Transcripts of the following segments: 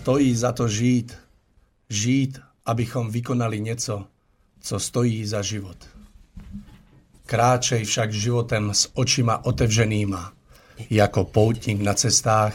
Stojí za to žít. Žít, abychom vykonali něco, co stojí za život. Kráčej však životem s očima otevřenýma, jako poutník na cestách,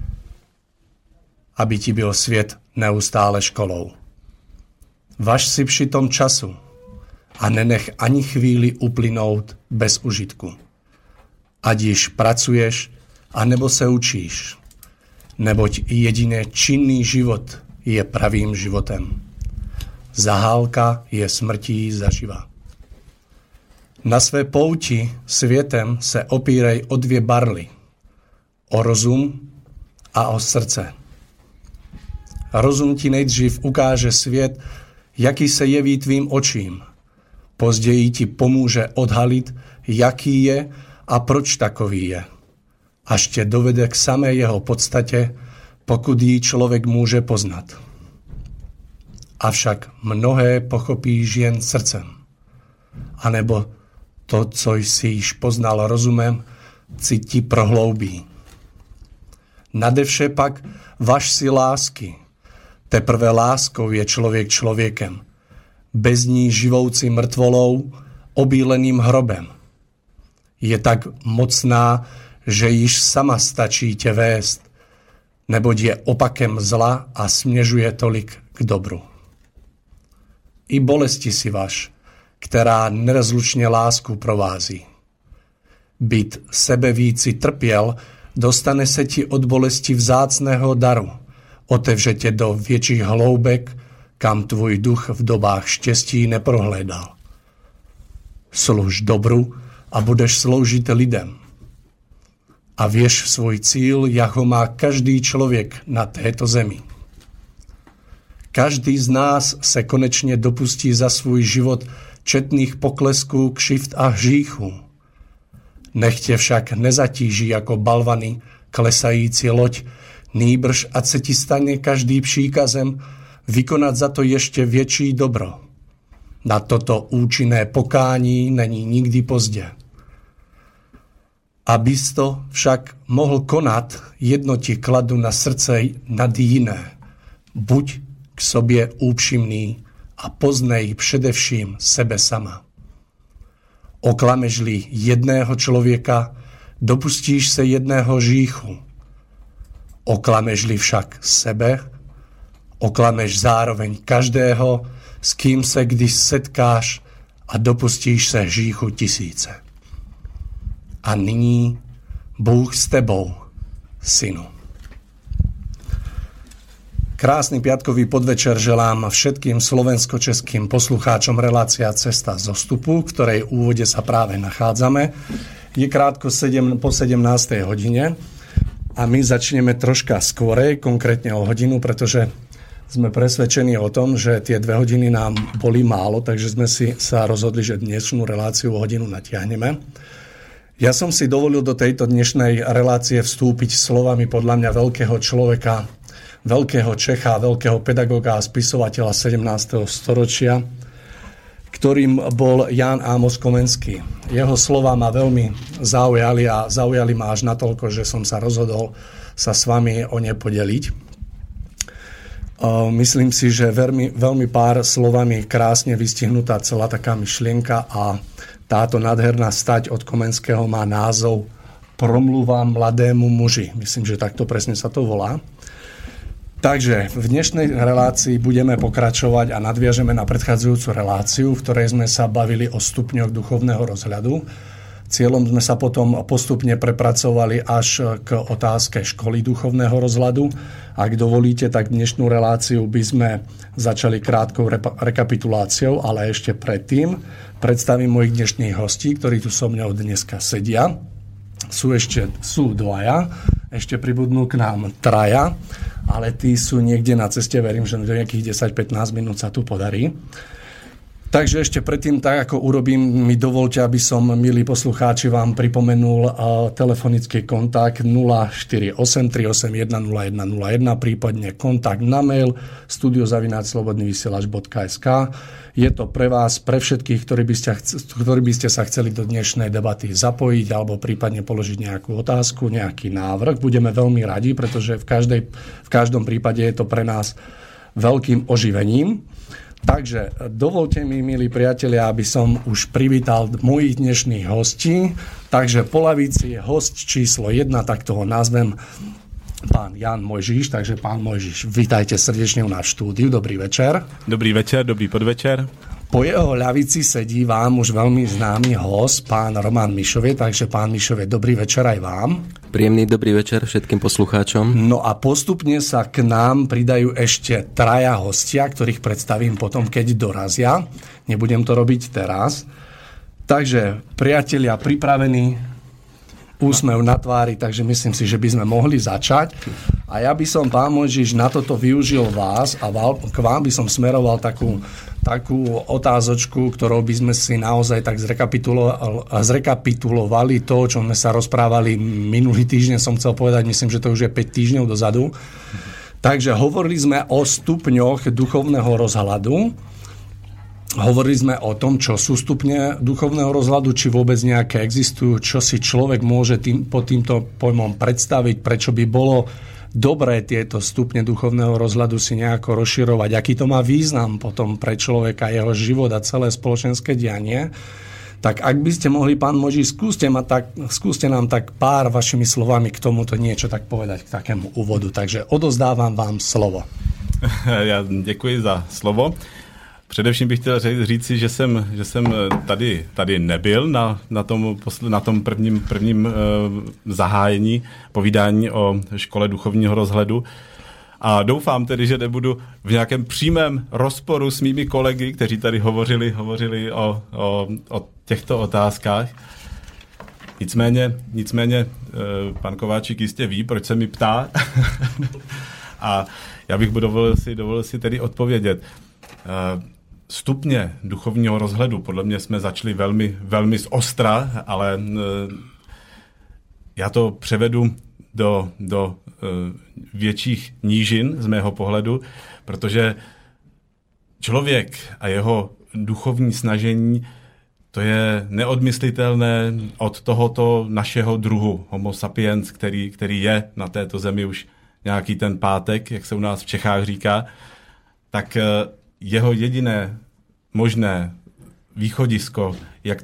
aby ti byl svět neustále školou. Važ si přitom času a nenech ani chvíli uplynout bez užitku. Ať již pracuješ, anebo se učíš, neboť jedině činný život je pravým životem. Zahálka je smrtí zaživa. Na své pouti světem se opírej o dvě barly, o rozum a o srdce. Rozum ti nejdřív ukáže svět, jaký se jeví tvým očím. Později ti pomůže odhalit, jaký je a proč takový je. Až tě dovede k samé jeho podstatě, pokud ji člověk může poznat. Avšak mnohé pochopíš jen srdcem. Anebo to, co jsi již poznal rozumem, ti prohloubí. Nadevše pak važ si lásky. Teprve láskou je člověk člověkem. Bez ní živoucí mrtvolou, obíleným hrobem. Je tak mocná, že již sama stačí tě vést, neboť je opakem zla a směřuje tolik k dobru. I bolesti si važ, která nerozlučně lásku provází. Být sebevíci trpěl, dostane se ti od bolesti vzácného daru, otevře tě do větších hloubek, kam tvůj duch v dobách štěstí neprohlédal. Služ dobru a budeš sloužit lidem. A věř svůj cíl, jak ho má každý člověk na této zemi. Každý z nás se konečně dopustí za svůj život četných poklesků, křivd a hříchů. Nech tě však nezatíží jako balvany klesající loď, nýbrž ať se ti stane každý příkazem vykonat za to ještě větší dobro. Na toto účinné pokání není nikdy pozdě. Abys to však mohl konat, jedno ti kladu na srdce nad jiné. Buď k sobě úpřímný a poznej především sebe sama. Oklameš-li jedného člověka, dopustíš se jedného hříchu. Oklameš-li však sebe, oklameš zároveň každého, s kým se když setkáš a dopustíš se hříchu tisíce. A nyní Bůh s tebou, synu. Krásny piatkový podvečer želám všetkým slovensko-českým poslucháčom relácia Cesta zostupu, v ktorej úvode sa práve nachádzame. Je krátko po 17. hodine a my začneme troška skorej, konkrétne o hodinu, pretože sme presvedčení o tom, že tie 2 hodiny nám boli málo, takže sme sa rozhodli, že dnešnú reláciu o hodinu natiahneme. Ja som si dovolil do tejto dnešnej relácie vstúpiť slovami podľa mňa veľkého človeka, veľkého Čecha, veľkého pedagoga a spisovateľa 17. storočia, ktorým bol Ján Ámos Komenský. Jeho slova ma veľmi zaujali ma až natoľko, že som sa rozhodol sa s vami o ne podeliť. Myslím si, že veľmi pár slovami krásne vystihnutá celá taká myšlienka a táto nádherná stať od Komenského má názov Promluva mladému muži. Myslím, že takto presne sa to volá. Takže v dnešnej relácii budeme pokračovať a nadviažeme na predchádzajúcu reláciu, v ktorej sme sa bavili o stupňoch duchovného rozhľadu. Cieľom sme sa potom postupne prepracovali až k otázke školy duchovného rozhľadu. Ak dovolíte, tak dnešnú reláciu by sme začali krátkou rekapituláciou, ale ešte predtým predstavím mojich dnešných hostí, ktorí tu so mňou dneska sedia. Sú dvaja, ešte pribudnú k nám traja, ale tí sú niekde na ceste, verím, že do nejakých 10-15 minút sa tu podarí. Takže ešte predtým, tak ako urobím, mi dovolte, aby som, milí poslucháči, vám pripomenul telefonický kontakt 048 381 0101, prípadne kontakt na mail studio@slobodnyvysielac.sk. Je to pre vás, pre všetkých, ktorí by ste sa chceli do dnešnej debaty zapojiť alebo prípadne položiť nejakú otázku, nejaký návrh. Budeme veľmi radi, pretože v každom prípade je to pre nás veľkým oživením. Takže dovolte mi, milí priatelia, aby som už privítal mojich dnešných hostí. Takže po lavici je host číslo 1, tak toho nazvem, pán Jan Mojžiš. Takže pán Mojžiš, vítajte srdečne u nás v štúdiu. Dobrý večer. Dobrý večer, dobrý podvečer. Po jeho ľavici sedí vám už veľmi známy host, pán Roman Mišovie. Takže pán Mišovie, dobrý večer aj vám. Príjemný dobrý večer všetkým poslucháčom. No a postupne sa k nám pridajú ešte traja hostia, ktorých predstavím potom, keď dorazia. Nebudem to robiť teraz. Takže, priatelia, pripravení, úsmev na tvári, takže myslím si, že by sme mohli začať. A ja by som, pán Mojžiš, na toto využil vás a k vám by som smeroval takú otázočku, ktorou by sme si naozaj tak zrekapitulovali to, o čom sme sa rozprávali minulý týždeň, som chcel povedať, myslím, že to už je 5 týždňov dozadu. Takže hovorili sme o stupňoch duchovného rozhľadu. Hovorili sme o tom, čo sú stupne duchovného rozhľadu, či vôbec nejaké existujú, čo si človek môže pod týmto pojmom predstaviť, prečo by bolo dobré tieto stupne duchovného rozhľadu si nejako rozširovať, aký to má význam potom pre človeka, jeho život a celé spoločenské dianie. Tak ak by ste mohli, pán Mojžiš, skúste nám tak pár vašimi slovami k tomuto niečo tak povedať, k takému úvodu. Takže odozdávam vám slovo. Já děkuji za slovo. Především bych chtěl říci, že jsem tady nebyl na tom prvním zahájení povídání o škole duchovního rozhledu. A doufám tedy, že nebudu v nějakém přímém rozporu s mými kolegy, kteří tady hovořili o těchto otázkách. Nicméně pan Kováčik jistě ví, proč se mi ptá. A já bych dovolil si tedy odpovědět. Stupně duchovního rozhledu, podle mě jsme začali velmi, velmi zostra, ale já to převedu do větších nížin z mého pohledu, protože člověk a jeho duchovní snažení, to je neodmyslitelné od tohoto našeho druhu, homo sapiens, který je na této zemi už nějaký ten pátek, jak se u nás v Čechách říká, tak jeho jediné možné východisko, jak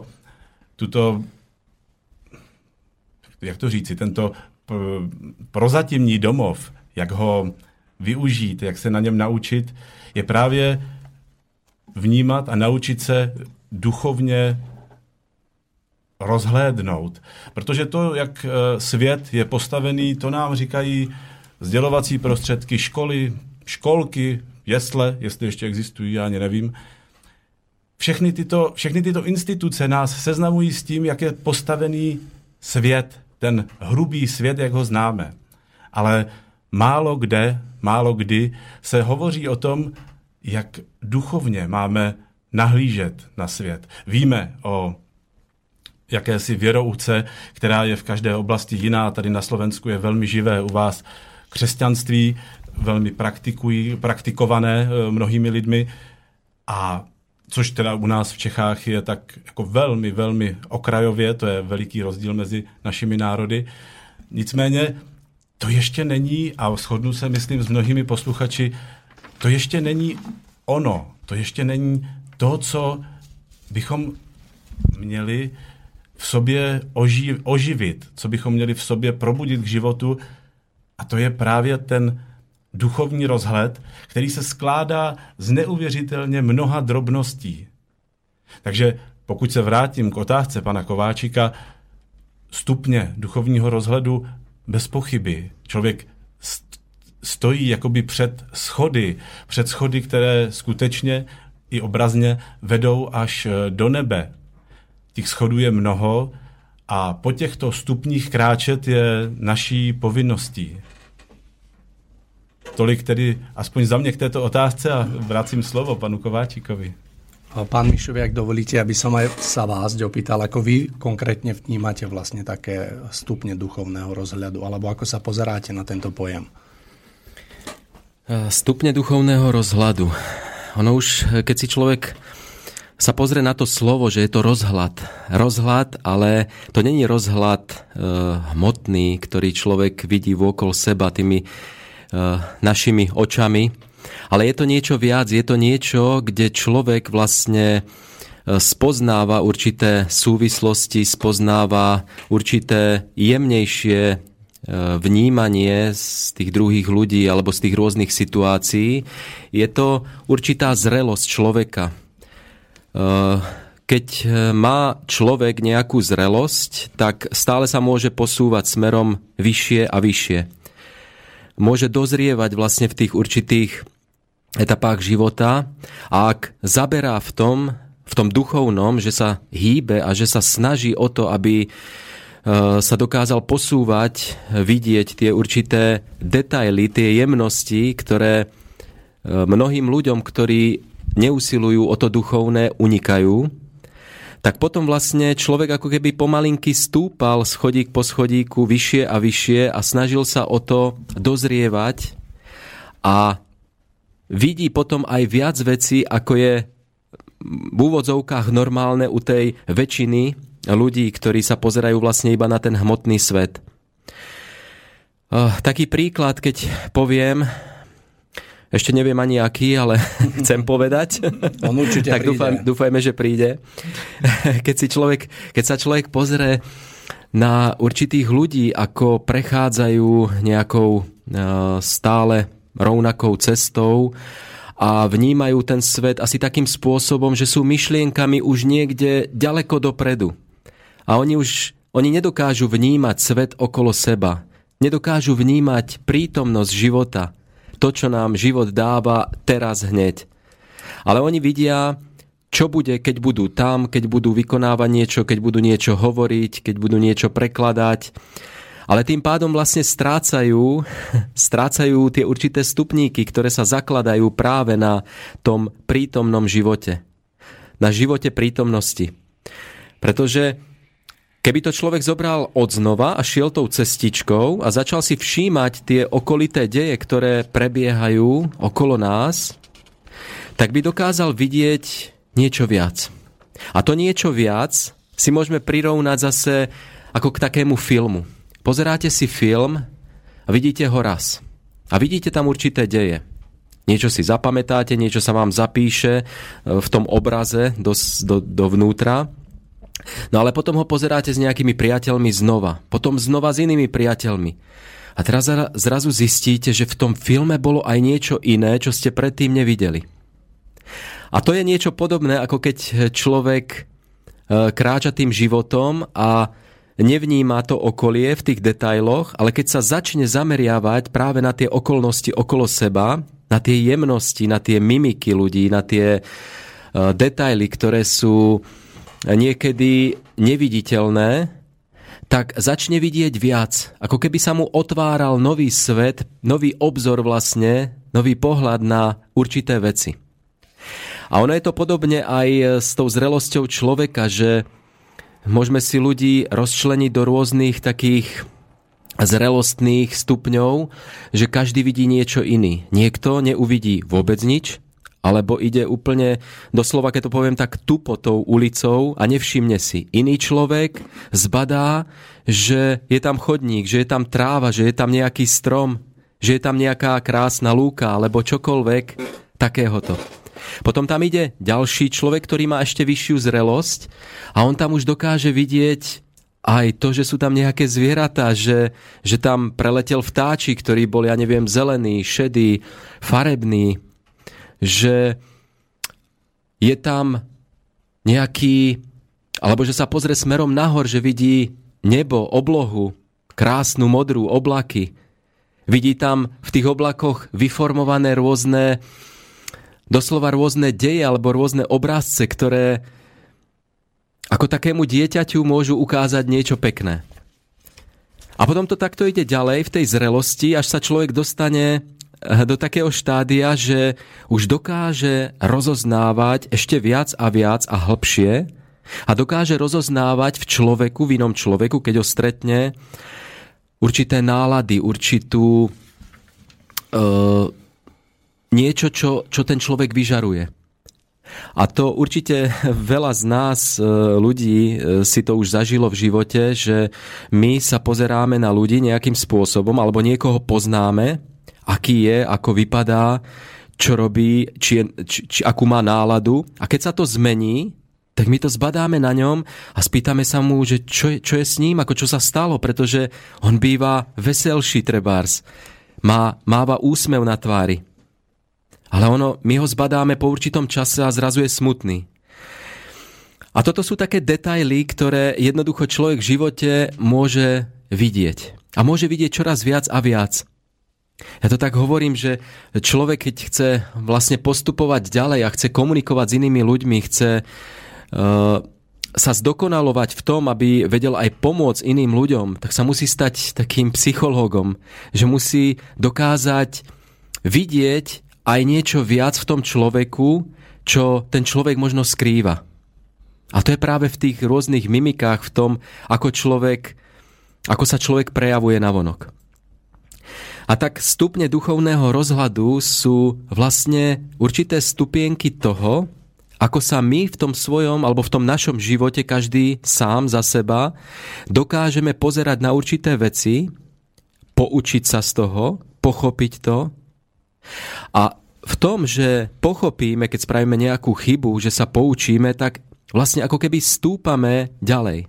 jak to říci, tento prozatímní domov, jak ho využít, jak se na něm naučit, je právě vnímat a naučit se duchovně rozhlédnout. Protože to, jak svět je postavený, to nám říkají sdělovací prostředky, školy, školky, jesle, jestli ještě existují, já ani nevím. Všechny tyto instituce nás seznamují s tím, jak je postavený svět, ten hrubý svět, jak ho známe. Ale málo kdy se hovoří o tom, jak duchovně máme nahlížet na svět. Víme o jakési věrouce, která je v každé oblasti jiná. Tady na Slovensku je velmi živé, u vás křesťanství, velmi praktikované mnohými lidmi, a což teda u nás v Čechách je tak jako velmi, velmi okrajově, to je veliký rozdíl mezi našimi národy. Nicméně to ještě není, a shodnu se, myslím, s mnohými posluchači, to ještě není ono, to ještě není to, co bychom měli v sobě oživit, co bychom měli v sobě probudit k životu, a to je právě ten duchovní rozhled, který se skládá z neuvěřitelně mnoha drobností. Takže pokud se vrátím k otázce pana Kováčika, stupně duchovního rozhledu bez pochyby. Člověk stojí jakoby před schody, které skutečně i obrazně vedou až do nebe. Těch schodů je mnoho a po těchto stupních kráčet je naší povinností. Tolik tedy aspoň za mě k této otázce a vracím slovo panu Kováčikovi. Pán Mišovi, ak dovolíte, aby som aj sa vás opýtal, ako vy konkrétne vnímate vlastne také stupne duchovného rozhľadu, alebo ako sa pozeráte na tento pojem? Stupne duchovného rozhľadu. Ono už, keď si človek sa pozrie na to slovo, že je to rozhľad. Rozhľad, ale to není rozhľad hmotný, ktorý človek vidí vôkol seba tými našimi očami, ale je to niečo viac, je to niečo, kde človek vlastne spoznáva určité súvislosti, spoznáva určité jemnejšie vnímanie z tých druhých ľudí alebo z tých rôznych situácií. Je to určitá zrelosť človeka. Keď má človek nejakú zrelosť, tak stále sa môže posúvať smerom vyššie a vyššie. Môže dozrievať vlastne v tých určitých etapách života a ak zaberá v tom duchovnom, že sa hýbe a že sa snaží o to, aby sa dokázal posúvať, vidieť tie určité detaily, tie jemnosti, ktoré mnohým ľuďom, ktorí neusilujú o to duchovné, unikajú, tak potom vlastne človek ako keby pomalinky stúpal schodík po schodíku vyššie a vyššie a snažil sa o to dozrievať a vidí potom aj viac vecí, ako je v úvodzovkách normálne u tej väčšiny ľudí, ktorí sa pozerajú vlastne iba na ten hmotný svet. Taký príklad, keď poviem, ešte neviem ani aký, ale chcem povedať. On určite tak príde. Dúfajme, že príde. Keď sa človek pozrie na určitých ľudí, ako prechádzajú nejakou stále rovnakou cestou a vnímajú ten svet asi takým spôsobom, že sú myšlienkami už niekde ďaleko dopredu. A oni nedokážu vnímať svet okolo seba. Nedokážu vnímať prítomnosť života. To, čo nám život dáva teraz hneď. Ale oni vidia, čo bude, keď budú tam, keď budú vykonávať niečo, keď budú niečo hovoriť, keď budú niečo prekladať. Ale tým pádom vlastne strácajú tie určité stupníky, ktoré sa zakladajú práve na tom prítomnom živote. Na živote prítomnosti. Pretože keby to človek zobral odznova a šiel tou cestičkou a začal si všímať tie okolité deje, ktoré prebiehajú okolo nás, tak by dokázal vidieť niečo viac. A to niečo viac si môžeme prirovnať zase ako k takému filmu. Pozeráte si film a vidíte ho raz. A vidíte tam určité deje. Niečo si zapamätáte, niečo sa vám zapíše v tom obraze dovnútra. No ale potom ho pozeráte s nejakými priateľmi znova. Potom znova s inými priateľmi. A teraz zrazu zistíte, že v tom filme bolo aj niečo iné, čo ste predtým nevideli. A to je niečo podobné, ako keď človek kráča tým životom a nevníma to okolie v tých detailoch, ale keď sa začne zameriavať práve na tie okolnosti okolo seba, na tie jemnosti, na tie mimiky ľudí, na tie detaily, ktoré sú niekedy neviditeľné, tak začne vidieť viac. Ako keby sa mu otváral nový svet, nový obzor vlastne, nový pohľad na určité veci. A ono je to podobne aj s tou zrelosťou človeka, že môžeme si ľudí rozčleniť do rôznych takých zrelostných stupňov, že každý vidí niečo iný. Niekto neuvidí vôbec nič, alebo ide úplne, doslova, keď to poviem tak, tupo tou ulicou a nevšimne si. Iný človek zbadá, že je tam chodník, že je tam tráva, že je tam nejaký strom, že je tam nejaká krásna lúka, alebo čokoľvek takéhoto. Potom tam ide ďalší človek, ktorý má ešte vyššiu zrelosť a on tam už dokáže vidieť aj to, že sú tam nejaké zvieratá, že tam preletel vtáči, ktorí boli, ja neviem, zelený, šedý, farebný, že je tam nejaký, alebo že sa pozrie smerom nahor, že vidí nebo, oblohu, krásnu modrú, oblaky. Vidí tam v tých oblakoch vyformované rôzne, doslova rôzne deje alebo rôzne obrázce, ktoré ako takému dieťaťu môžu ukázať niečo pekné. A potom to takto ide ďalej v tej zrelosti, až sa človek dostane do takého štádia, že už dokáže rozoznávať ešte viac a hlbšie a dokáže rozoznávať v človeku, v inom človeku, keď ho stretne, určité nálady, určitú niečo, čo ten človek vyžaruje. A to určite veľa z nás, ľudí, si to už zažilo v živote, že my sa pozeráme na ľudí nejakým spôsobom, alebo niekoho poznáme, aký je, ako vypadá, čo robí, či akú má náladu. A keď sa to zmení, tak my to zbadáme na ňom a spýtame sa mu, že čo je s ním, ako čo sa stalo, pretože on býva veselší trebárs. Máva úsmev na tvári. Ale my ho zbadáme po určitom čase a zrazu je smutný. A toto sú také detaily, ktoré jednoducho človek v živote môže vidieť. A môže vidieť čoraz viac a viac. Ja to tak hovorím, že človek, keď chce vlastne postupovať ďalej a chce komunikovať s inými ľuďmi, chce sa zdokonalovať v tom, aby vedel aj pomôcť iným ľuďom, tak sa musí stať takým psychológom, že musí dokázať vidieť aj niečo viac v tom človeku, čo ten človek možno skrýva. A to je práve v tých rôznych mimikách, v tom, ako sa človek prejavuje navonok. A tak stupne duchovného rozhľadu sú vlastne určité stupienky toho, ako sa my v tom svojom alebo v tom našom živote, každý sám za seba, dokážeme pozerať na určité veci, poučiť sa z toho, pochopiť to. A v tom, že pochopíme, keď spravíme nejakú chybu, že sa poučíme, tak vlastne ako keby stúpame ďalej.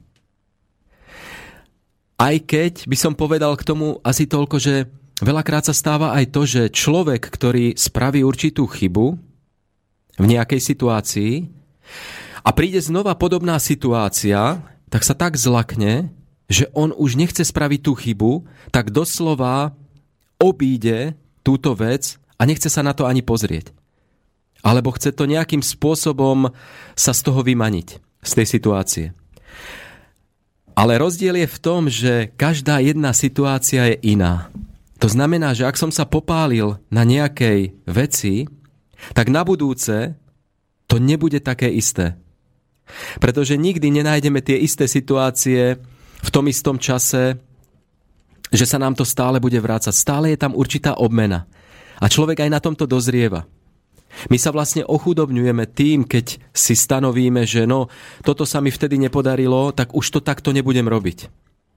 Aj keď by som povedal k tomu asi toľko, že veľakrát sa stáva aj to, že človek, ktorý spraví určitú chybu v nejakej situácii a príde znova podobná situácia, tak sa tak zlakne, že on už nechce spraviť tú chybu, tak doslova obíde túto vec a nechce sa na to ani pozrieť. Alebo chce to nejakým spôsobom sa z toho vymaniť, z tej situácie. Ale rozdiel je v tom, že každá jedna situácia je iná. To znamená, že ak som sa popálil na nejakej veci, tak na budúce to nebude také isté. Pretože nikdy nenájdeme tie isté situácie v tom istom čase, že sa nám to stále bude vrácať. Stále je tam určitá obmena. A človek aj na tomto dozrieva. My sa vlastne ochudobňujeme tým, keď si stanovíme, že toto sa mi vtedy nepodarilo, tak už to takto nebudem robiť.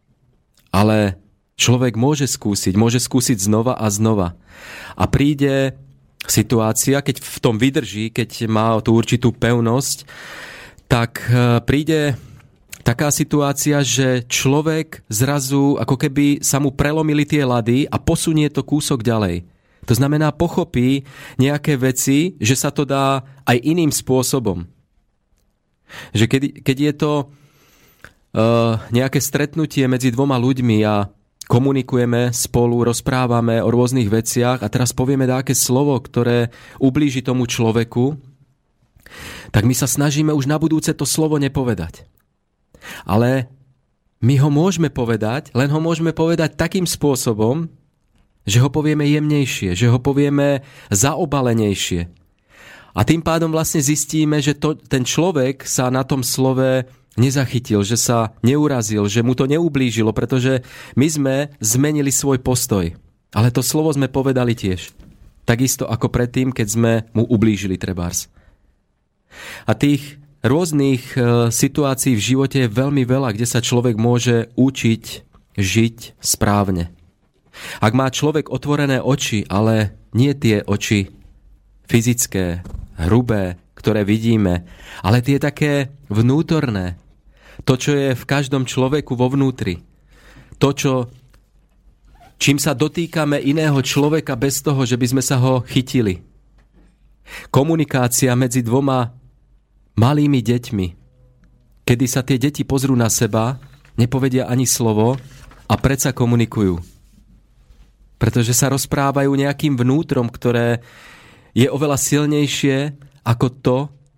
Ale človek môže skúsiť znova a znova. A príde situácia, keď v tom vydrží, keď má tú určitú pevnosť, tak príde taká situácia, že človek zrazu, ako keby sa mu prelomili tie ľady a posunie to kúsok ďalej. To znamená, pochopí nejaké veci, že sa to dá aj iným spôsobom. Že keď je to nejaké stretnutie medzi dvoma ľuďmi a komunikujeme spolu, rozprávame o rôznych veciach a teraz povieme nejaké slovo, ktoré ublíži tomu človeku, tak my sa snažíme už na budúce to slovo nepovedať. Ale my ho môžeme povedať, len ho môžeme povedať takým spôsobom, že ho povieme jemnejšie, že ho povieme zaobalenejšie. A tým pádom vlastne zistíme, že ten človek sa na tom slove nezachytil, že sa neurazil, že mu to neublížilo, pretože my sme zmenili svoj postoj. Ale to slovo sme povedali tiež. Takisto ako predtým, keď sme mu ublížili trebárs. A tých rôznych situácií v živote je veľmi veľa, kde sa človek môže učiť žiť správne. Ak má človek otvorené oči, ale nie tie oči fyzické, hrubé, ktoré vidíme, ale tie také vnútorné, to, čo je v každom človeku vo vnútri, to, čím sa dotýkame iného človeka bez toho, že by sme sa ho chytili. Komunikácia medzi dvoma malými deťmi, kedy sa tie deti pozrú na seba, nepovedia ani slovo a predsa komunikujú. Pretože sa rozprávajú nejakým vnútrom, ktoré je oveľa silnejšie ako to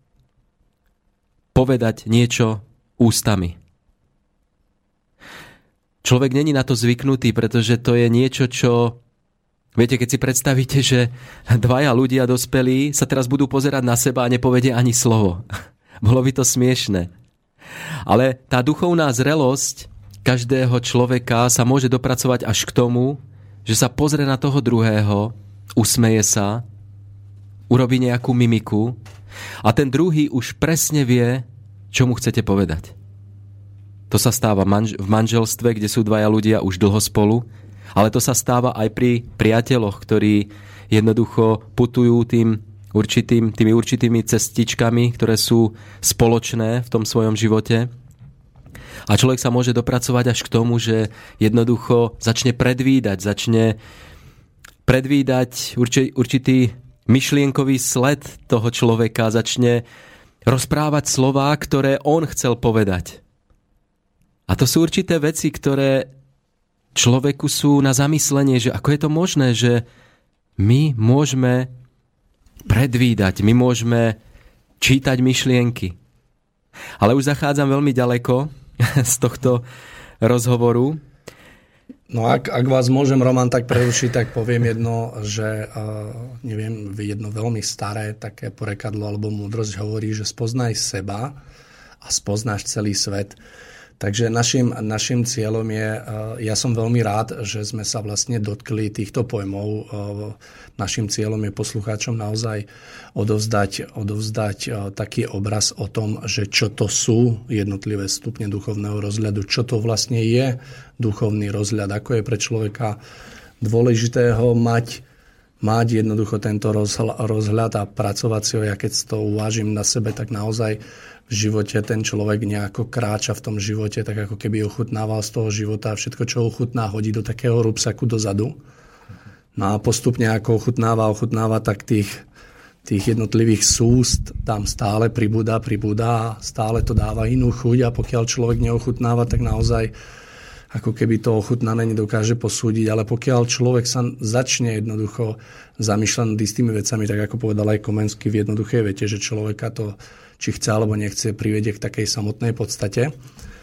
povedať niečo ústami. Človek není na to zvyknutý, pretože to je niečo, čo Viete, keď si predstavíte, že dvaja ľudia dospelí sa teraz budú pozerať na seba a nepovedia ani slovo. Bolo by to smiešné. Ale tá duchovná zrelosť každého človeka sa môže dopracovať až k tomu, že sa pozrie na toho druhého, usmeje sa, urobí nejakú mimiku a ten druhý už presne vie, čo mu chcete povedať. To sa stáva v manželstve, kde sú dvaja ľudia už dlho spolu, ale to sa stáva aj pri priateľoch, ktorí jednoducho putujú tými určitými cestičkami, ktoré sú spoločné v tom svojom živote. A človek sa môže dopracovať až k tomu, že jednoducho začne predvídať určitý myšlienkový sled toho človeka, začne rozprávať slová, ktoré on chcel povedať. A to sú určité veci, ktoré človeku sú na zamyslenie, že ako je to možné, že my môžeme predvídať, my môžeme čítať myšlienky. Ale už zachádzam veľmi ďaleko z tohto rozhovoru. No ak vás môžem, Roman, tak prerušiť, tak poviem jedno, že jedno veľmi staré také porekadlo alebo múdrosť hovorí, že spoznaj seba a spoznáš celý svet. Takže našim cieľom je, ja som veľmi rád, že sme sa vlastne dotkli týchto pojmov. Našim cieľom je poslucháčom naozaj odovzdať taký obraz o tom, že čo to sú jednotlivé stupne duchovného rozhľadu, čo to vlastne je duchovný rozhľad, ako je pre človeka dôležitého mať jednoducho tento rozhľad a pracovať si ho. Ja keď to uvážim na sebe, tak naozaj v živote ten človek nejako kráča v tom živote, tak ako keby ochutnával z toho života a všetko, čo ochutná, hodí do takého rúbsaku dozadu. No a postupne ako ochutnáva, tak tých jednotlivých súst tam stále pribúda a stále to dáva inú chuť a pokiaľ človek neochutnáva, tak naozaj ako keby to ochutnané nedokáže posúdiť, ale pokiaľ človek sa začne jednoducho zamýšľať nad istými vecami, tak ako povedal aj Komenský v jednoduchej vete, že človeka to, či chce alebo nechce, privedie k takej samotnej podstate.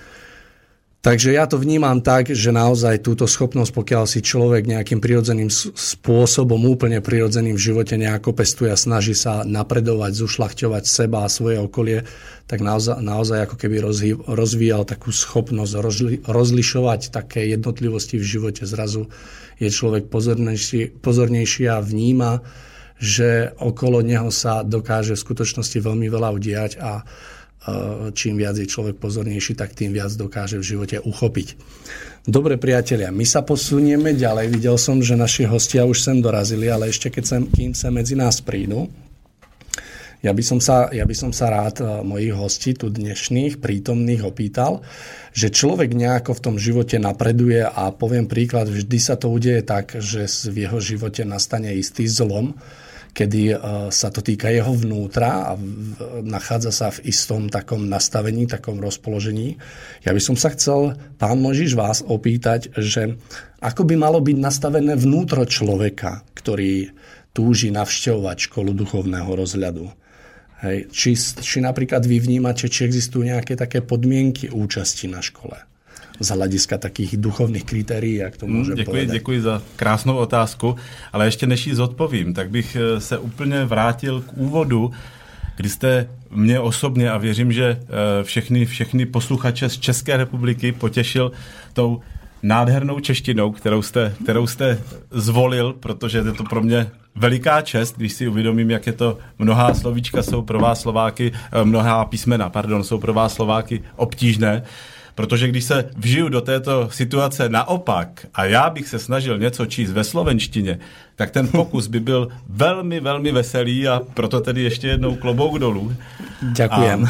Takže ja to vnímam tak, že naozaj túto schopnosť, pokiaľ si človek nejakým prirodzeným spôsobom, úplne prirodzeným v živote nejako pestuje a snaží sa napredovať, zušľachťovať seba a svoje okolie, tak naozaj ako keby rozvíjal takú schopnosť rozlišovať také jednotlivosti v živote. Zrazu je človek pozornejší a vníma, že okolo neho sa dokáže v skutočnosti veľmi veľa udiať a čím viac je človek pozornejší, tak tým viac dokáže v živote uchopiť. Dobre, priatelia, my sa posunieme ďalej. Videl som, že naši hostia už sem dorazili, ale ešte kým sa medzi nás prídu, ja by som sa rád mojich hostí tu dnešných prítomných opýtal, že človek nejako v tom živote napreduje a poviem príklad, vždy sa to udeje tak, že v jeho živote nastane istý zlom, kedy sa to týka jeho vnútra a nachádza sa v istom takom nastavení, takom rozpoložení. Ja by som sa chcel, pán Mojžiš, vás opýtať, že ako by malo byť nastavené vnútro človeka, ktorý túži navštevovať školu duchovného rozhľadu. Hej. Či napríklad vy vnímate, či existujú nejaké také podmienky účasti na škole z hľadiska takých duchovných kritérií, jak to môžem povedať. Děkuji za krásnou otázku, ale ještě než ji zodpovím, tak bych se úplně vrátil k úvodu, kdy jste mě osobně, a věřím, že všechny posluchače z České republiky potěšil tou nádhernou češtinou, kterou jste zvolil, protože je to pro mě veliká čest, když si uvědomím, jak je to mnohá slovíčka jsou pro vás Slováky, mnohá písmena, jsou pro vás Slováky obtížné. Protože když se vžiju do této situace naopak a já bych se snažil něco číst ve slovenštině, tak ten pokus by byl velmi, velmi veselý a proto tedy ještě jednou klobouk dolů. Ďakujem.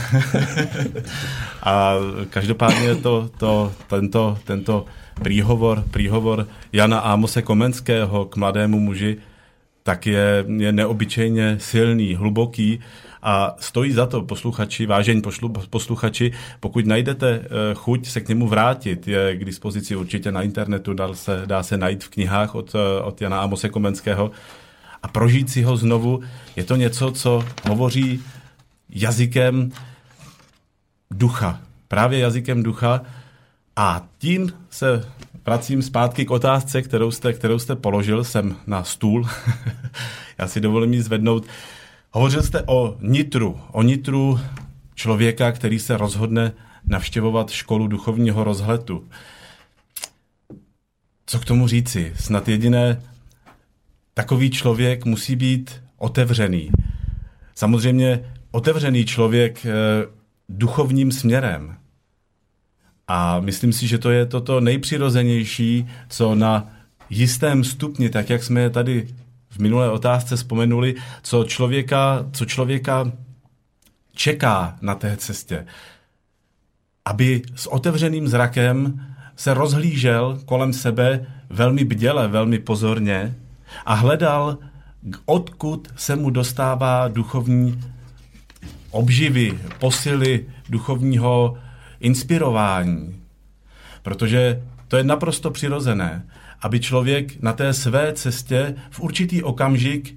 A každopádně tento príhovor Jana Ámose Komenského k mladému muži tak je neobyčejně silný, hluboký a stojí za to, posluchači, vážení posluchači, pokud najdete chuť se k němu vrátit, je k dispozici určitě na internetu, dá se najít v knihách od Jana Ámose Komenského a prožít si ho znovu. Je to něco, co hovoří jazykem ducha, právě jazykem ducha a tím se vracím zpátky k otázce, kterou jste položil sem na stůl. Já si dovolím ji zvednout. Hovořil jste o nitru člověka, který se rozhodne navštěvovat školu duchovního rozhledu. Co k tomu říci? Snad jediné, takový člověk musí být otevřený. Samozřejmě otevřený člověk duchovním směrem. A myslím si, že to je toto nejpřirozenější, co na jistém stupni, tak jak jsme je tady v minulé otázce vzpomenuli, co člověka čeká na té cestě. Aby s otevřeným zrakem se rozhlížel kolem sebe velmi bděle, velmi pozorně a hledal, odkud se mu dostává duchovní obživy, posily duchovního inspirování. Protože to je naprosto přirozené, aby člověk na té své cestě v určitý okamžik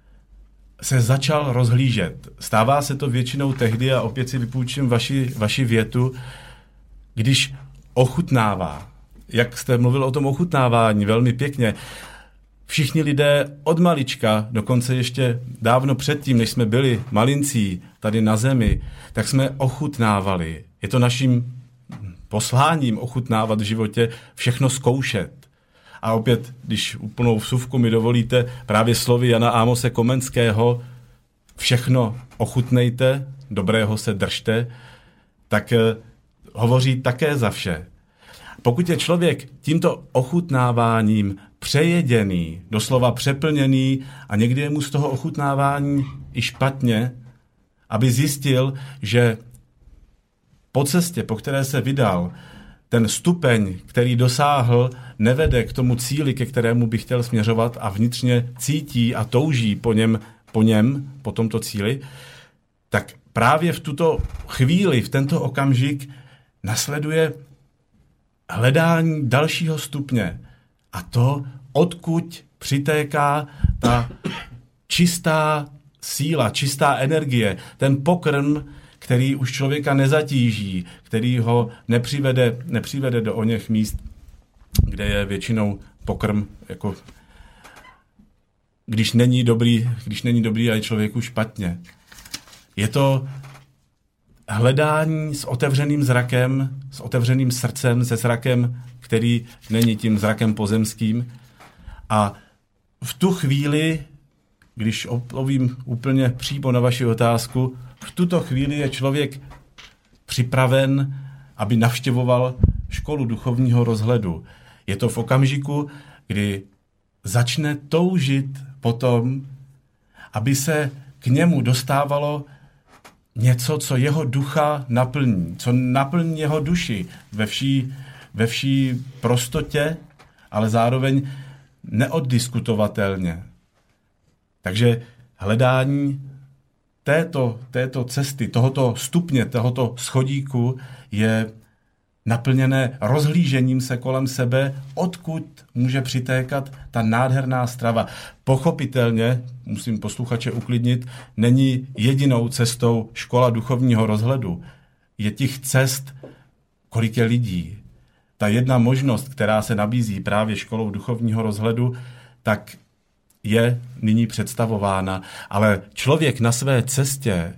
se začal rozhlížet. Stává se to většinou tehdy, a opět si vypůjčím vaši větu, když ochutnává. Jak jste mluvil o tom ochutnávání, velmi pěkně. Všichni lidé od malička, dokonce ještě dávno předtím, než jsme byli malincí tady na zemi, tak jsme ochutnávali. Je to naším posláním ochutnávat v životě, všechno zkoušet. A opět, když úplnou vsuvku mi dovolíte, právě slovy Jana Ámose Komenského, všechno ochutnejte, dobrého se držte, tak hovoří také za vše. Pokud je člověk tímto ochutnáváním přejeděný, doslova přeplněný a někdy je mu z toho ochutnávání i špatně, aby zjistil, že po cestě, po které se vydal, ten stupeň, který dosáhl, nevede k tomu cíli, ke kterému by chtěl směřovat a vnitřně cítí a touží po tomto cíli, tak právě v tuto chvíli, v tento okamžik nasleduje hledání dalšího stupně. A to, odkud přitéká ta čistá síla, čistá energie, ten pokrm, který už člověka nezatíží, který ho nepřivede do oněch míst, kde je většinou pokrm, jako když není dobrý a je člověku špatně. Je to hledání s otevřeným zrakem, s otevřeným srdcem, se zrakem, který není tím zrakem pozemským. A v tu chvíli, když odpovím úplně přímo na vaši otázku, v tuto chvíli je člověk připraven, aby navštěvoval školu duchovního rozhledu. Je to v okamžiku, kdy začne toužit potom, aby se k němu dostávalo něco, co jeho ducha naplní, co naplní jeho duši ve vší prostotě, ale zároveň neoddiskutovatelně. Takže hledání této cesty, tohoto stupně, tohoto schodíku je naplněné rozhlížením se kolem sebe, odkud může přitékat ta nádherná strava. Pochopitelně, musím posluchače uklidnit, není jedinou cestou škola duchovního rozhledu. Je těch cest, kolik je lidí. Ta jedna možnost, která se nabízí právě školou duchovního rozhledu, tak je nyní představována. Ale člověk na své cestě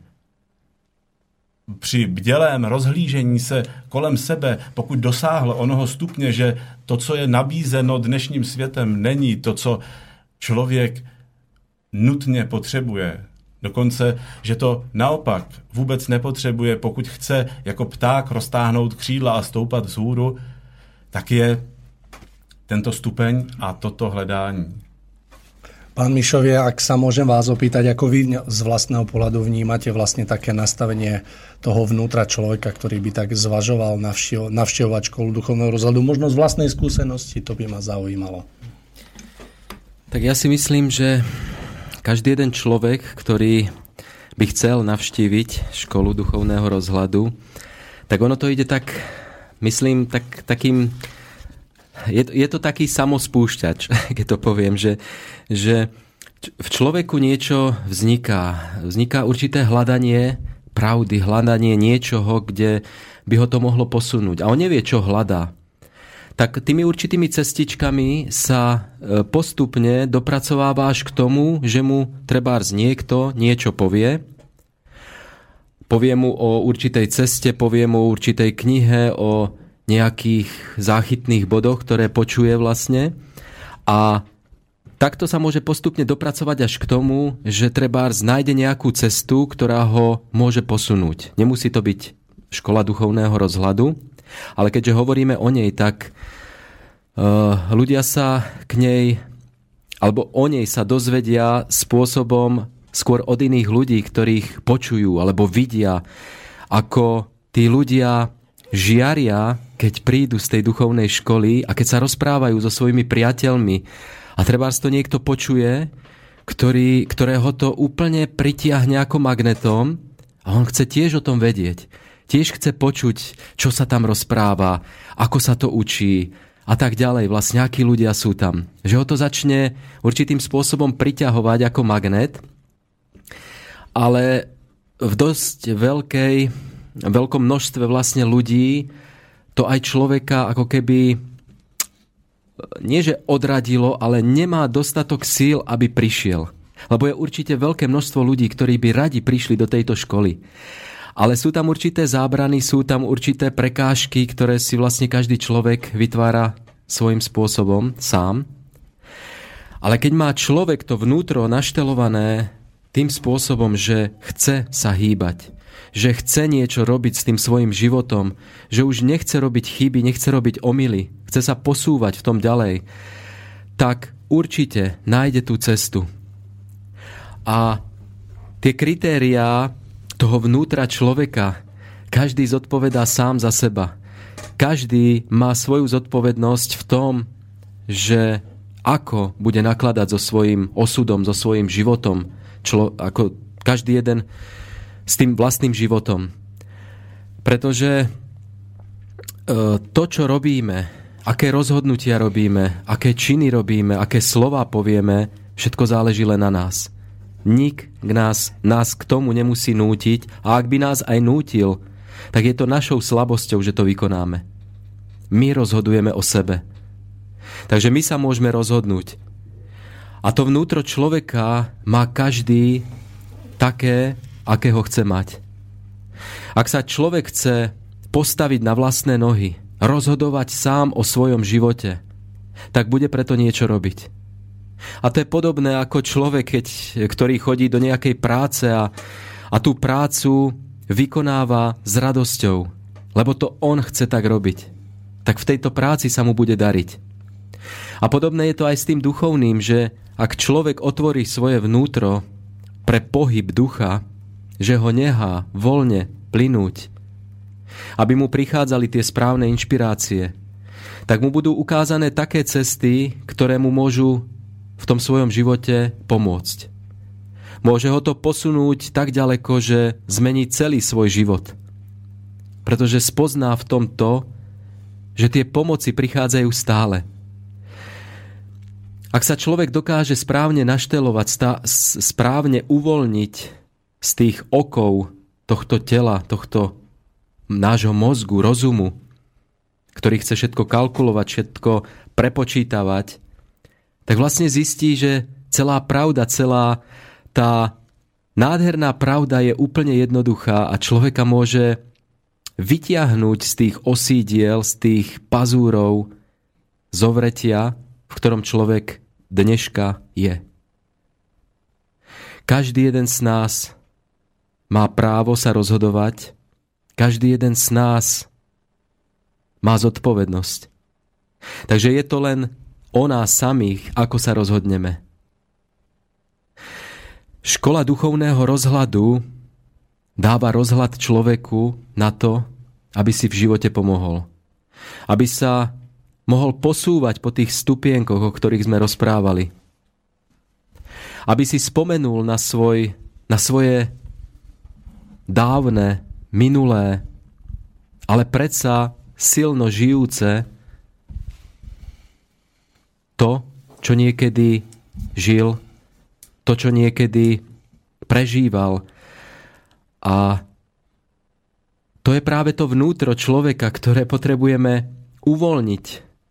při bdělém rozhlížení se kolem sebe, pokud dosáhl onoho stupně, že to, co je nabízeno dnešním světem, není to, co člověk nutně potřebuje. Dokonce, že to naopak vůbec nepotřebuje, pokud chce jako pták roztáhnout křídla a stoupat vzhůru, tak je tento stupeň a toto hledání. Pán Mišovie, ak sa môžem vás opýtať, ako vy z vlastného pohľadu vnímate vlastne také nastavenie toho vnútra človeka, ktorý by tak zvažoval navštevovať školu duchovného rozhľadu, možno z vlastnej skúsenosti, to by ma zaujímalo. Tak ja si myslím, že každý jeden človek, ktorý by chcel navštíviť školu duchovného rozhľadu, tak ono to ide tak, myslím, takým... Je to taký samospúšťač, keď to poviem, že v človeku niečo vzniká. Vzniká určité hľadanie pravdy, hľadanie niečoho, kde by ho to mohlo posunúť. A on nevie, čo hľadá. tak tými určitými cestičkami sa postupne dopracováváš k tomu, že mu trebárs niekto niečo povie. Povie mu o určitej ceste, povie mu o určitej knihe, o nejakých záchytných bodoch, ktoré počuje vlastne. A takto sa môže postupne dopracovať až k tomu, že trebárs nájde nejakú cestu, ktorá ho môže posunúť. Nemusí to byť škola duchovného rozhľadu, ale keďže hovoríme o nej, tak ľudia sa k nej, alebo o nej sa dozvedia spôsobom skôr od iných ľudí, ktorých počujú alebo vidia, ako tí ľudia žiaria, keď prídu z tej duchovnej školy a keď sa rozprávajú so svojimi priateľmi a trebárs to niekto počuje, ktorého to úplne pritiahne ako magnetom a on chce tiež o tom vedieť. Tiež chce počuť, čo sa tam rozpráva, ako sa to učí a tak ďalej. Vlastne akí ľudia sú tam. Že ho to začne určitým spôsobom priťahovať ako magnet, ale v dosť veľkom množstve vlastne ľudí to aj človeka ako keby nie že odradilo, ale nemá dostatok síl, aby prišiel. Lebo je určite veľké množstvo ľudí, ktorí by radi prišli do tejto školy. Ale sú tam určité zábrany, sú tam určité prekážky, ktoré si vlastne každý človek vytvára svojím spôsobom sám. Ale keď má človek to vnútro naštelované tým spôsobom, že chce sa hýbať, že chce niečo robiť s tým svojim životom, že už nechce robiť chyby, nechce robiť omyly, chce sa posúvať v tom ďalej, tak určite nájde tú cestu. A tie kritériá toho vnútra človeka, každý zodpovedá sám za seba. Každý má svoju zodpovednosť v tom, že ako bude nakladať so svojím osudom, so svojím životom, ako každý jeden s tým vlastným životom. Pretože to, čo robíme, aké rozhodnutia robíme, aké činy robíme, aké slová povieme, všetko záleží len na nás. Nik nás k tomu nemusí nútiť a ak by nás aj nútil, tak je to našou slabosťou, že to vykonáme. My rozhodujeme o sebe. Takže my sa môžeme rozhodnúť. A to vnútro človeka má každý také, aké ho chce mať. Ak sa človek chce postaviť na vlastné nohy, rozhodovať sám o svojom živote, tak bude preto niečo robiť. A to je podobné ako človek, ktorý chodí do nejakej práce a tú prácu vykonáva s radosťou, lebo to on chce tak robiť. Tak v tejto práci sa mu bude dariť. A podobné je to aj s tým duchovným, že ak človek otvorí svoje vnútro pre pohyb ducha, že ho nechá voľne plynúť, aby mu prichádzali tie správne inšpirácie, tak mu budú ukázané také cesty, ktoré mu môžu v tom svojom živote pomôcť. Môže ho to posunúť tak ďaleko, že zmení celý svoj život. Pretože spozná v tom to, že tie pomoci prichádzajú stále. Ak sa človek dokáže správne naštelovať, správne uvoľniť z tých okov tohto tela, tohto nášho mozgu, rozumu, ktorý chce všetko kalkulovať, všetko prepočítavať, tak vlastne zistí, že celá pravda, celá tá nádherná pravda je úplne jednoduchá a človeka môže vytiahnuť z tých osídiel, z tých pazúrov zovretia, v ktorom človek dneška je. Každý jeden z nás má právo sa rozhodovať, každý jeden z nás má zodpovednosť. Takže je to len o nás samých, ako sa rozhodneme. Škola duchovného rozhľadu dáva rozhľad človeku na to, aby si v živote pomohol. Aby sa mohol posúvať po tých stupienkoch, o ktorých sme rozprávali. Aby si spomenul na svoje dávne, minulé, ale predsa silno žijúce to, čo niekedy žil, to, čo niekedy prežíval. A to je práve to vnútro človeka, ktoré potrebujeme uvoľniť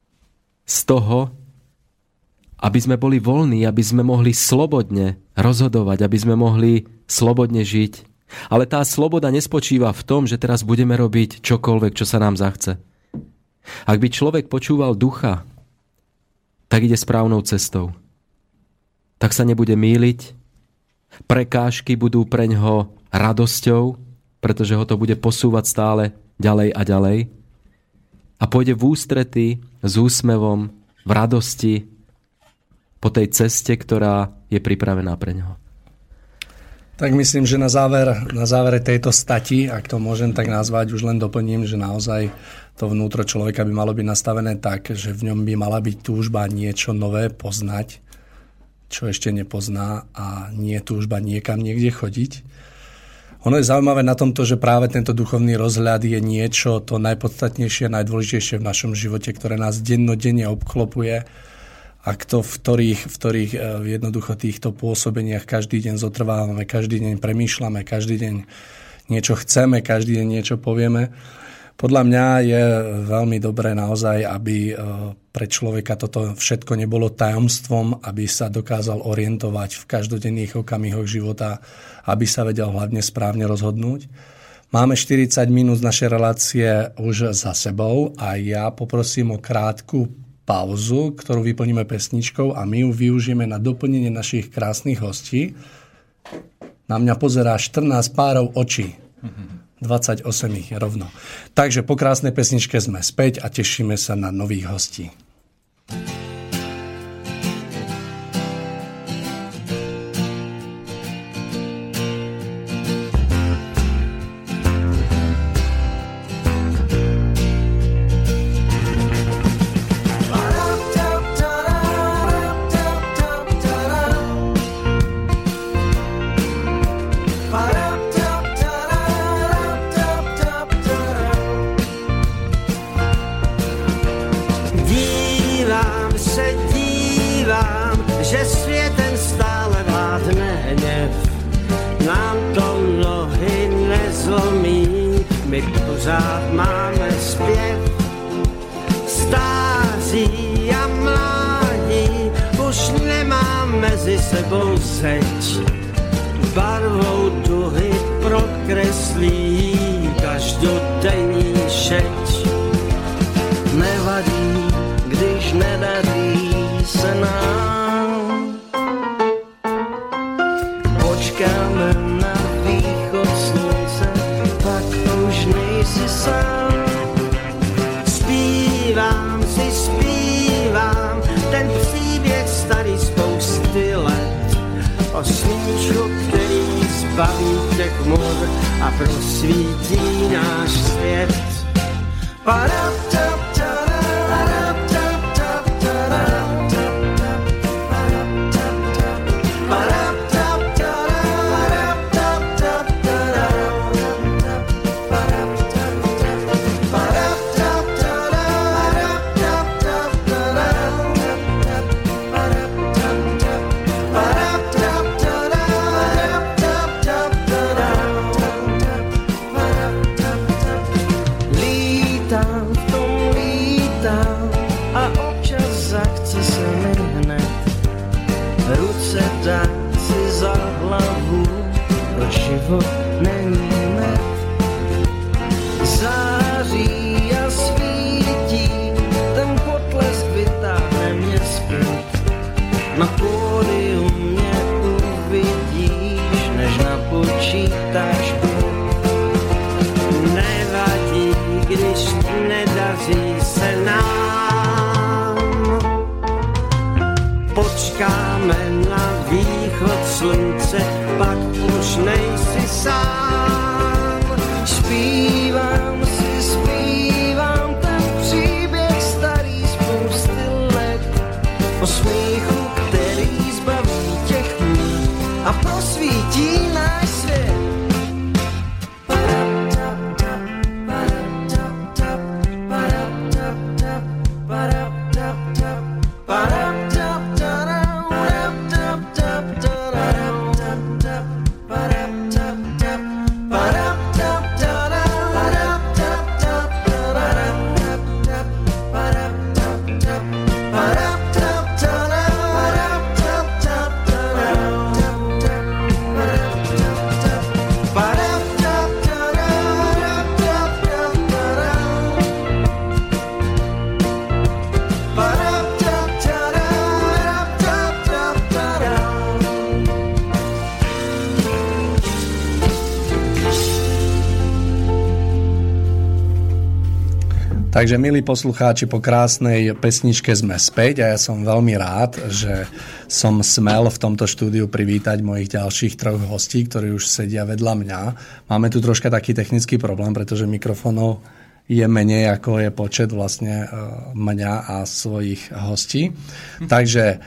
z toho, aby sme boli voľní, aby sme mohli slobodne rozhodovať, aby sme mohli slobodne žiť. Ale tá sloboda nespočíva v tom, že teraz budeme robiť čokoľvek, čo sa nám zachce. Ak by človek počúval ducha, tak ide správnou cestou. Tak sa nebude mýliť, prekážky budú preňho radosťou, pretože ho to bude posúvať stále ďalej a ďalej. A pôjde v ústrety s úsmevom, v radosti, po tej ceste, ktorá je pripravená pre ňoho. Tak myslím, že na závere tejto stati, ak to môžem tak nazvať, už len doplním, že naozaj to vnútro človeka by malo byť nastavené tak, že v ňom by mala byť túžba niečo nové poznať, čo ešte nepozná, a nie túžba niekam niekde chodiť. Ono je zaujímavé na tomto, že práve tento duchovný rozhľad je niečo to najpodstatnejšie a najdôležitejšie v našom živote, ktoré nás dennodenne obklopuje. Ak to v ktorých jednoducho týchto pôsobeniach každý deň zotrvávame, každý deň premýšľame, každý deň niečo chceme, každý deň niečo povieme. Podľa mňa je veľmi dobré naozaj, aby pre človeka toto všetko nebolo tajomstvom, aby sa dokázal orientovať v každodenných okamihoch života, aby sa vedel hlavne správne rozhodnúť. Máme 40 minút z našej relácie už za sebou a ja poprosím o krátku pauzu, ktorú vyplníme pesničkou, a my ju využijeme na doplnenie našich krásnych hostí. Na mňa pozerá 14 párov očí. 28 ich rovno. Takže po krásnej pesničke sme späť a tešíme sa na nových hostí. Takže, milí poslucháči, po krásnej pesničke sme späť a ja som veľmi rád, že som smel v tomto štúdiu privítať mojich ďalších 3 hostí, ktorí už sedia vedľa mňa. Máme tu troška taký technický problém, pretože mikrofónov je menej, ako je počet vlastne mňa a svojich hostí. Takže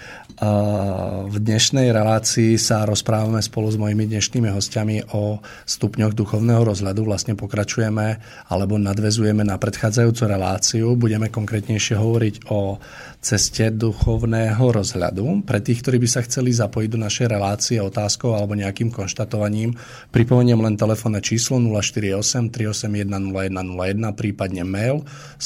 v dnešnej relácii sa rozprávame spolu s mojimi dnešnými hostiami o stupňoch duchovného rozhľadu. Vlastne pokračujeme alebo nadväzujeme na predchádzajúcu reláciu. Budeme konkrétnejšie hovoriť o ceste duchovného rozhľadu. Pre tých, ktorí by sa chceli zapojiť do našej relácie otázkou alebo nejakým konštatovaním, pripomeniem len telefónne číslo 048 381 0101, prípadne mail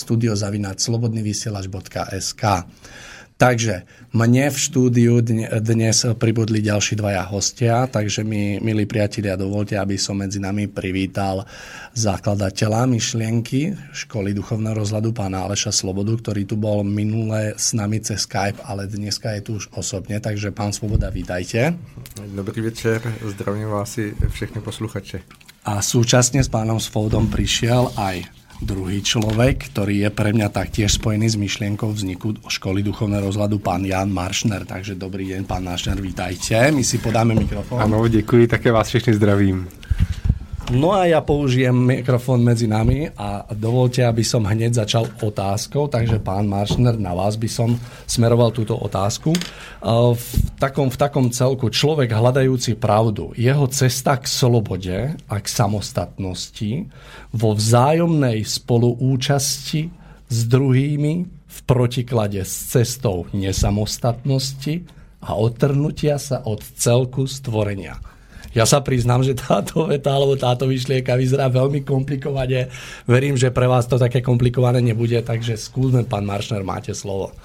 studio@slobodnyvysielac.sk. Takže mne v štúdiu dnes pribudli ďalší 2 hostia, takže mi, milí priatelia, dovolte, aby som medzi nami privítal zakladateľa myšlienky Školy duchovného rozhľadu, pána Aleša Slobodu, ktorý tu bol minule s nami cez Skype, ale dneska je tu už osobne, takže pán Svoboda, vítajte. Dobrý večer, zdravím vás i všechny posluchače. A súčasne s pánom Svobodom prišiel aj druhý človek, ktorý je pre mňa taktiež spojený s myšlienkou vzniku Školy duchovného rozhľadu, pán Jan Maršner. Takže dobrý deň, pán Maršner, vítajte. My si podáme mikrofón. Ano, děkuji, také vás všechny zdravím. No a ja použijem mikrofón medzi nami a dovolte, aby som hneď začal otázkou, takže pán Maršner, na vás by som smeroval túto otázku. V takom celku človek hľadajúci pravdu, jeho cesta k slobode a k samostatnosti vo vzájomnej spoluúčasti s druhými v protiklade s cestou nesamostatnosti a odtrhnutia sa od celku stvorenia. Ja sa priznám, že táto veta alebo táto myšlienka vyzerá veľmi komplikovane. Verím, že pre vás to také komplikované nebude, takže skúsme, pán Maršner, máte slovo.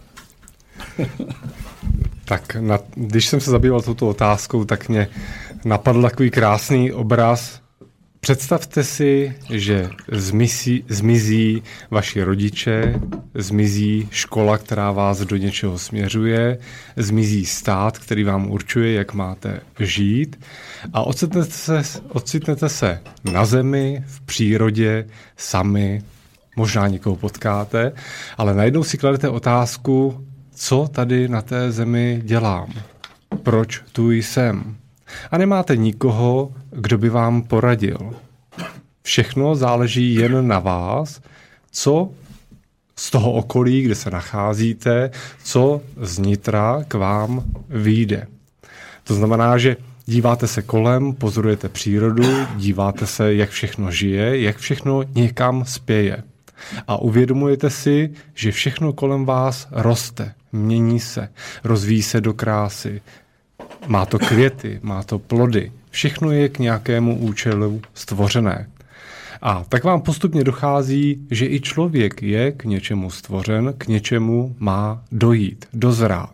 Tak když jsem se zabýval touto otázkou, tak mě napadl takový krásný obraz. Představte si, že zmizí vaši rodiče, zmizí škola, která vás do něčeho směřuje, zmizí stát, který vám určuje, jak máte žít a ocitnete se na zemi, v přírodě, sami, možná někoho potkáte, ale najednou si kladete otázku, co tady na té zemi dělám, proč tu jsem. A nemáte nikoho, kdo by vám poradil. Všechno záleží jen na vás, co z toho okolí, kde se nacházíte, co znitra k vám vyjde. To znamená, že díváte se kolem, pozorujete přírodu, díváte se, jak všechno žije, jak všechno někam spěje. A uvědomujete si, že všechno kolem vás roste, mění se, rozvíjí se do krásy. Má to květy, má to plody. Všechno je k nějakému účelu stvořené. A tak vám postupně dochází, že i člověk je k něčemu stvořen, k něčemu má dojít, dozrát.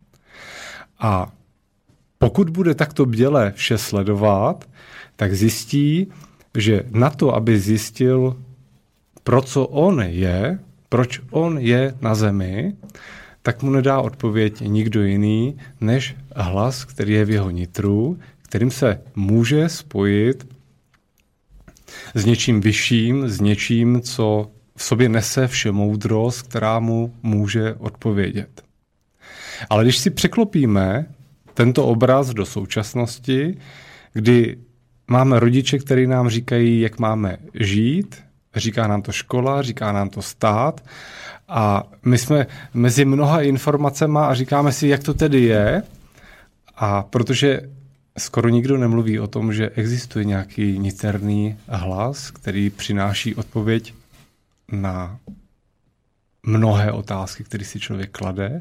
A pokud bude takto bděle vše sledovat, tak zjistí, že na to, aby zjistil, pro co on je, proč on je na zemi, tak mu nedá odpověď nikdo jiný, než hlas, který je v jeho nitru, kterým se může spojit s něčím vyšším, s něčím, co v sobě nese všemoudrost, která mu může odpovědět. Ale když si překlopíme tento obraz do současnosti, kdy máme rodiče, kteří nám říkají, jak máme žít, říká nám to škola, říká nám to stát, a my jsme mezi mnoha informacemi a říkáme si, jak to tedy je. A protože skoro nikdo nemluví o tom, že existuje nějaký niterný hlas, který přináší odpověď na mnohé otázky, které si člověk klade,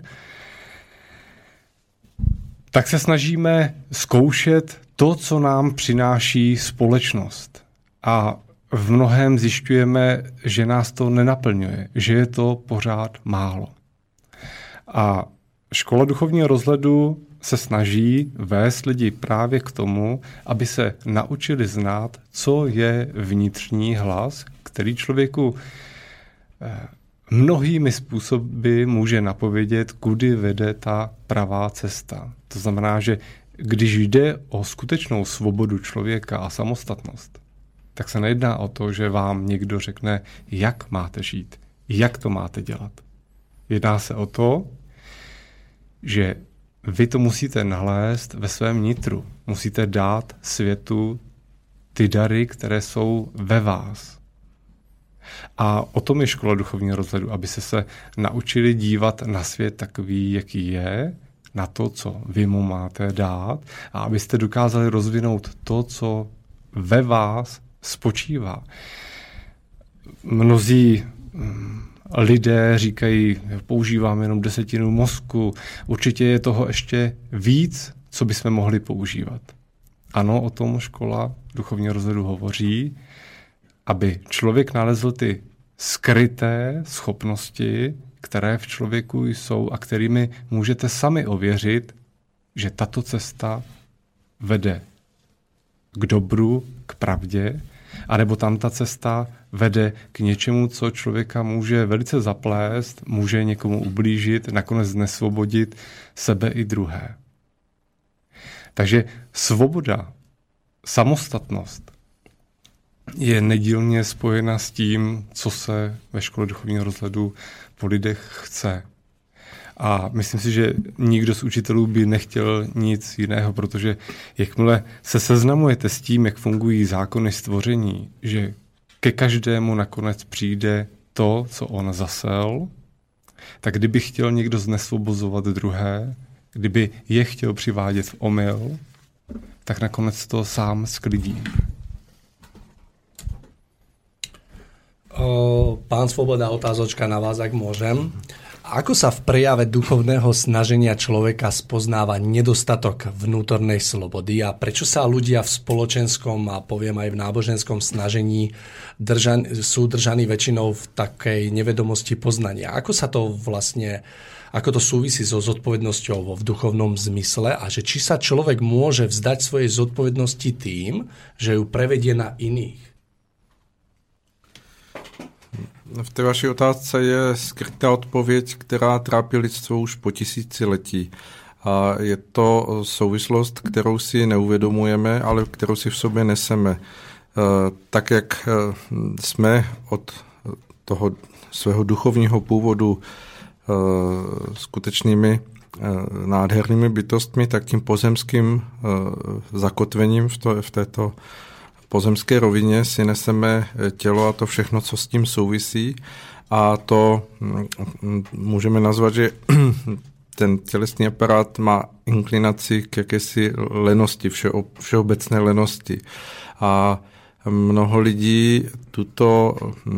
tak se snažíme zkoušet to, co nám přináší společnost. A v mnohém zjišťujeme, že nás to nenaplňuje, že je to pořád málo. A škola duchovního rozhledu se snaží vést lidi právě k tomu, aby se naučili znát, co je vnitřní hlas, který člověku mnohými způsoby může napovědět, kudy vede ta pravá cesta. To znamená, že když jde o skutečnou svobodu člověka a samostatnost, tak se nejedná o to, že vám někdo řekne, jak máte žít, jak to máte dělat. Jedná se o to, že vy to musíte nalézt ve svém nitru. Musíte dát světu ty dary, které jsou ve vás. A o tom je škola duchovního rozhledu, aby se naučili dívat na svět takový, jaký je, na to, co vy mu máte dát, a abyste dokázali rozvinout to, co ve vás spočívá. Mnozí lidé říkají, používám jenom 10% mozku, určitě je toho ještě víc, co bychom mohli používat. Ano, o tom škola duchovního rozhledu hovoří, aby člověk nalezl ty skryté schopnosti, které v člověku jsou a kterými můžete sami ověřit, že tato cesta vede k dobru, k pravdě, anebo tam ta cesta vede k něčemu, co člověka může velice zaplést, může někomu ublížit, nakonec znesvobodit sebe i druhé. Takže svoboda, samostatnost je nedílně spojena s tím, co se ve škole duchovního rozhledu po lidech chce. A myslím si, že nikdo z učitelů by nechtěl nic jiného, protože jakmile se seznamujete s tím, jak fungují zákony stvoření, že ke každému nakonec přijde to, co on zasel, tak kdyby chtěl někdo znesvobozovat druhé, kdyby je chtěl přivádět v omyl, tak nakonec to sám sklidí. Pán Svoboda, otázočka na vás, ak môžem. Ako sa v prejave duchovného snaženia človeka spoznáva nedostatok vnútornej slobody a prečo sa ľudia v spoločenskom a poviem aj v náboženskom snažení sú držaní väčšinou v takej nevedomosti poznania? Ako to súvisí so zodpovednosťou v duchovnom zmysle a že či sa človek môže vzdať svojej zodpovednosti tým, že ju prevedie na iných? V té vaší otázce je skrytá odpověď, která trápí lidstvo už po tisíciletí. A je to souvislost, kterou si neuvědomujeme, ale kterou si v sobě neseme. Tak, jak jsme od toho svého duchovního původu skutečnými nádhernými bytostmi, tak tím pozemským zakotvením v této pozemské rovině si neseme tělo a to všechno, co s tím souvisí. A to můžeme nazvat, že ten tělesný aparát má inklinaci k jakési lenosti, všeobecné lenosti. A mnoho lidí tuto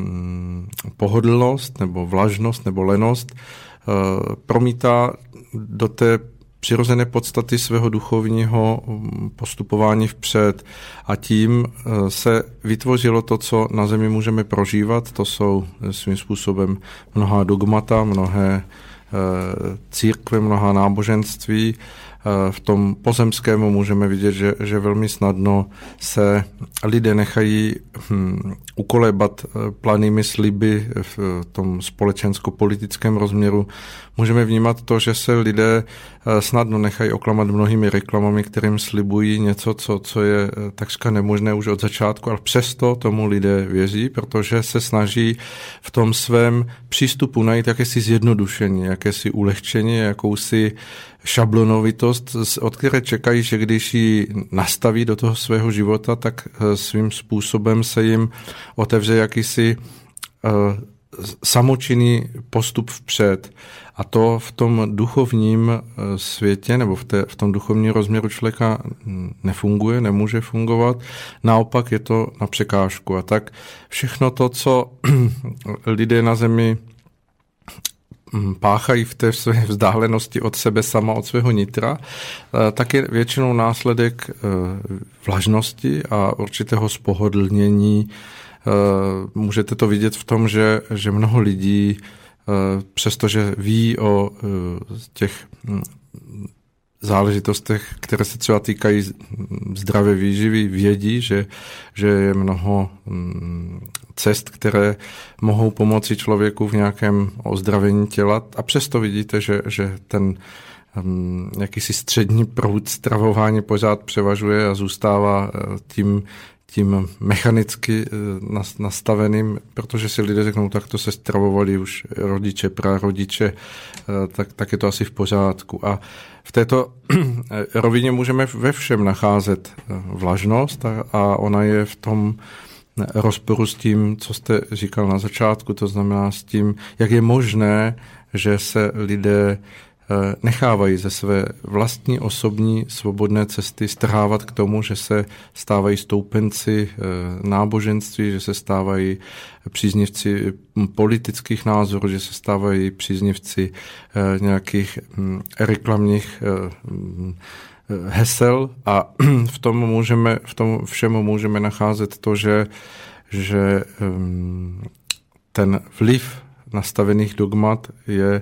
pohodlnost nebo vlažnost nebo lenost promítá do té přirozené podstaty svého duchovního postupování vpřed. A tím se vytvořilo to, co na zemi můžeme prožívat. To jsou svým způsobem mnohá dogmata, mnohé církve, mnohá náboženství. V tom pozemskému můžeme vidět, že velmi snadno se lidé nechají ukolébat planými sliby v tom společensko-politickém rozměru. Můžeme vnímat to, že se lidé snadno nechají oklamat mnohými reklamami, kterým slibují něco, co je takřka nemožné už od začátku, ale přesto tomu lidé věří, protože se snaží v tom svém přístupu najít jakési zjednodušení, jakési ulehčení, jakousi šablonovitost, od které čekají, že když ji nastaví do toho svého života, tak svým způsobem se jim otevře jakýsi samočinný postup vpřed. A to v tom duchovním světě nebo v tom duchovním rozměru člověka nefunguje, nemůže fungovat. Naopak je to na překážku. A tak všechno to, co lidé na zemi páchají v té své vzdálenosti od sebe sama, od svého nitra, tak je většinou následek vlažnosti a určitého spohodlnění. Můžete to vidět v tom, že mnoho lidí, přestože ví o těch záležitostech, které se třeba týkají zdravé výživy, vědí, že je mnoho cest, které mohou pomoci člověku v nějakém ozdravení těla a přesto vidíte, že ten jakýsi střední proud stravování pořád převažuje a zůstává tím mechanicky nastaveným, protože si lidé řeknou, tak to se stravovali už rodiče, prarodiče, tak je to asi v pořádku. A v této rovině můžeme ve všem nacházet vlažnost a ona je v tom rozporu s tím, co jste říkal na začátku, to znamená s tím, jak je možné, že se lidé nechávají ze své vlastní osobní svobodné cesty strhávat k tomu, že se stávají stoupenci náboženství, že se stávají příznivci politických názorů, že se stávají příznivci nějakých reklamních hesel a v tom všemu můžeme nacházet to, že ten vliv nastavených dogmat je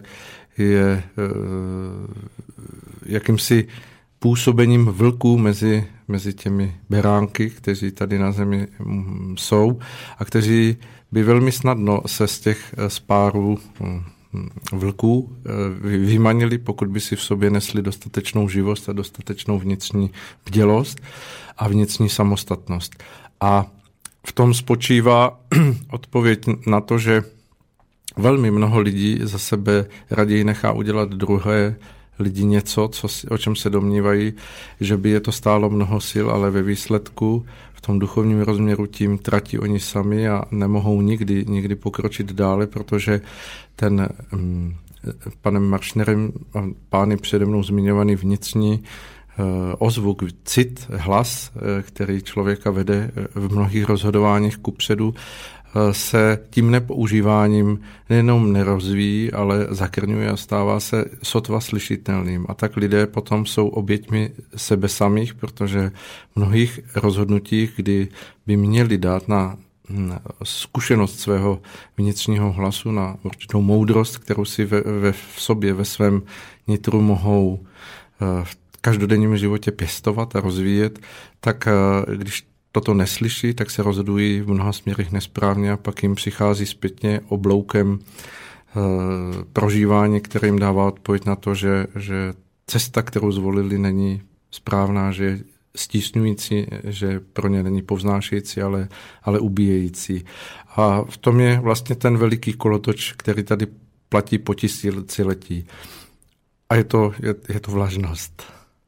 jakýmsi působením vlků mezi těmi beránky, kteří tady na zemi jsou a kteří by velmi snadno se z těch spárů vlků vymanili, pokud by si v sobě nesli dostatečnou živost a dostatečnou vnitřní bdělost a vnitřní samostatnost. A v tom spočívá odpověď na to, že velmi mnoho lidí za sebe raději nechá udělat druhé lidi něco, o čem se domnívají, že by je to stálo mnoho sil, ale ve výsledku v tom duchovním rozměru tím tratí oni sami a nemohou nikdy pokročit dále, protože ten panem Maršnerem a pány přede mnou zmiňovaný vnitřní ozvuk, cit, hlas, který člověka vede v mnohých rozhodováních kupředu, se tím nepoužíváním nejenom nerozvíjí, ale zakrňuje a stává se sotva slyšitelným. A tak lidé potom jsou oběťmi sebe samých, protože v mnohých rozhodnutích, kdy by měli dát na zkušenost svého vnitřního hlasu, na určitou moudrost, kterou si v sobě, ve svém nitru mohou v každodenním životě pěstovat a rozvíjet, tak když toto neslyší, tak se rozhodují v mnoha směrech nesprávně a pak jim přichází zpětně obloukem prožívání, které jim dává odpověď na to, že cesta, kterou zvolili, není správná, že je stísňující, že pro ně není povznášející, ale ubíjející. A v tom je vlastně ten veliký kolotoč, který tady platí po tisíciletí. A je to vlažnost.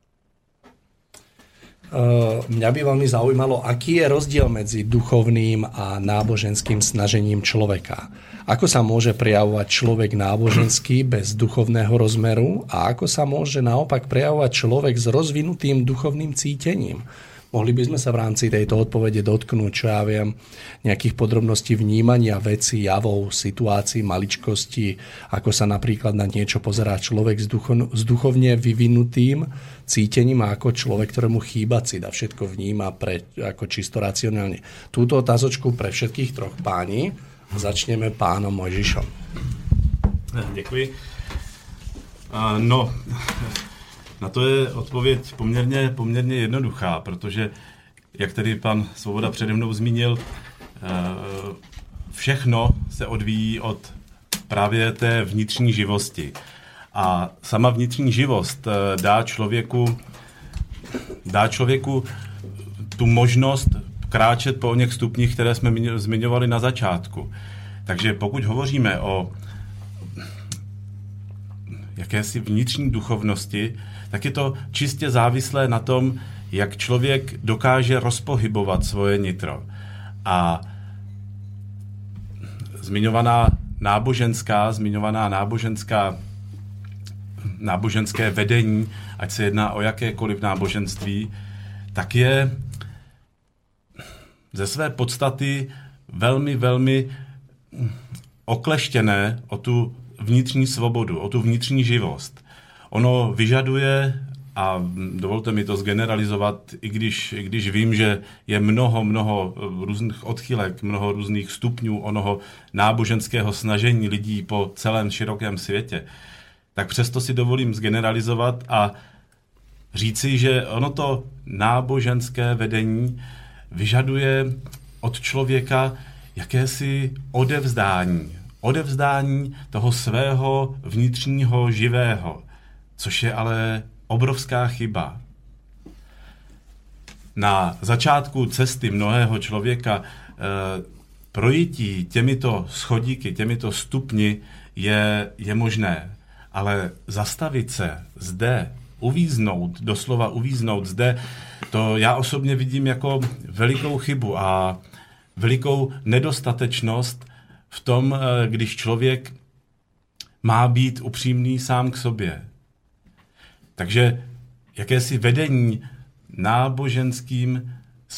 Mňa by veľmi zaujímalo, aký je rozdiel medzi duchovným a náboženským snažením človeka. Ako sa môže prejavovať človek náboženský bez duchovného rozmeru a ako sa môže naopak prejavovať človek s rozvinutým duchovným cítením. Mohli by sme sa v rámci tejto odpovede dotknúť, čo ja viem, nejakých podrobností vnímania vecí, javov, situácií, maličkosti, ako sa napríklad na niečo pozerá človek s duchovne vyvinutým cítením a ako človek, ktorému chýba cit a všetko vníma ako čisto racionálne. Túto otázočku pre všetkých troch páni začneme pánom Mojžišom. Děkuji. Na to je odpověď poměrně jednoduchá, protože, jak tady pan Svoboda přede mnou zmínil, všechno se odvíjí od právě té vnitřní živosti. A sama vnitřní živost dá člověku tu možnost kráčet po oněch stupních, které jsme zmiňovali na začátku. Takže pokud hovoříme o jakési vnitřní duchovnosti, tak je to čistě závislé na tom, jak člověk dokáže rozpohybovat svoje nitro. A zmiňované náboženské vedení, ať se jedná o jakékoliv náboženství, tak je ze své podstaty velmi, velmi okleštěné o tu vnitřní svobodu, o tu vnitřní živost. Ono vyžaduje, a dovolte mi to zgeneralizovat, i když vím, že je mnoho různých odchylek, mnoho různých stupňů onoho náboženského snažení lidí po celém širokém světě, tak přesto si dovolím zgeneralizovat a říci, že ono to náboženské vedení vyžaduje od člověka jakési odevzdání toho svého vnitřního živého, což je ale obrovská chyba. na začátku cesty mnohého člověka projití těmito schodíky, těmito stupni je možné. Ale zastavit se zde, doslova uvíznout zde, to já osobně vidím jako velikou chybu a velikou nedostatečnost v tom, když člověk má být upřímný sám k sobě. Takže jakési vedení náboženským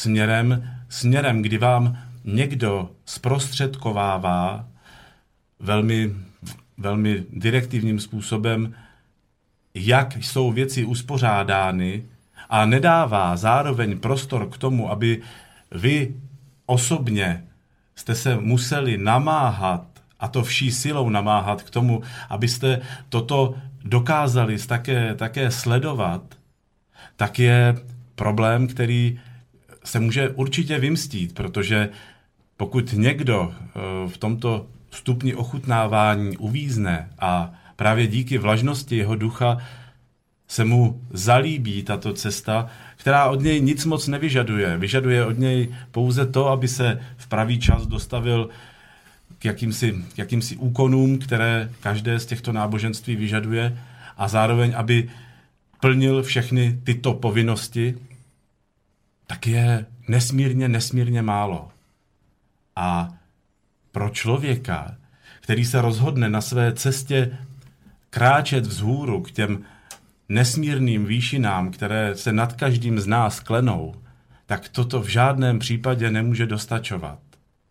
směrem, kdy vám někdo zprostředkovává velmi, velmi direktivním způsobem, jak jsou věci uspořádány a nedává zároveň prostor k tomu, aby vy osobně jste se museli namáhat, a to vší silou namáhat k tomu, abyste toto dokázali také sledovat, tak je problém, který se může určitě vymstít, protože pokud někdo v tomto stupni ochutnávání uvízne a právě díky vlažnosti jeho ducha se mu zalíbí tato cesta, která od něj nic moc nevyžaduje. Vyžaduje od něj pouze to, aby se v pravý čas dostavil k jakýmsi úkonům, které každé z těchto náboženství vyžaduje a zároveň, aby plnil všechny tyto povinnosti, tak je nesmírně málo. A pro člověka, který se rozhodne na své cestě kráčet vzhůru k těm nesmírným výšinám, které se nad každým z nás klenou, tak toto v žádném případě nemůže dostačovat.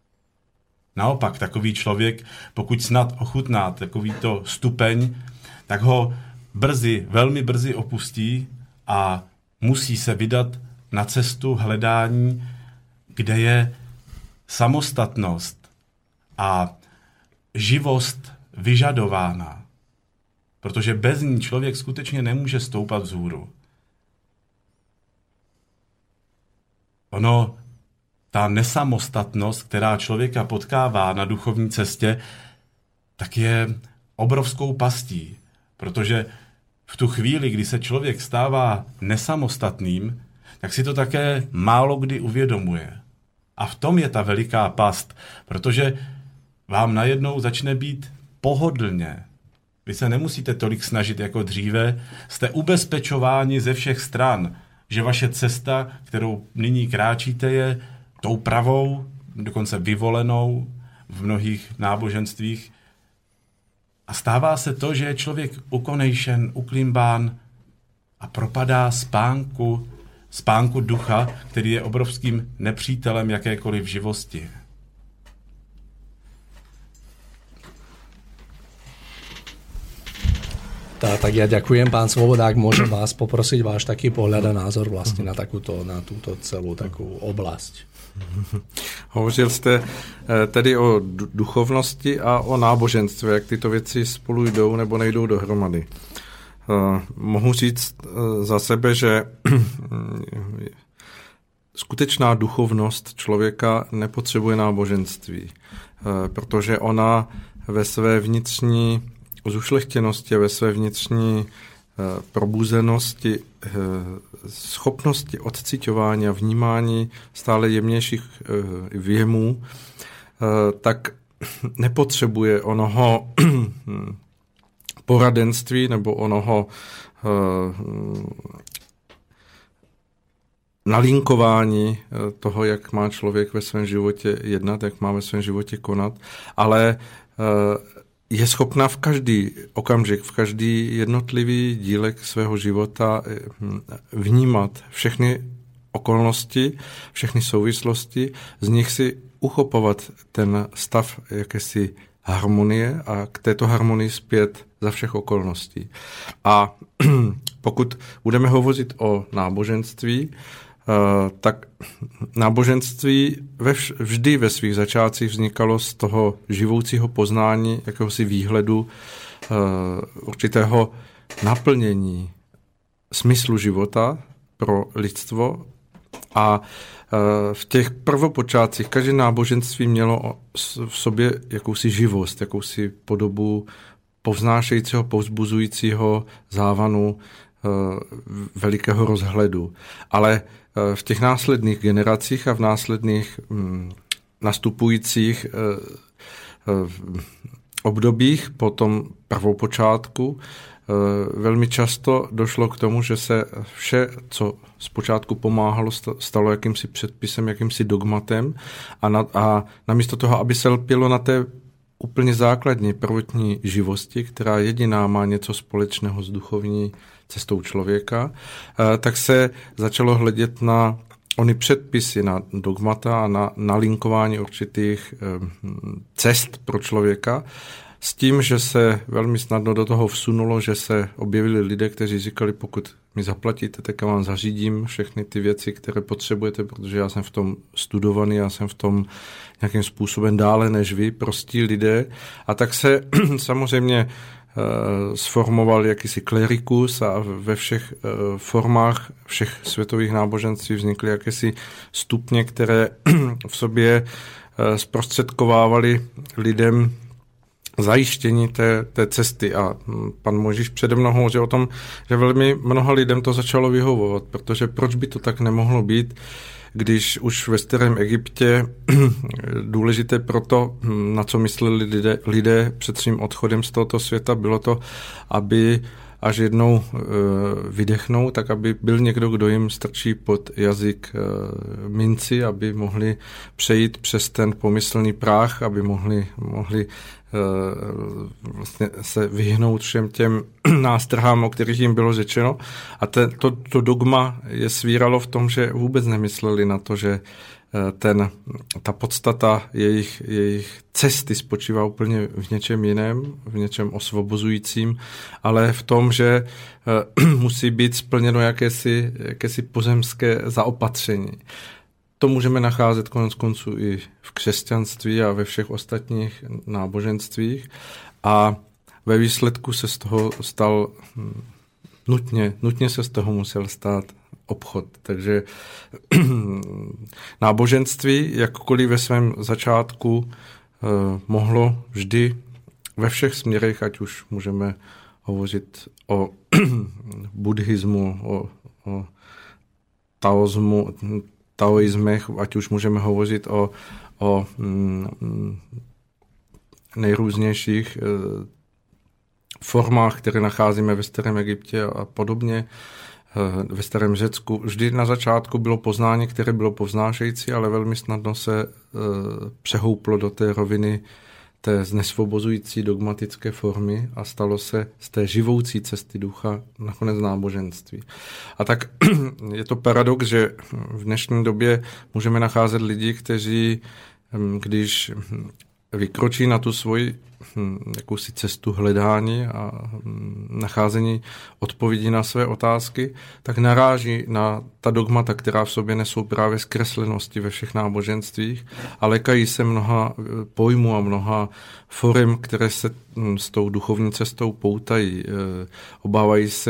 Naopak, takový člověk, pokud snad ochutná takovýto stupeň, tak ho velmi brzy opustí a musí se vydat na cestu hledání, kde je samostatnost a živost vyžadována. Protože bez ní člověk skutečně nemůže stoupat vzhůru. Ta nesamostatnost, která člověka potkává na duchovní cestě, tak je obrovskou pastí, protože v tu chvíli, kdy se člověk stává nesamostatným, tak si to také málo kdy uvědomuje. A v tom je ta veliká past, protože vám najednou začne být pohodlně. Vy se nemusíte tolik snažit jako dříve, jste ubezpečováni ze všech stran, že vaše cesta, kterou nyní kráčíte, je tou pravou, dokonce vyvolenou v mnohých náboženstvích. A stává se to, že je člověk ukonejšen, uklimbán a propadá spánku ducha, který je obrovským nepřítelem jakékoliv živosti. Tak ja ďakujem, pán Svoboda, ak môžem vás poprosiť váš taký pohľad a názor vlastne na túto celú takú oblasť. Hovořil jste tedy o duchovnosti a o náboženství, jak tyto věci spolu jdou nebo nejdou dohromady. Mohu říct za sebe, že skutečná duchovnost člověka nepotřebuje náboženství, protože ona ve své vnitřní zušlechtěnosti a ve své vnitřní probuzenosti, schopnosti odciťování a vnímání stále jemnějších věmů, tak nepotřebuje onoho poradenství nebo onoho nalinkování toho, jak má člověk ve svém životě jednat, jak má ve svém životě konat, ale je schopná v každý okamžik, v každý jednotlivý dílek svého života vnímat všechny okolnosti, všechny souvislosti, z nich si uchopovat ten stav jakési harmonie a k této harmonii zpět za všech okolností. A pokud budeme hovořit o náboženství, tak náboženství vždy ve svých začátcích vznikalo z toho živoucího poznání, jakéhosi výhledu, určitého naplnění smyslu života pro lidstvo. A v těch prvopočátcích každé náboženství mělo v sobě jakousi živost, jakousi podobu povznášejícího, povzbuzujícího závanu velikého rozhledu. Ale v těch následných generacích a v následných nastupujících obdobích po tom prvopočátku velmi často došlo k tomu, že se vše, co zpočátku pomáhalo, stalo jakýmsi předpisem, jakýmsi dogmatem a namísto toho, aby se lpělo na té úplně základní prvotní živosti, která jediná má něco společného s duchovní cestou člověka, tak se začalo hledět na ony předpisy, na dogmata a na nalinkování určitých cest pro člověka, s tím, že se velmi snadno do toho vsunulo, že se objevili lidé, kteří říkali, pokud mi zaplatíte, tak já vám zařídím všechny ty věci, které potřebujete, protože já jsem v tom studovaný, já jsem v tom nějakým způsobem dále než vy, prostí lidé. A tak se samozřejmě sformoval jakýsi klerikus a ve všech formách všech světových náboženství vznikly jakési stupně, které v sobě zprostředkovávaly lidem zajištění té cesty. A pan Mojžíš přede mnou hovořil o tom, že velmi mnoha lidem to začalo vyhovovat, protože proč by to tak nemohlo být, když už ve starém Egyptě důležité pro to, na co mysleli lidé před svým odchodem z tohoto světa, bylo to, aby až jednou vydechnou, tak aby byl někdo, kdo jim strčí pod jazyk minci, aby mohli přejít přes ten pomyslný práh, aby mohli vlastně se vyhnout všem těm nástrhám, o kterých jim bylo řečeno. A to dogma je svíralo v tom, že vůbec nemysleli na to, že ta podstata jejich cesty spočívá úplně v něčem jiném, v něčem osvobozujícím, ale v tom, že musí být splněno jakési pozemské zaopatření. To můžeme nacházet konec konců i v křesťanství a ve všech ostatních náboženstvích a ve výsledku se z toho stal nutně se z toho musel stát obchod. Takže náboženství, jakkoliv ve svém začátku mohlo vždy ve všech směrech, ať už můžeme hovořit o buddhismu, o taoismech, ať už můžeme hovořit o nejrůznějších formách, které nacházíme ve starém Egyptě a podobně, ve starém Řecku. Vždy na začátku bylo poznání, které bylo povznášející, ale velmi snadno se přehouplo do té roviny té znesvobozující dogmatické formy a stalo se z té živoucí cesty ducha nakonec náboženství. A tak je to paradox, že v dnešní době můžeme nacházet lidi, kteří, když vykročí na tu svoji jakousi cestu hledání a nacházení odpovědí na své otázky, tak naráží na ta dogmata, která v sobě nesou právě zkreslenosti ve všech náboženstvích a lékají se mnoha pojmů a mnoha forem, které se s tou duchovní cestou poutají. Obávají se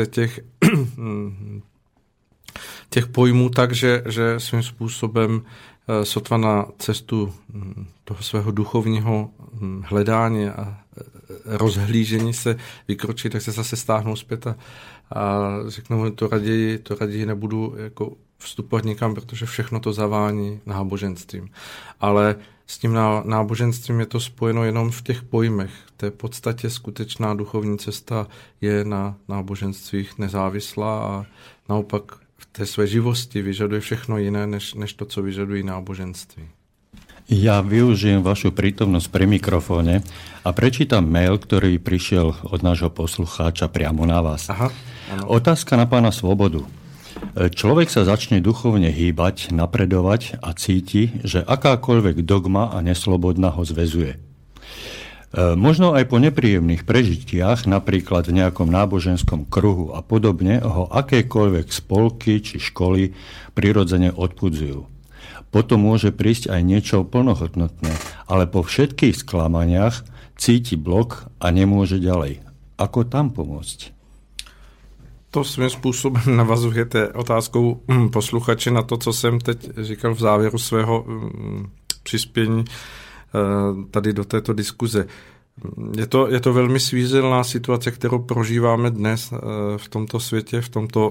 těch pojmů tak, že svým způsobem sotva na cestu toho svého duchovního hledání a rozhlížení se vykročí, tak se zase stáhnou zpět a řeknou, to raději nebudu jako vstupovat nikam, protože všechno to zavání náboženstvím. Ale s tím náboženstvím je to spojeno jenom v těch pojmech. V té podstatě skutečná duchovní cesta je na náboženstvích nezávislá a naopak v té své živosti vyžaduje všechno jiné, než to, co vyžadují náboženství. Ja využijem vašu prítomnosť pri mikrofóne a prečítam mail, ktorý prišiel od nášho poslucháča priamo na vás. Aha, otázka na pána Svobodu. Človek sa začne duchovne hýbať, napredovať a cíti, že akákoľvek dogma a neslobodná ho zväzuje. Možno aj po nepríjemných prežitiach, napríklad v nejakom náboženskom kruhu a podobne, ho akékoľvek spolky či školy prirodzene odpudzujú. Potom môže prísť aj niečo plnohodnotné, ale po všetkých sklamaniach cíti blok a nemôže ďalej. Ako tam pomôcť? To svým způsobem navazujete otázkou posluchače na to, co jsem teď říkal v závěru svého přispění tady do této diskuze. je to velmi svízelná situace, kterou prožíváme dnes v tomto světě, v tomto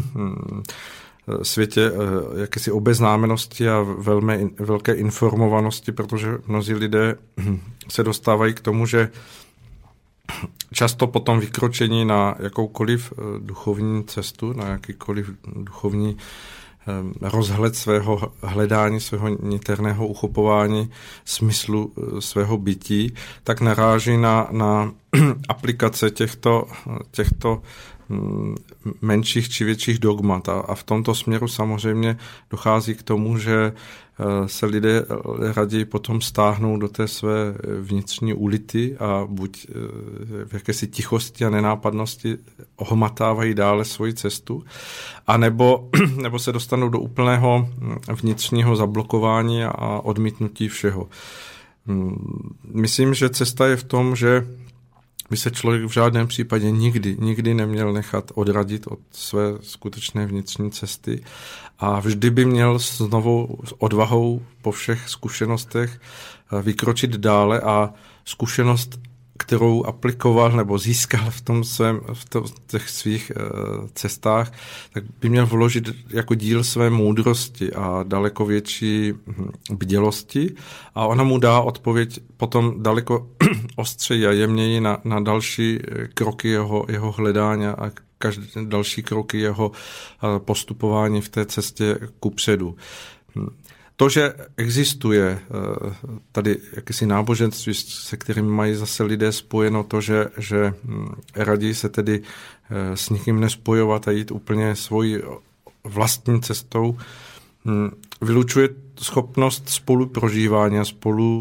světě jakési obeznámenosti a velké informovanosti, protože mnozí lidé se dostávají k tomu, že často po tom vykročení na jakoukoliv duchovní cestu, na jakýkoliv duchovní rozhled svého hledání, svého niterného uchopování smyslu svého bytí, tak naráží na aplikace těchto menších či větších dogmat. A v tomto směru samozřejmě dochází k tomu, že se lidé raději potom stáhnou do té své vnitřní ulity a buď v jakési tichosti a nenápadnosti ohmatávají dále svoji cestu, nebo se dostanou do úplného vnitřního zablokování a odmítnutí všeho. Myslím, že cesta je v tom, že by se člověk v žádném případě nikdy neměl nechat odradit od své skutečné vnitřní cesty a vždy by měl s novou odvahou po všech zkušenostech vykročit dále a zkušenost, kterou aplikoval nebo získal v těch svých cestách, tak by měl vložit jako díl své moudrosti a daleko větší bdělosti a ona mu dá odpověď potom daleko ostřeji a jemněji na další kroky jeho hledání a každý další kroky jeho postupování v té cestě kupředu. To, že existuje tady jakési náboženství, se kterým mají zase lidé spojeno to, že raději se tedy s nikým nespojovat a jít úplně svojí vlastní cestou, vylučuje schopnost spoluprožívání a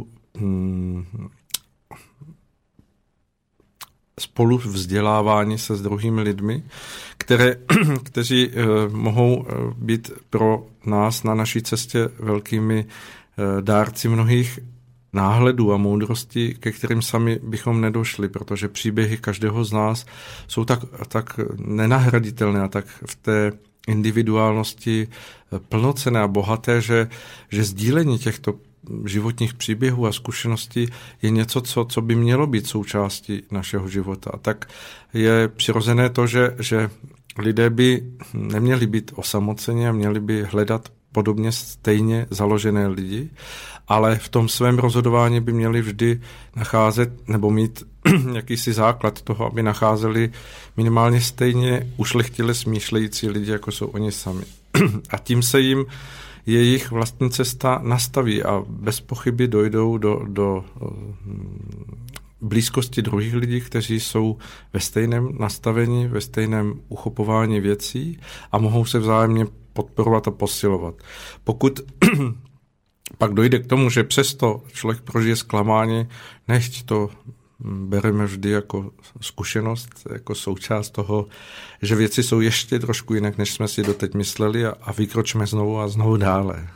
spolu vzdělávání se s druhými lidmi, kteří mohou být pro nás na naší cestě velkými dárci mnohých náhledů a moudrostí, ke kterým sami bychom nedošli, protože příběhy každého z nás jsou tak nenahraditelné a tak v té individuálnosti plnocenné a bohaté, že sdílení těchto životních příběhů a zkušeností je něco, co by mělo být součástí našeho života. A tak je přirozené to, že lidé by neměli být osamoceni a měli by hledat podobně stejně založené lidi, ale v tom svém rozhodování by měli vždy nacházet nebo mít jakýsi základ toho, aby nacházeli minimálně stejně ušlechtile smýšlející lidi, jako jsou oni sami. A tím se jim jejich vlastní cesta nastaví a bez pochyby dojdou do blízkosti druhých lidí, kteří jsou ve stejném nastavení, ve stejném uchopování věcí a mohou se vzájemně podporovat a posilovat. Pokud pak dojde k tomu, že přesto člověk prožije zklamání, nechť to bereme vždy jako zkušenost, jako součást toho, že věci jsou ještě trošku jinak, než jsme si doteď mysleli a vykročíme znovu a znovu dále.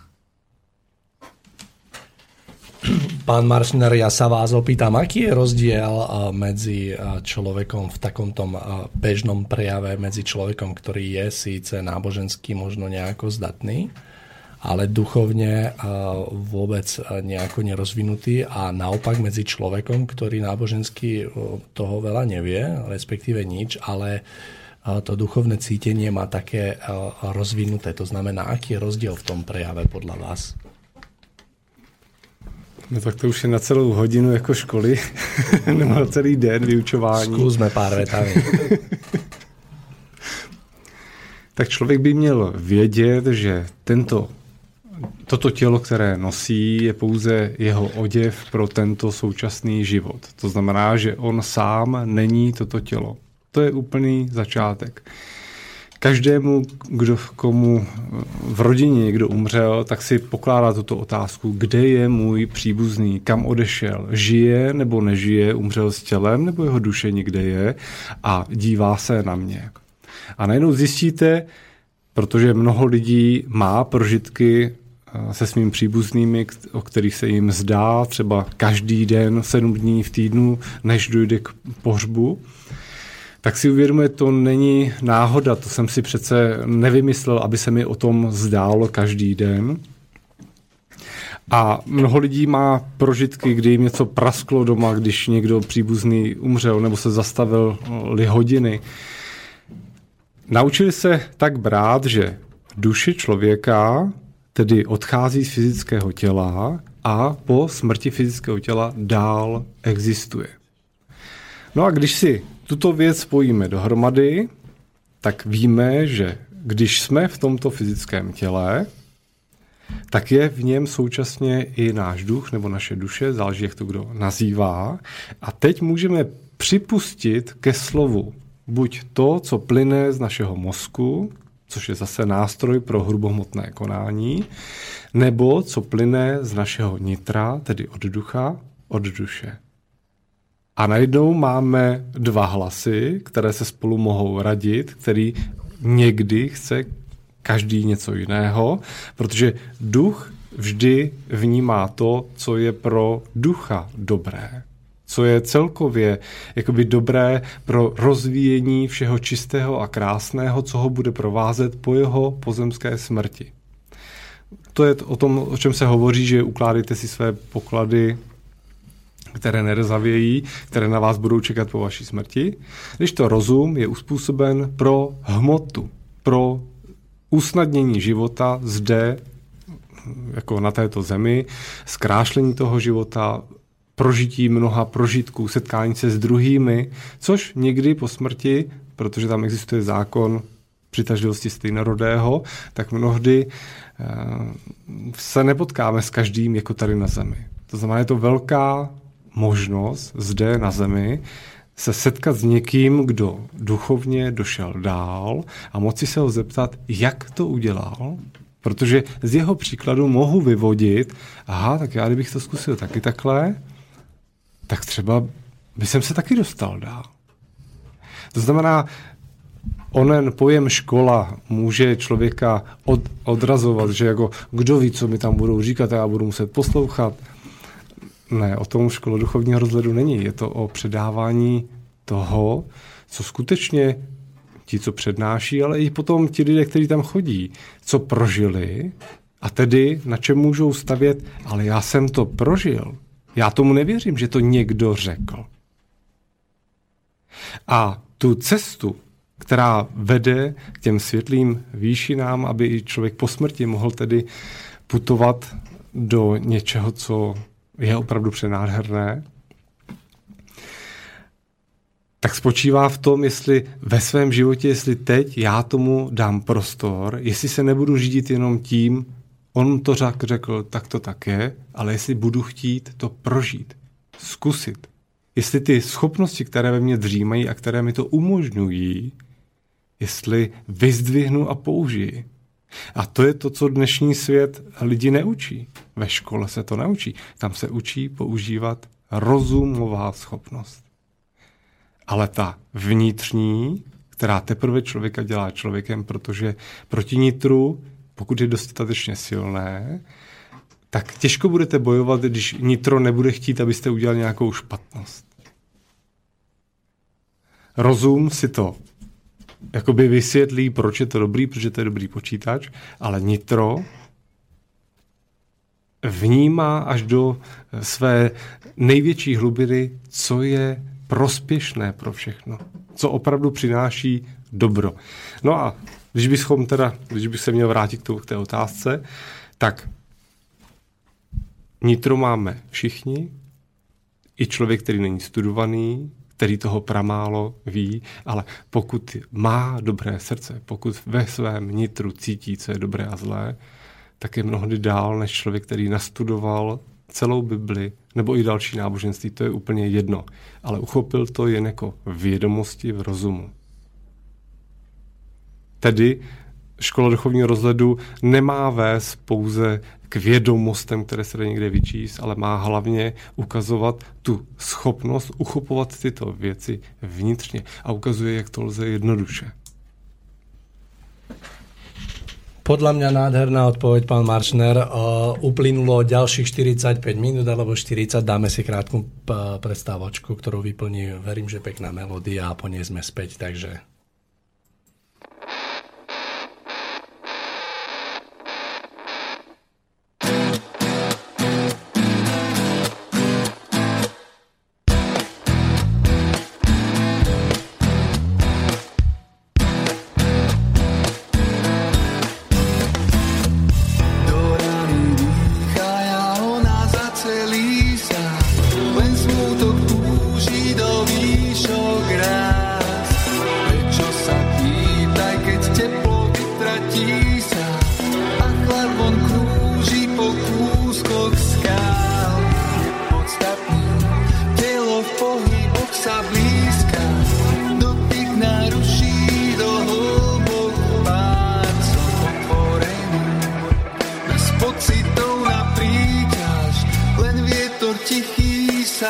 Pán Maršner, ja sa vás opýtam, aký je rozdiel medzi človekom v takomto bežnom prejave, medzi človekom, ktorý je síce nábožensky možno nejako zdatný, ale duchovne vôbec nejako nerozvinutý a naopak medzi človekom, ktorý nábožensky toho veľa nevie, respektíve nič, ale to duchovné cítenie má také rozvinuté. To znamená, aký je rozdiel v tom prejave podľa vás? No tak to už je na celou hodinu jako školy, nebo na celý den vyučování. Zkusme pár vetami. Tak člověk by měl vědět, že toto tělo, které nosí, je pouze jeho oděv pro tento současný život. To znamená, že on sám není toto tělo. To je úplný začátek. Každému, komu v rodině někdo umřel, tak si pokládá tuto otázku, kde je můj příbuzný, kam odešel, žije nebo nežije, umřel s tělem, nebo jeho duše někde je a dívá se na mě. A najednou zjistíte, protože mnoho lidí má prožitky se svými příbuznými, o kterých se jim zdá třeba každý den, 7 dní v týdnu, než dojde k pohřbu, tak si uvědomuje, to není náhoda, to jsem si přece nevymyslel, aby se mi o tom zdálo každý den. A mnoho lidí má prožitky, kdy jim něco prasklo doma, když někdo příbuzný umřel nebo se zastavily hodiny. Naučili se tak brát, že duše člověka tedy odchází z fyzického těla a po smrti fyzického těla dál existuje. No a když si tuto věc spojíme dohromady, tak víme, že když jsme v tomto fyzickém těle, tak je v něm současně i náš duch nebo naše duše, záleží, jak to kdo nazývá. A teď můžeme připustit ke slovu buď to, co plyne z našeho mozku, což je zase nástroj pro hrubohmotné konání, nebo co plyne z našeho nitra, tedy od ducha, od duše. A najednou máme dva hlasy, které se spolu mohou radit, který někdy chce každý něco jiného, protože duch vždy vnímá to, co je pro ducha dobré, co je celkově jakoby dobré pro rozvíjení všeho čistého a krásného, co ho bude provázet po jeho pozemské smrti. To je o tom, o čem se hovoří, že ukládejte si své poklady, které nerzavějí, které na vás budou čekat po vaší smrti. Když to rozum je uspůsoben pro hmotu, pro usnadnění života zde, jako na této zemi, zkrášlení toho života, prožití mnoha prožitků, setkání se s druhými, což někdy po smrti, protože tam existuje zákon přitažlivosti stejnorodého, tak mnohdy se nepotkáme s každým jako tady na zemi. To znamená, je to velká možnost zde na zemi se setkat s někým, kdo duchovně došel dál a moci se ho zeptat, jak to udělal, protože z jeho příkladu mohu vyvodit, aha, tak já kdybych to zkusil taky takhle, tak třeba bych se taky dostal dál. To znamená, onen pojem škola může člověka odrazovat, že jako kdo ví, co mi tam budou říkat a já budu muset poslouchat. Ne, o tom škola duchovního rozhledu není. Je to o předávání toho, co skutečně ti, co přednáší, ale i potom ti lidé, kteří tam chodí, co prožili a tedy na čem můžou stavět, ale já jsem to prožil. Já tomu nevěřím, že to někdo řekl. A tu cestu, která vede k těm světlým výšinám, aby i člověk po smrti mohl tedy putovat do něčeho, co je opravdu přenádherné, tak spočívá v tom, jestli ve svém životě, jestli teď já tomu dám prostor, jestli se nebudu řídit jenom tím, on to řekl, tak to tak je, ale jestli budu chtít to prožít, zkusit. Jestli ty schopnosti, které ve mně dřímají a které mi to umožňují, jestli vyzdvihnu a použiji. A to je to, co dnešní svět lidi neučí. Ve škole se to neučí. Tam se učí používat rozumová schopnost. Ale ta vnitřní, která teprve člověka dělá člověkem, protože proti nitru, pokud je dostatečně silné, tak těžko budete bojovat, když nitro nebude chtít, abyste udělali nějakou špatnost. Rozum si to jakoby vysvětlí, proč je to dobrý, protože to je dobrý počítač, ale nitro vnímá až do své největší hlubiny, co je prospěšné pro všechno, co opravdu přináší dobro. No a když bych se měl vrátit k té otázce, tak nitro máme všichni, i člověk, který není studovaný, který toho pramálo ví, ale pokud má dobré srdce, pokud ve svém nitru cítí, co je dobré a zlé, tak je mnohdy dál než člověk, který nastudoval celou Bibli nebo i další náboženství, to je úplně jedno. Ale uchopil to jen jako vědomosti v rozumu. Tedy škola duchovního rozhledu nemá vést pouze k vědomostem, které se dá někde vyčíst, ale má hlavně ukazovat tu schopnost uchopovat tyto věci vnitřně a ukazuje, jak to lze jednoduše. Podľa mňa nádherná odpoveď, pán Maršner. Uplynulo ďalších 45 minút alebo 40. Dáme si krátku prestávočku, ktorú vyplní, verím, že pekná melódia a po nej sme späť, takže...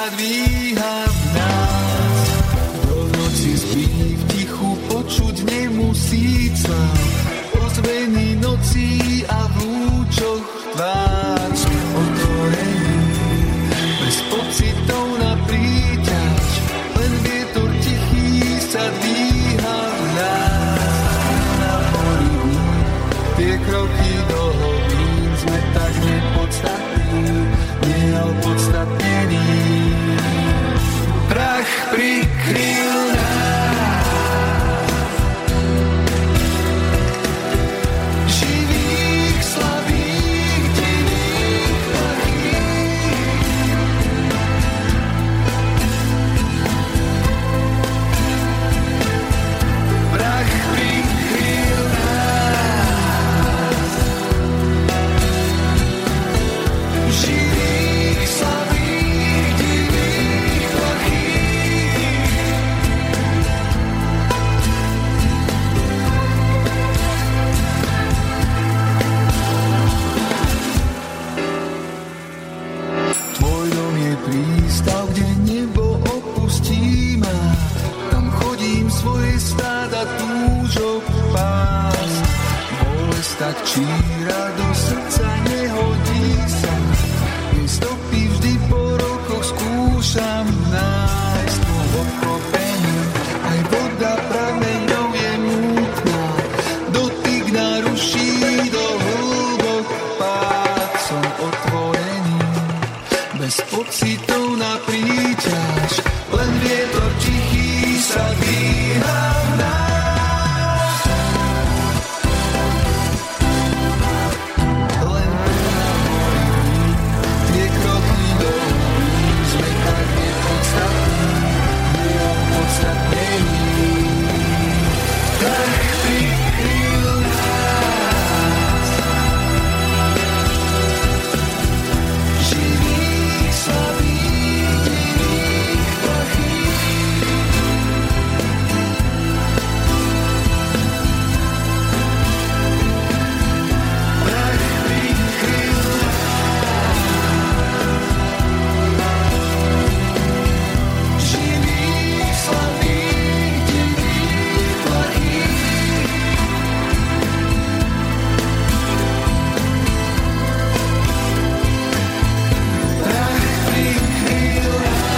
dvíha v nás. Do noci spí, v tichu počuť nemusí slám. Ozvený nocí a v lúčoch tvár sme otvorení. Bez pocitov na príťaž, len vietor tichý sa dvíha v nás. Na mori tie kroky do hlbín sme tak nepodstatní, neopodstatnení. Prach prikryl nás, živých, slabých, divých, plachých. Prach prikryl nás, živých, slabých, divých, plachých. Tvoj dom je prístav, kde nebo opustí ma. Tam chodím svoje stáda túžok pásť. Bolesť tak číra do srdca nehodí sa. Jej stopy vždy po rokoch skúšam nájsť. Po obklopení aj voda prameňou je mútna. Dotyk naruší do hlbok pád. Som otvorený, bez pocitov na príťaž, len vietor tichý sa dvíha v nás. Len prehovorím tie kroky do hlbín, sme tak nepodstatní, neopodstatnení. Tak prikryl nás, živých, slabých, divých, plachých. Prach prikryl nás, živých, slabých, divých, plachých. Prach prikryl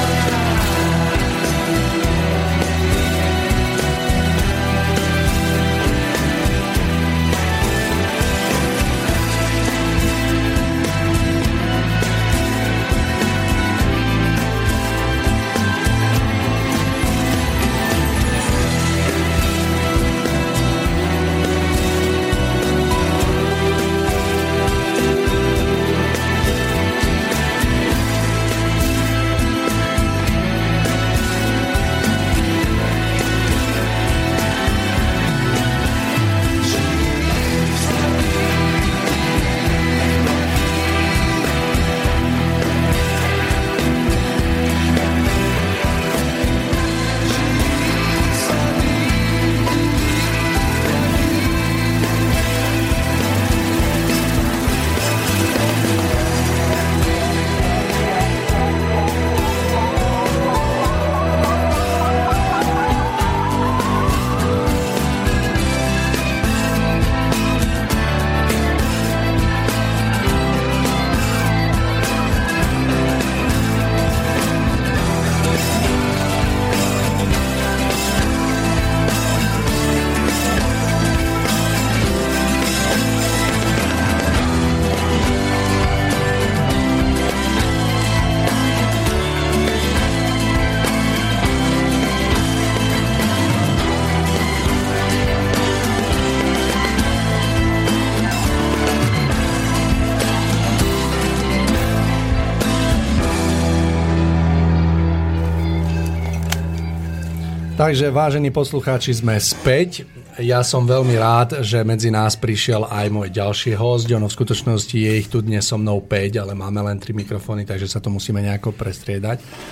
Takže, vážení poslucháči, sme späť. Ja som veľmi rád, že medzi nás prišiel aj môj ďalší host. Ono v skutočnosti je ich tu dnes so mnou 5, ale máme len 3 mikrofóny, takže sa to musíme nejako prestriedať.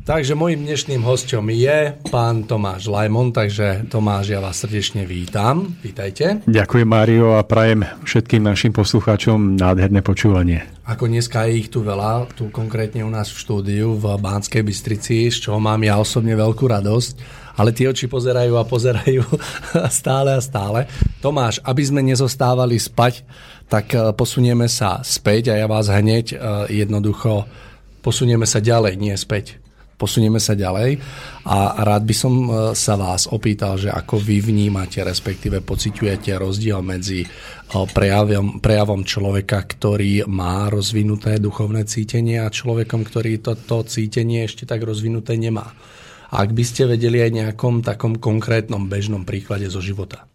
Takže mojím dnešným hosťom je pán Tomáš Lajmon, takže Tomáš, ja vás srdečne vítam. Vítajte. Ďakujem, Mário, a prajem všetkým našim poslucháčom nádherné počúvanie. Ako dneska je ich tu veľa, tu konkrétne u nás v štúdiu v Banskej Bystrici, z čoho mám ja osobne veľkú radosť, ale tie oči pozerajú a pozerajú stále a stále. Tomáš, aby sme nezostávali spať, tak posunieme sa späť a ja vás hneď jednoducho posunieme sa ďalej, nie späť. Posunieme sa ďalej a rád by som sa vás opýtal, že ako vy vnímate, respektíve pociťujete rozdiel medzi prejavom človeka, ktorý má rozvinuté duchovné cítenie a človekom, ktorý toto cítenie ešte tak rozvinuté nemá. Ak by ste vedeli aj nejakom takom konkrétnom bežnom príklade zo života.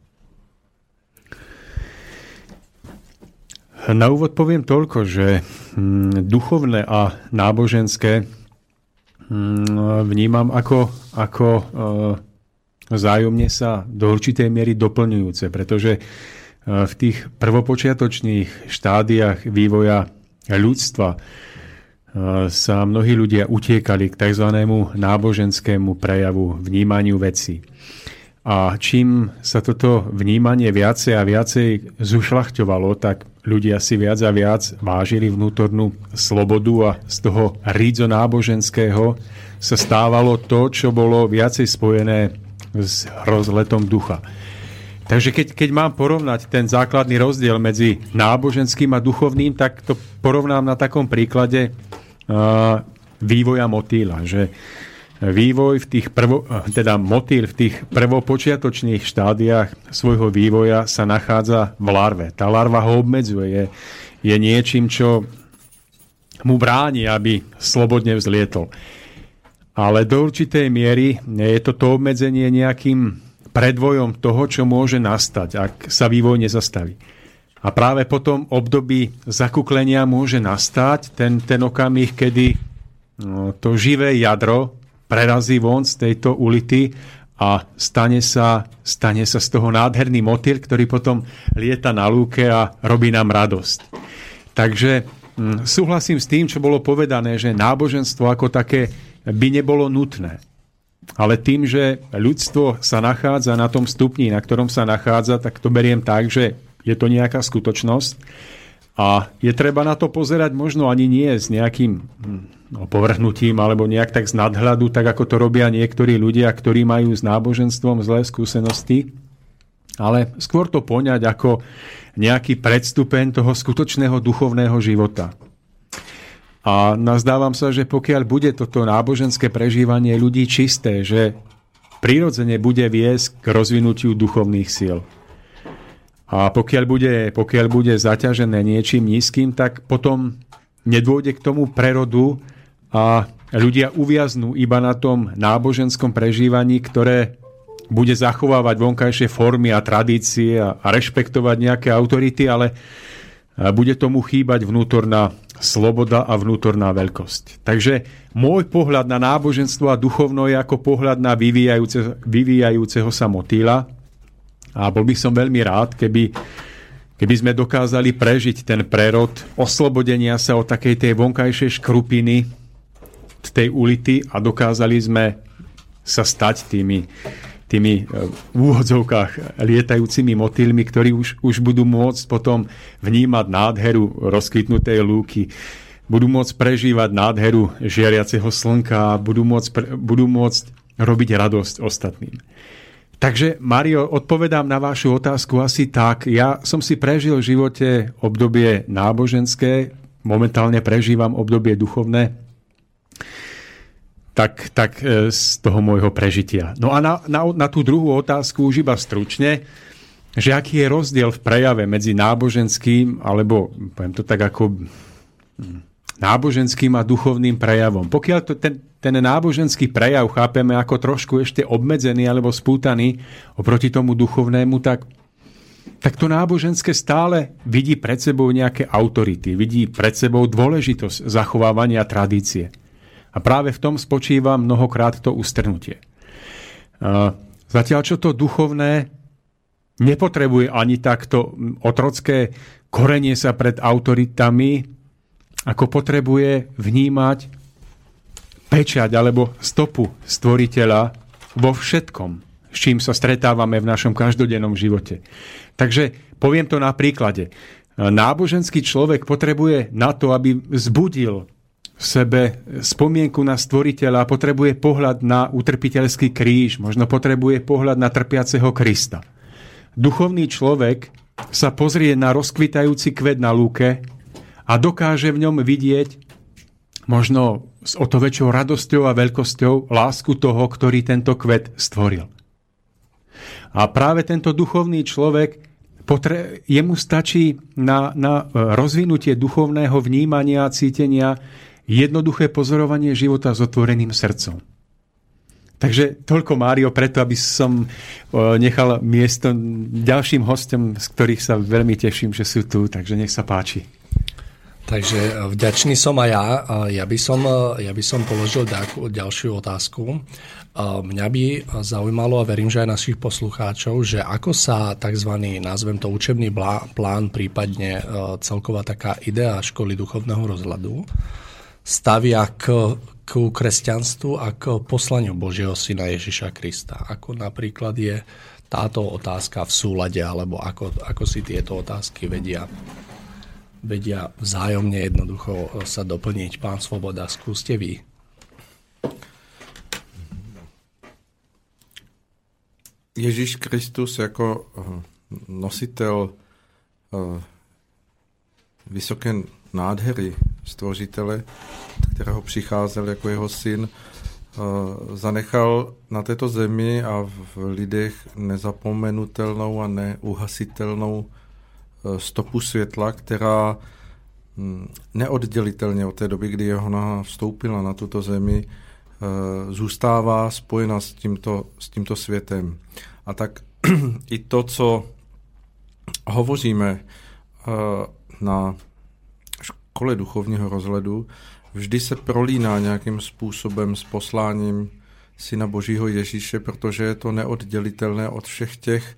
Na úvod poviem toľko, že duchovné a náboženské vnímam ako vzájomne sa do určitej miery doplňujúce, pretože v tých prvopočiatočných štádiách vývoja ľudstva sa mnohí ľudia utiekali k tzv. Náboženskému prejavu, vnímaniu vecí. A čím sa toto vnímanie viacej a viacej zušľachťovalo, tak ľudia si viac a viac vážili vnútornú slobodu a z toho rídzo náboženského sa stávalo to, čo bolo viacej spojené s rozletom ducha. Takže keď mám porovnať ten základný rozdiel medzi náboženským a duchovným, tak to porovnám na takom príklade vývoja motýla, že vývoj v tých motýl v tých prvopočiatočných štádiách svojho vývoja sa nachádza v larve. Tá larva ho obmedzuje, je niečím, čo mu bráni, aby slobodne vzlietol. Ale do určitej miery je toto obmedzenie nejakým predvojom toho, čo môže nastať, ak sa vývoj nezastaví. A práve po tom období zakuklenia môže nastať ten okamih, kedy to živé jadro prerazí von z tejto ulity a stane sa z toho nádherný motýl, ktorý potom lieta na lúke a robí nám radosť. Takže súhlasím s tým, čo bolo povedané, že náboženstvo ako také by nebolo nutné. Ale tým, že ľudstvo sa nachádza na tom stupni, na ktorom sa nachádza, tak to beriem tak, že je to nejaká skutočnosť a je treba na to pozerať možno ani nie s nejakým povrhnutím alebo nejak tak z nadhľadu, tak ako to robia niektorí ľudia, ktorí majú s náboženstvom zlé skúsenosti, ale skôr to poňať ako nejaký predstupeň toho skutočného duchovného života. A nazdávam sa, že pokiaľ bude toto náboženské prežívanie ľudí čisté, že prirodzene bude viesť k rozvinutiu duchovných síl. A pokiaľ bude zaťažené niečím nízkym, tak potom nedôjde k tomu prerodu a ľudia uviaznú iba na tom náboženskom prežívaní, ktoré bude zachovávať vonkajšie formy a tradície a rešpektovať nejaké autority, ale bude tomu chýbať vnútorná sloboda a vnútorná veľkosť. Takže môj pohľad na náboženstvo a duchovno je ako pohľad na vyvíjajúceho sa motýla. A bol by som veľmi rád, keby sme dokázali prežiť ten prerod oslobodenia sa od takej tej vonkajšej škrupiny z tej ulity a dokázali sme sa stať tými v úvodzovkách lietajúcimi motýlmi, ktorí už budú môcť potom vnímať nádheru rozkvitnutej lúky, budú môcť prežívať nádheru žiariaceho slnka a budú môcť robiť radosť ostatným. Takže, Mário, odpovedám na vašu otázku asi tak. Ja som si prežil v živote obdobie náboženské, momentálne prežívam obdobie duchovné, tak z toho môjho prežitia. No a na tú druhú otázku už iba stručne, že aký je rozdiel v prejave medzi náboženským, alebo poviem to tak ako náboženským a duchovným prejavom. Pokiaľ ten náboženský prejav chápeme ako trošku ešte obmedzený alebo spútaný oproti tomu duchovnému, tak to náboženské stále vidí pred sebou nejaké autority, vidí pred sebou dôležitosť zachovávania tradície. A práve v tom spočíva mnohokrát to ustrnutie. Zatiaľ, čo to duchovné nepotrebuje ani takto otrocké korenie sa pred autoritami, ako potrebuje vnímať pečať alebo stopu stvoriteľa vo všetkom, s čím sa stretávame v našom každodennom živote. Takže poviem to na príklade. Náboženský človek potrebuje na to, aby vzbudil v sebe spomienku na stvoriteľa, potrebuje pohľad na utrpiteľský kríž, možno potrebuje pohľad na trpiaceho Krista. Duchovný človek sa pozrie na rozkvitajúci kvet na lúke a dokáže v ňom vidieť možno s o to väčšou radosťou a veľkosťou lásku toho, ktorý tento kvet stvoril. A práve tento duchovný človek, jemu stačí na rozvinutie duchovného vnímania a cítenia jednoduché pozorovanie života s otvoreným srdcom. Takže toľko, Mário, preto, aby som nechal miesto ďalším hostom, z ktorých sa veľmi teším, že sú tu, takže nech sa páči. Takže vďačný som aj ja. Ja by som položil ďalšiu otázku. Mňa by zaujímalo, a verím, že aj našich poslucháčov, že ako sa tzv. Nazvem to učebný plán, prípadne celková taká idea školy duchovného rozhľadu stavia k kresťanstvu a k poslaniu Božieho syna Ježiša Krista. Ako napríklad je táto otázka v súlade, alebo ako si tieto otázky vedia vzájomne jednoducho sa doplniť. Pán Svoboda, skúste vy. Ježíš Kristus jako nositel vysoké nádhery stvořitele, kterého přicházel jako jeho syn, zanechal na této zemi a v lidech nezapomenutelnou a neuhasitelnou stopu světla, která neoddělitelně od té doby, kdy Johana vstoupila na tuto zemi, zůstává spojena s tímto světem. A tak i to, co hovoříme na škole duchovního rozhledu, vždy se prolíná nějakým způsobem s posláním Syna Božího Ježíše, protože je to neoddělitelné od všech těch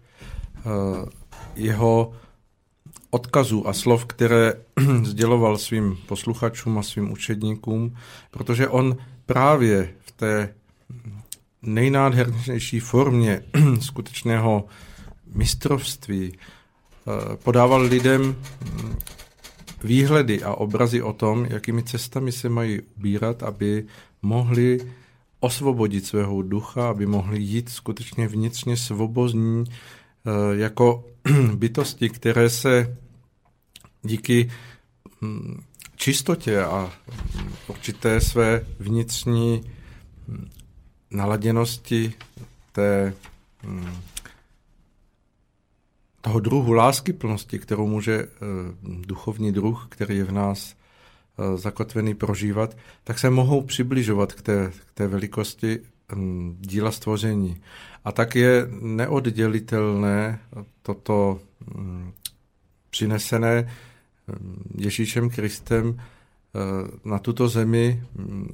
jeho odkazů a slov, které sděloval svým posluchačům a svým učedníkům, protože on právě v té nejnádhernější formě skutečného mistrovství podával lidem výhledy a obrazy o tom, jakými cestami se mají ubírat, aby mohli osvobodit svého ducha, aby mohli jít skutečně vnitřně svobodní jako bytosti, které se díky čistotě a určité své vnitřní naladěnosti toho druhu láskyplnosti, kterou může duchovní druh, který je v nás zakotvený, prožívat, tak se mohou přibližovat k té velikosti díla stvoření. A tak je neoddělitelné toto přinesené Ježíšem Kristem na tuto zemi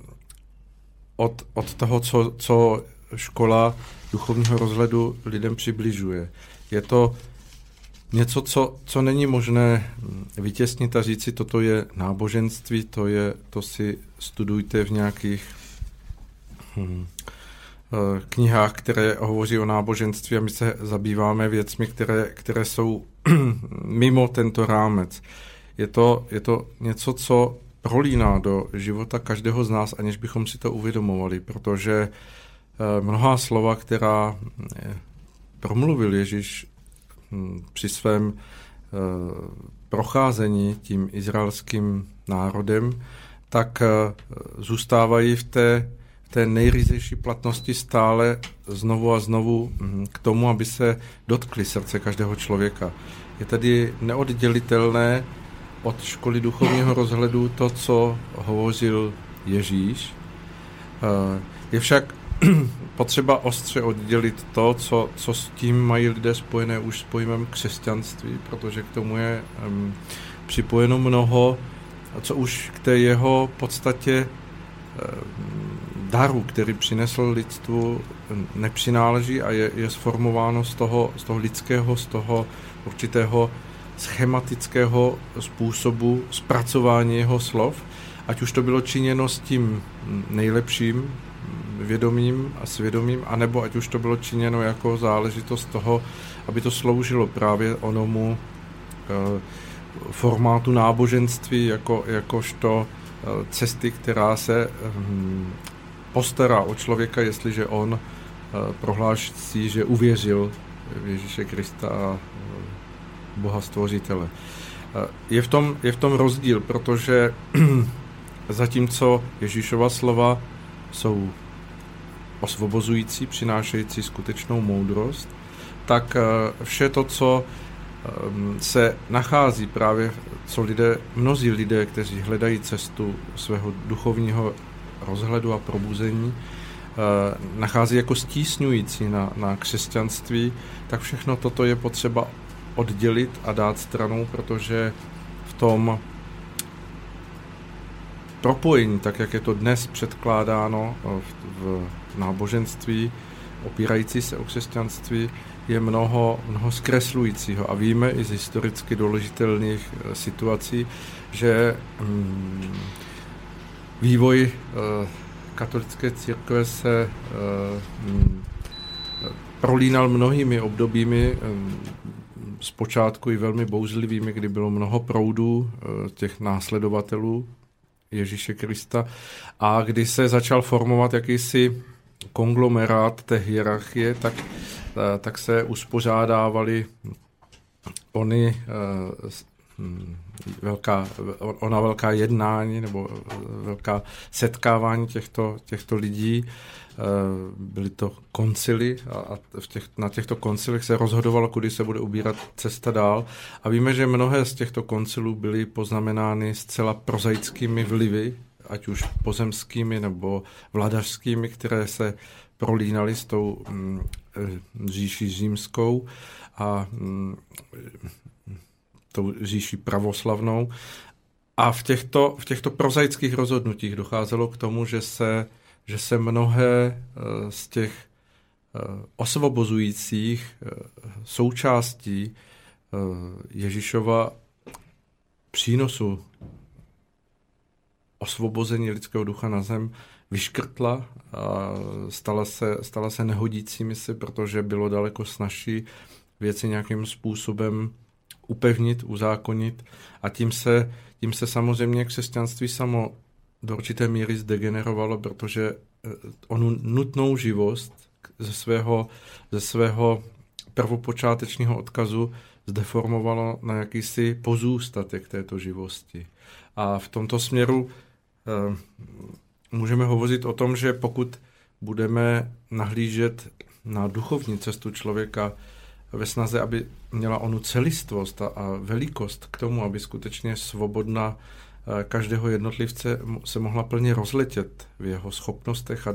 od toho, co škola duchovního rozhledu lidem přibližuje. Je to něco, co není možné vytěsnit a říci, toto je náboženství, to si studujte v nějakých knihách, které hovoří o náboženství, a my se zabýváme věcmi, které jsou mimo tento rámec. Je to něco, co prolíná do života každého z nás, aniž bychom si to uvědomovali, protože mnohá slova, která promluvil Ježíš při svém procházení tím izraelským národem, tak zůstávají v té nejryzejší platnosti stále znovu a znovu k tomu, aby se dotkli srdce každého člověka. Je tedy neoddělitelné od školy duchovního rozhledu to, co hovořil Ježíš. Je však potřeba ostře oddělit to, co s tím mají lidé spojené už s pojmem křesťanství, protože k tomu je připojeno mnoho, co už k té jeho podstatě daru, který přinesl lidstvu, nepřináleží a je sformováno z toho lidského, z toho určitého schematického způsobu zpracování jeho slov. ať už to bylo činěno s tím nejlepším vědomím a svědomím, anebo ať už to bylo činěno jako záležitost toho, aby to sloužilo právě onomu formátu náboženství jakožto cesty, která se postará o člověka, jestliže on prohlásí, že uvěřil v Ježíše Krista a Boha Stvořitele. Je v tom rozdíl, protože zatímco Ježíšova slova jsou osvobozující, přinášející skutečnou moudrost, tak vše to, co se nachází právě, mnozí lidé, kteří hledají cestu svého duchovního rozhledu a probuzení, nachází jako stísňující na křesťanství, tak všechno toto je potřeba oddělit a dát stranou, protože v tom propojení, tak jak je to dnes předkládáno v náboženství, opírající se o křesťanství, je mnoho zkreslujícího. A víme i z historicky doložitelných situací, že vývoj katolické církve se prolínal mnohými obdobími, zpočátku i velmi bouřlivými, kdy bylo mnoho proudů těch následovatelů Ježíše Krista a kdy se začal formovat jakýsi konglomerát té hierarchie, tak se uspořádávaly ona velká jednání nebo velká setkávání těchto lidí. Byly to koncily a na těchto koncilech se rozhodovalo, kudy se bude ubírat cesta dál. A víme, že mnohé z těchto koncilů byly poznamenány zcela prozaickými vlivy, ať už pozemskými nebo vladařskými, které se prolínaly s tou říší římskou a tou říší pravoslavnou. A v těchto prozaických rozhodnutích docházelo k tomu, že se mnohé z těch osvobozujících součástí Ježíšova přínosu osvobození lidského ducha na zem vyškrtla a stala se nehodícími si, protože bylo daleko snazší věci nějakým způsobem upevnit, uzákonit a tím se samozřejmě křesťanství samo do určité míry zdegenerovalo, protože onu nutnou živost ze svého prvopočátečního odkazu zdeformovalo na jakýsi pozůstatek této živosti. A v tomto směru můžeme hovořit o tom, že pokud budeme nahlížet na duchovní cestu člověka ve snaze, aby měla onu celistvost a velikost k tomu, aby skutečně svobodna každého jednotlivce se mohla plně rozletět v jeho schopnostech a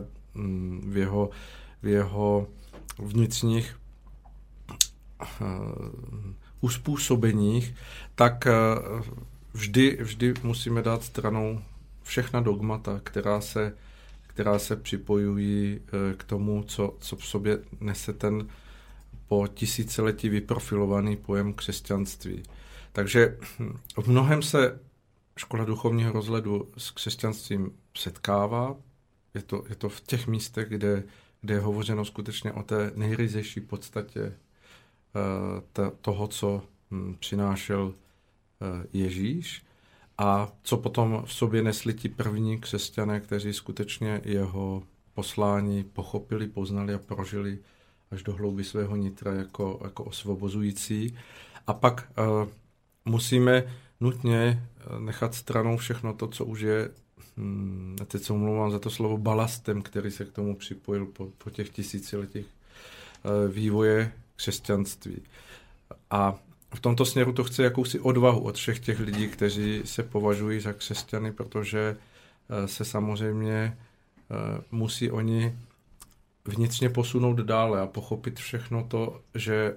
v jeho vnitřních uspůsobeních, tak vždy musíme dát stranou všechna dogmata, která se připojují k tomu, co v sobě nese ten po tisíciletí vyprofilovaný pojem křesťanství. Takže v mnohem se škola duchovního rozhledu s křesťanstvím setkává. Je to v těch místech, kde je hovořeno skutečně o té nejryzejší podstatě toho, co přinášel Ježíš a co potom v sobě nesli ti první křesťané, kteří skutečně jeho poslání pochopili, poznali a prožili až do hlouby svého nitra jako osvobozující. A pak musíme nutně nechat stranou všechno to, co už je, teď se omlouvám za to slovo, balastem, který se k tomu připojil po těch tisíciletích vývoje křesťanství. A v tomto směru to chce jakousi odvahu od všech těch lidí, kteří se považují za křesťany, protože se samozřejmě musí oni vnitřně posunout dále a pochopit všechno to, že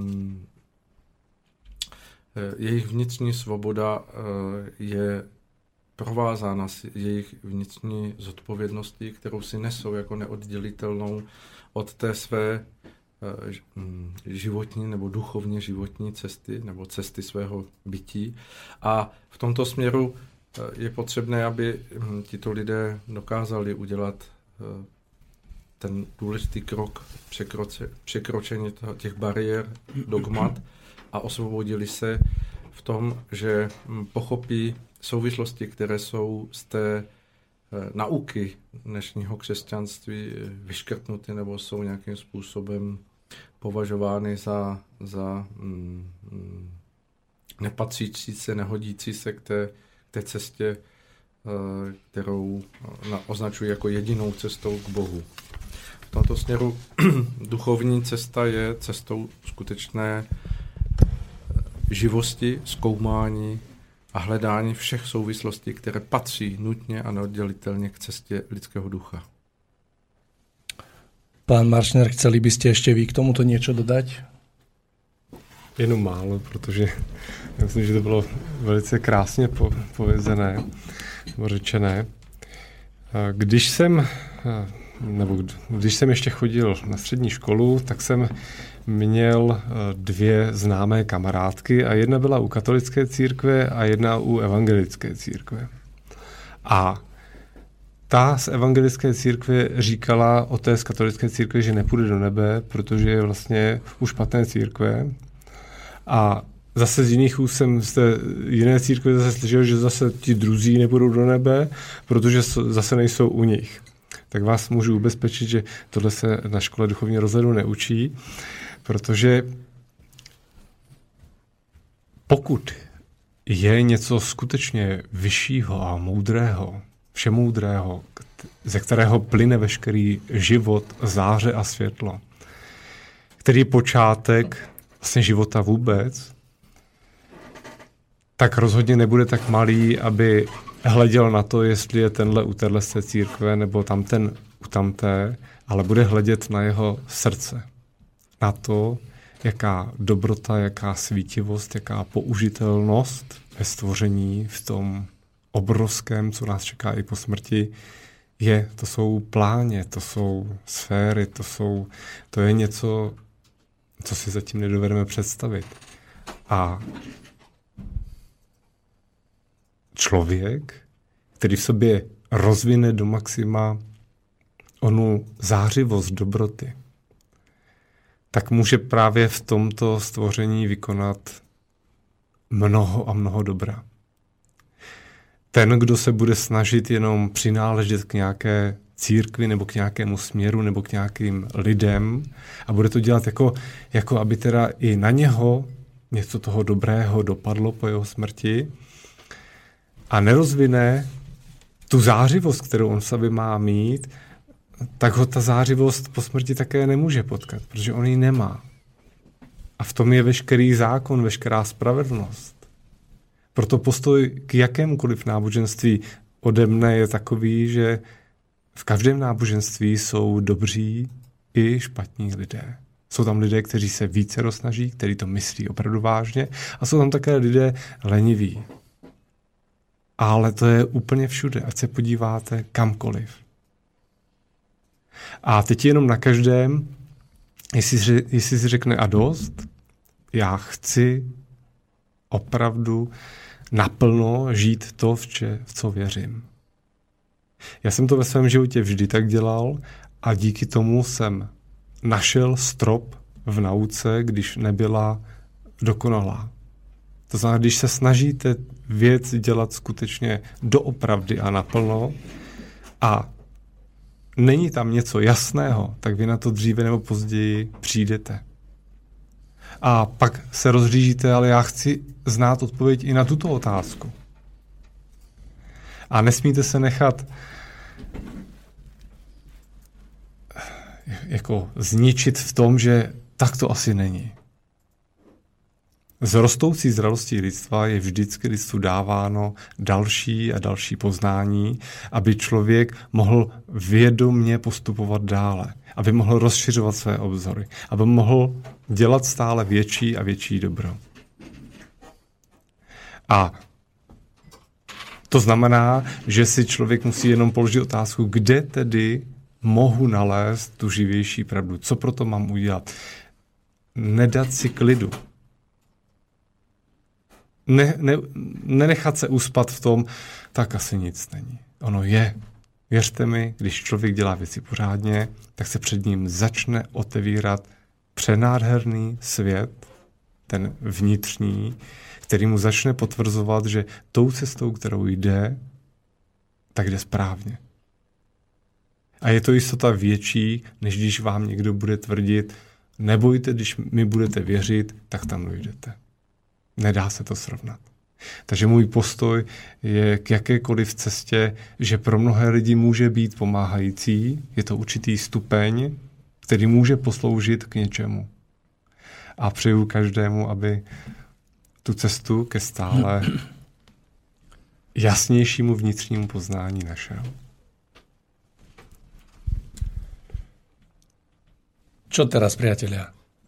jejich vnitřní svoboda je provázána s jejich vnitřní zodpovědností, kterou si nesou jako neoddělitelnou od té své životní nebo duchovně životní cesty nebo cesty svého bytí. A v tomto směru je potřebné, aby tito lidé dokázali udělat ten důležitý krok překročení těch bariér, dogmat a osvobodili se v tom, že pochopí souvislosti, které jsou z té nauky dnešního křesťanství vyškrtnuty nebo jsou nějakým způsobem považovány za nepatřící se, nehodící se k té cestě, kterou označují jako jedinou cestou k Bohu. V tomto směru duchovní cesta je cestou skutečné živosti, zkoumání a hledání všech souvislostí, které patří nutně a neoddělitelně k cestě lidského ducha. Pán Maršner, chceli by ste ešte vy k tomuto niečo dodať? Jenom málo, protože já myslím, že to bylo velice krásně povězené, nebo řečené. Když jsem ještě chodil na střední školu, tak jsem měl 2 známé kamarádky a jedna byla u katolické církve a jedna u evangelické církve. A ta z evangelické církve říkala o té z katolické církve, že nepůjde do nebe, protože je vlastně u špatné církve. A zase z jiných úst jsem z té jiné církve zase slyšel, že zase ti druzí nebudou do nebe, protože zase nejsou u nich. Tak vás můžu ubezpečit, že tohle se na škole duchovního rozhledu neučí, protože pokud je něco skutečně vyššího a moudrého, všemoudrého, ze kterého plyne veškerý život, záře a světlo, který je počátek vlastně života vůbec, tak rozhodně nebude tak malý, aby hleděl na to, jestli je tenhle u téhle církve nebo tamten u tamté, ale bude hledět na jeho srdce. Na to, jaká dobrota, jaká svítivost, jaká použitelnost ve stvoření v tom obrovském, co nás čeká i po smrti, je. To jsou pláně, to jsou sféry, to je něco, co si zatím nedovedeme představit. A člověk, který v sobě rozvine do maxima onu zářivost dobroty, tak může právě v tomto stvoření vykonat mnoho a mnoho dobra. Ten, kdo se bude snažit jenom přináležet k nějaké církvi nebo k nějakému směru nebo k nějakým lidem a bude to dělat jako aby teda i na něho něco toho dobrého dopadlo po jeho smrti a nerozvine tu zářivost, kterou on v sobě má mít, tak ho ta zářivost po smrti také nemůže potkat, protože on ji nemá. A v tom je veškerý zákon, veškerá spravedlnost. Proto postoj k jakémukoliv náboženství ode mne je takový, že v každém náboženství jsou dobří i špatní lidé. Jsou tam lidé, kteří se více rozsnaží, kteří to myslí opravdu vážně a jsou tam také lidé leniví. Ale to je úplně všude, ať se podíváte kamkoliv. A teď jenom na každém, jestli si řekne a dost, já chci opravdu naplno žít to, v co věřím. Já jsem to ve svém životě vždy tak dělal a díky tomu jsem našel strop v nauce, když nebyla dokonalá. To znamená, když se snažíte věc dělat skutečně doopravdy a naplno a není tam něco jasného, tak vy na to dříve nebo později přijdete. A pak se rozřížíte, ale já chci znát odpověď i na tuto otázku. A nesmíte se nechat jako zničit v tom, že tak to asi není. Z rostoucí zralostí lidstva je vždycky lidstvu dáváno další a další poznání, aby člověk mohl vědomně postupovat dále, aby mohl rozšiřovat své obzory, aby mohl dělat stále větší a větší dobro. A to znamená, že si člověk musí jenom položit otázku, kde tedy mohu nalézt tu živější pravdu. Co proto mám udělat? Nedat si klidu. nenechat se uspat v tom, tak asi nic není. Ono je. Věřte mi, když člověk dělá věci pořádně, tak se před ním začne otevírat přenádherný svět, ten vnitřní, který mu začne potvrzovat, že tou cestou, kterou jde, tak jde správně. A je to jistota větší, než když vám někdo bude tvrdit, nebojte, když mi budete věřit, tak tam dojdete. Nedá se to srovnat. Takže můj postoj je k jakékoliv cestě, že pro mnohé lidi může být pomáhající, je to určitý stupeň, který může posloužit k něčemu. A přeju každému, aby tu cestu ke stále jasnějšímu vnitřnímu poznání našel. Čo teraz, priatelia?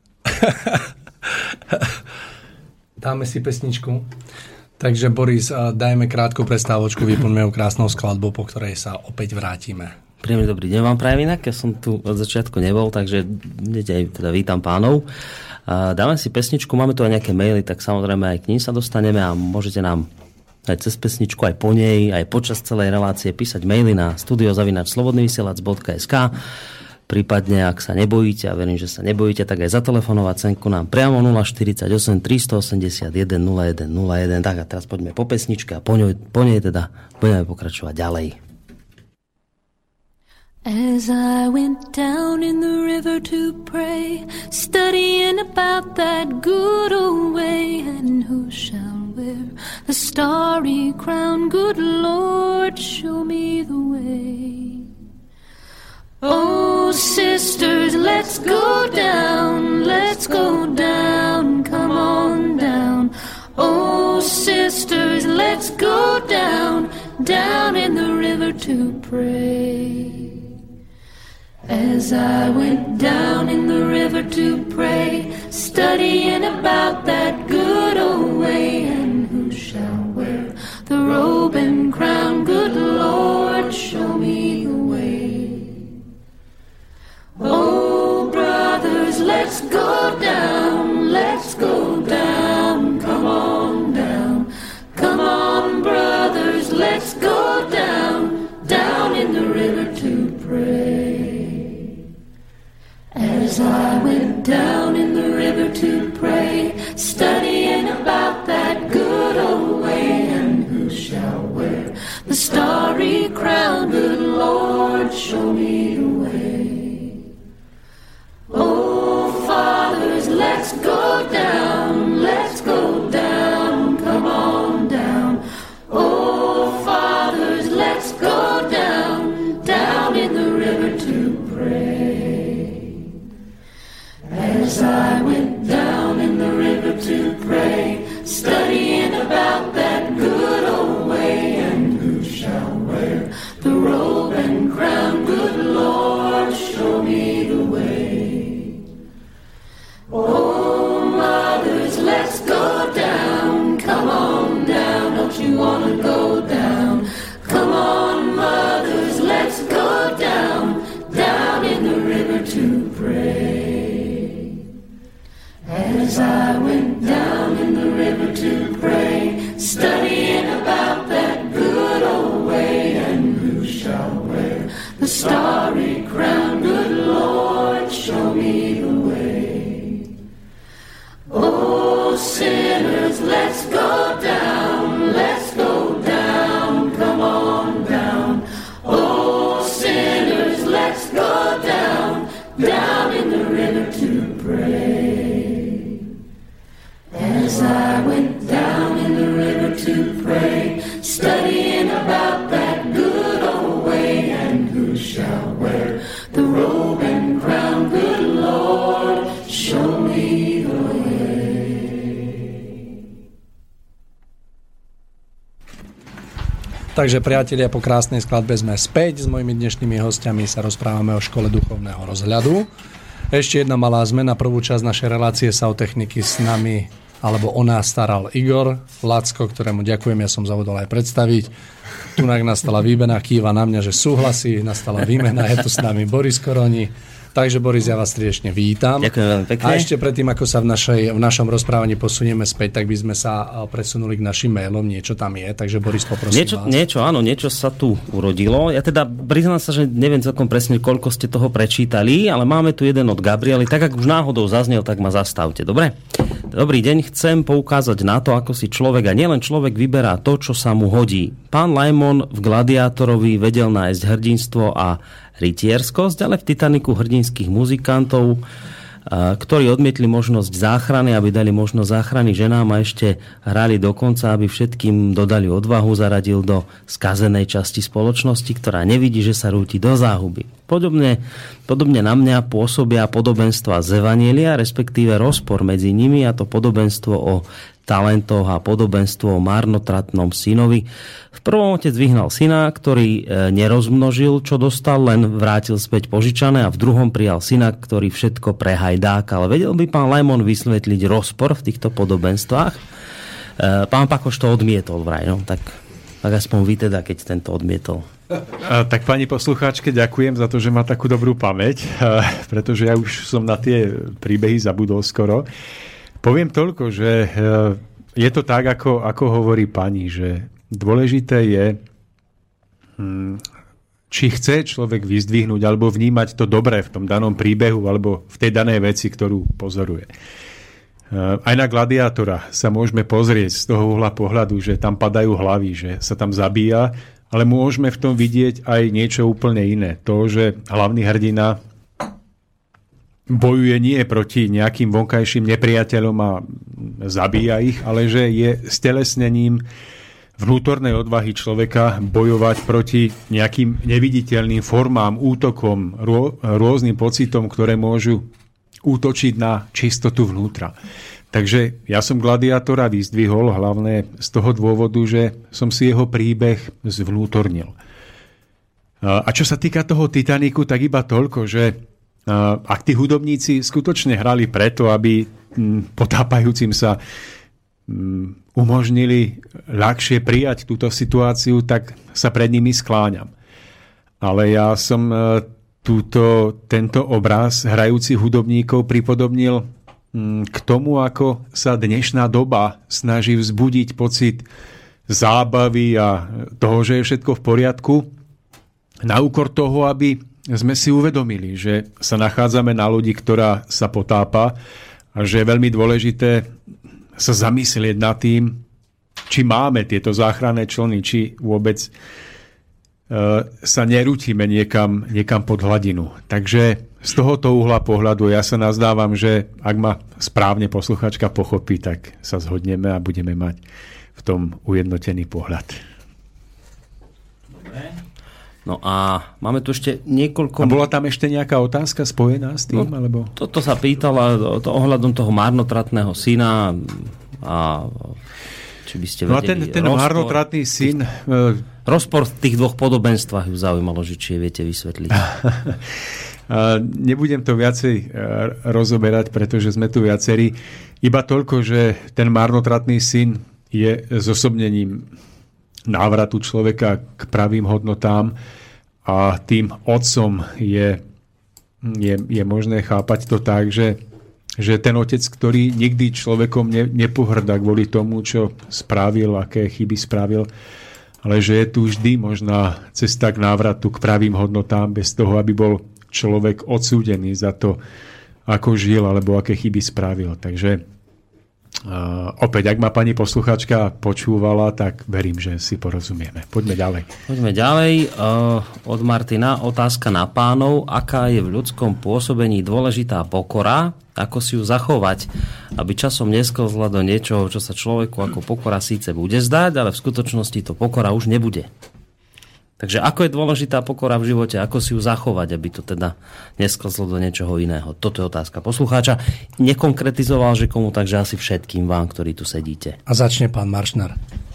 Dáme si pesničku. Takže Boris, dajme krátku prestávočku, vyplňme ju krásnou skladbou, po ktorej sa opäť vrátime. Príjemný dobrý deň vám prajem inak, ja som tu od začiatku nebol, takže teda vítam pánov. Dáme si pesničku, máme tu aj nejaké maily, tak samozrejme aj k ním sa dostaneme a môžete nám aj cez pesničku, aj po nej, aj počas celej relácie písať maily na studio@slobodnyvysielac.sk. Prípadne, ak sa nebojíte, a verím, že sa nebojíte, tak aj zatelefonovať senku nám priamo 048 381 01 01. Tak a teraz poďme po pesničke a po nej teda budeme pokračovať ďalej. As I went down in the river to pray, studying about that good old way, and who shall wear the starry crown? Good Lord, show me the way. Oh, sisters, let's go down, come on down. Oh, sisters, let's go down in the river to pray. As I went down in the river to pray, studying about that good old way, and who shall wear the robe and crown? Good Lord, show me the way. Oh, brothers, let's go down, come on down. Come on, brothers, let's go down in the river to pray. As I went down in the river to pray, studying about that good old way, and who shall wear the starry crown? Good Lord, show me the way. Oh, fathers, let's go down, come on down. Oh, fathers, let's go down in the river to pray. As I went down in the river to pray, studying about that good old way, and who shall wear the robe and crown? Good Lord, show me the way. Oh, mothers, let's go down, come on down, don't you wanna go down? Come on, mothers, let's go down in the river to pray. As I went down in the river to pray, studying about that good old way, and who shall wear the starry crown? Good Lord, show me the way. Oh, sinners, let's go down, come on down. Oh, sinners, let's go down in the river to pray. As I went down in the river to pray, studying about that good old way, and who shall wear the robe and crown? Good Lord, show me the way. Takže priatelia, po krásnej skladbe sme späť. S mojimi dnešnými hostiami sa rozprávame o škole duchovného rozhľadu. Ešte jedna malá zmena. Prvú časť našej relácie sa o techniky s nami, alebo o nás staral Igor Lacko, ktorému ďakujem, ja som zavodol aj predstaviť. Tunak nastala výmena, kýva na mňa, že súhlasí, nastala výmena, je tu s nami Boris Koroni. Takže Boris, ja vás srdečne vítam. Ďakujem veľmi pekne. A ešte predtým, ako sa v našom rozprávaní posunieme späť, tak by sme sa presunuli k našim mailom. Niečo tam je, takže Boris, poprosím vás. Niečo sa tu urodilo. Ja teda priznám sa, že neviem celkom presne, koľko ste toho prečítali, ale máme tu jeden od Gabriely. Tak, ak už náhodou zaznel, tak ma zastavte. Dobre? Dobrý deň, chcem poukázať na to, ako si človek, a nielen človek, vyberá to, čo sa mu hodí. Pán Lajmon v Gladiátorovi vedel nájsť hrdinstvo a rytierskosť, ale v Titaniku hrdinských muzikantov, ktorí odmietli možnosť záchrany, aby dali možnosť záchrany ženám a ešte hrali dokonca, aby všetkým dodali odvahu, zaradil do skazenej časti spoločnosti, ktorá nevidí, že sa rúti do záhuby. Podobne na mňa pôsobia podobenstva z Evanjelia, respektíve rozpor medzi nimi, a to podobenstvo o talentoch a podobenstvo o marnotratnom synovi. V prvom otec vyhnal syna, ktorý nerozmnožil, čo dostal, len vrátil späť požičané, a v druhom prijal syna, ktorý všetko prehajdákal. Vedel by pán Lajmon vysvetliť rozpor v týchto podobenstvách? Pán Pakoš to odmietol vraj, no tak aspoň vy teda, keď tento odmietol. Tak pani poslucháčke, ďakujem za to, že má takú dobrú pamäť, pretože ja už som na tie príbehy zabudol skoro. Poviem toľko, že je to tak, ako hovorí pani, že dôležité je, či chce človek vyzdvihnúť alebo vnímať to dobré v tom danom príbehu alebo v tej danej veci, ktorú pozoruje. Aj na Gladiátora sa môžeme pozrieť z toho uhla pohľadu, že tam padajú hlavy, že sa tam zabíja, ale môžeme v tom vidieť aj niečo úplne iné. To, že hlavný hrdina bojuje nie proti nejakým vonkajším nepriateľom a zabíja ich, ale že je stelesnením vnútornej odvahy človeka bojovať proti nejakým neviditeľným formám, útokom, rôznym pocitom, ktoré môžu útočiť na čistotu vnútra. Takže ja som Gladiátora vyzdvihol hlavne z toho dôvodu, že som si jeho príbeh zvnútornil. A čo sa týka toho Titaniku, tak iba toľko, že ak tí hudobníci skutočne hrali preto, aby potápajúcim sa umožnili ľahšie prijať túto situáciu, tak sa pred nimi skláňam. Ale ja som tento obraz hrajúcich hudobníkov pripodobnil k tomu, ako sa dnešná doba snaží vzbudiť pocit zábavy a toho, že je všetko v poriadku, na úkor toho, aby sme si uvedomili, že sa nachádzame na lodi, ktorá sa potápa, a že je veľmi dôležité sa zamyslieť nad tým, či máme tieto záchranné člny, či vôbec sa nerútime niekam pod hladinu. Takže z tohoto uhla pohľadu ja sa nazdávam, že ak ma správne posluchačka pochopí, tak sa zhodneme a budeme mať v tom ujednotený pohľad. No a máme tu ešte niekoľko... A bola tam ešte nejaká otázka spojená s tým? Alebo... Toto sa pýtala ohľadom toho marnotratného syna a či by ste vedeli... No a ten marnotratný syn... Rozpor v tých dvoch podobenstvách ju zaujímalo, že či je viete vysvetliť. Nebudem to viacej rozoberať, pretože sme tu viacerí. Iba toľko, že ten marnotratný syn je zosobnením návratu človeka k pravým hodnotám a tým otcom je možné chápať to tak, že ten otec, ktorý nikdy človekom nepohrdá kvôli tomu, čo spravil, aké chyby spravil, ale že je tu vždy možná cesta k návratu k pravým hodnotám bez toho, aby bol človek odsúdený za to, ako žil alebo aké chyby spravil. Takže opäť, ak ma pani posluchačka počúvala, tak verím, že si porozumieme. Poďme ďalej. Od Martina otázka na pánov. Aká je v ľudskom pôsobení dôležitá pokora? Ako si ju zachovať, aby časom nesklzla do niečoho, čo sa človeku ako pokora síce bude zdať, ale v skutočnosti to pokora už nebude. Takže ako je dôležitá pokora v živote, ako si ju zachovať, aby to teda nesklzlo do niečoho iného. Toto je otázka poslucháča. Nekonkretizoval, že komu, takže asi všetkým vám, ktorí tu sedíte. A začne pán Maršnár.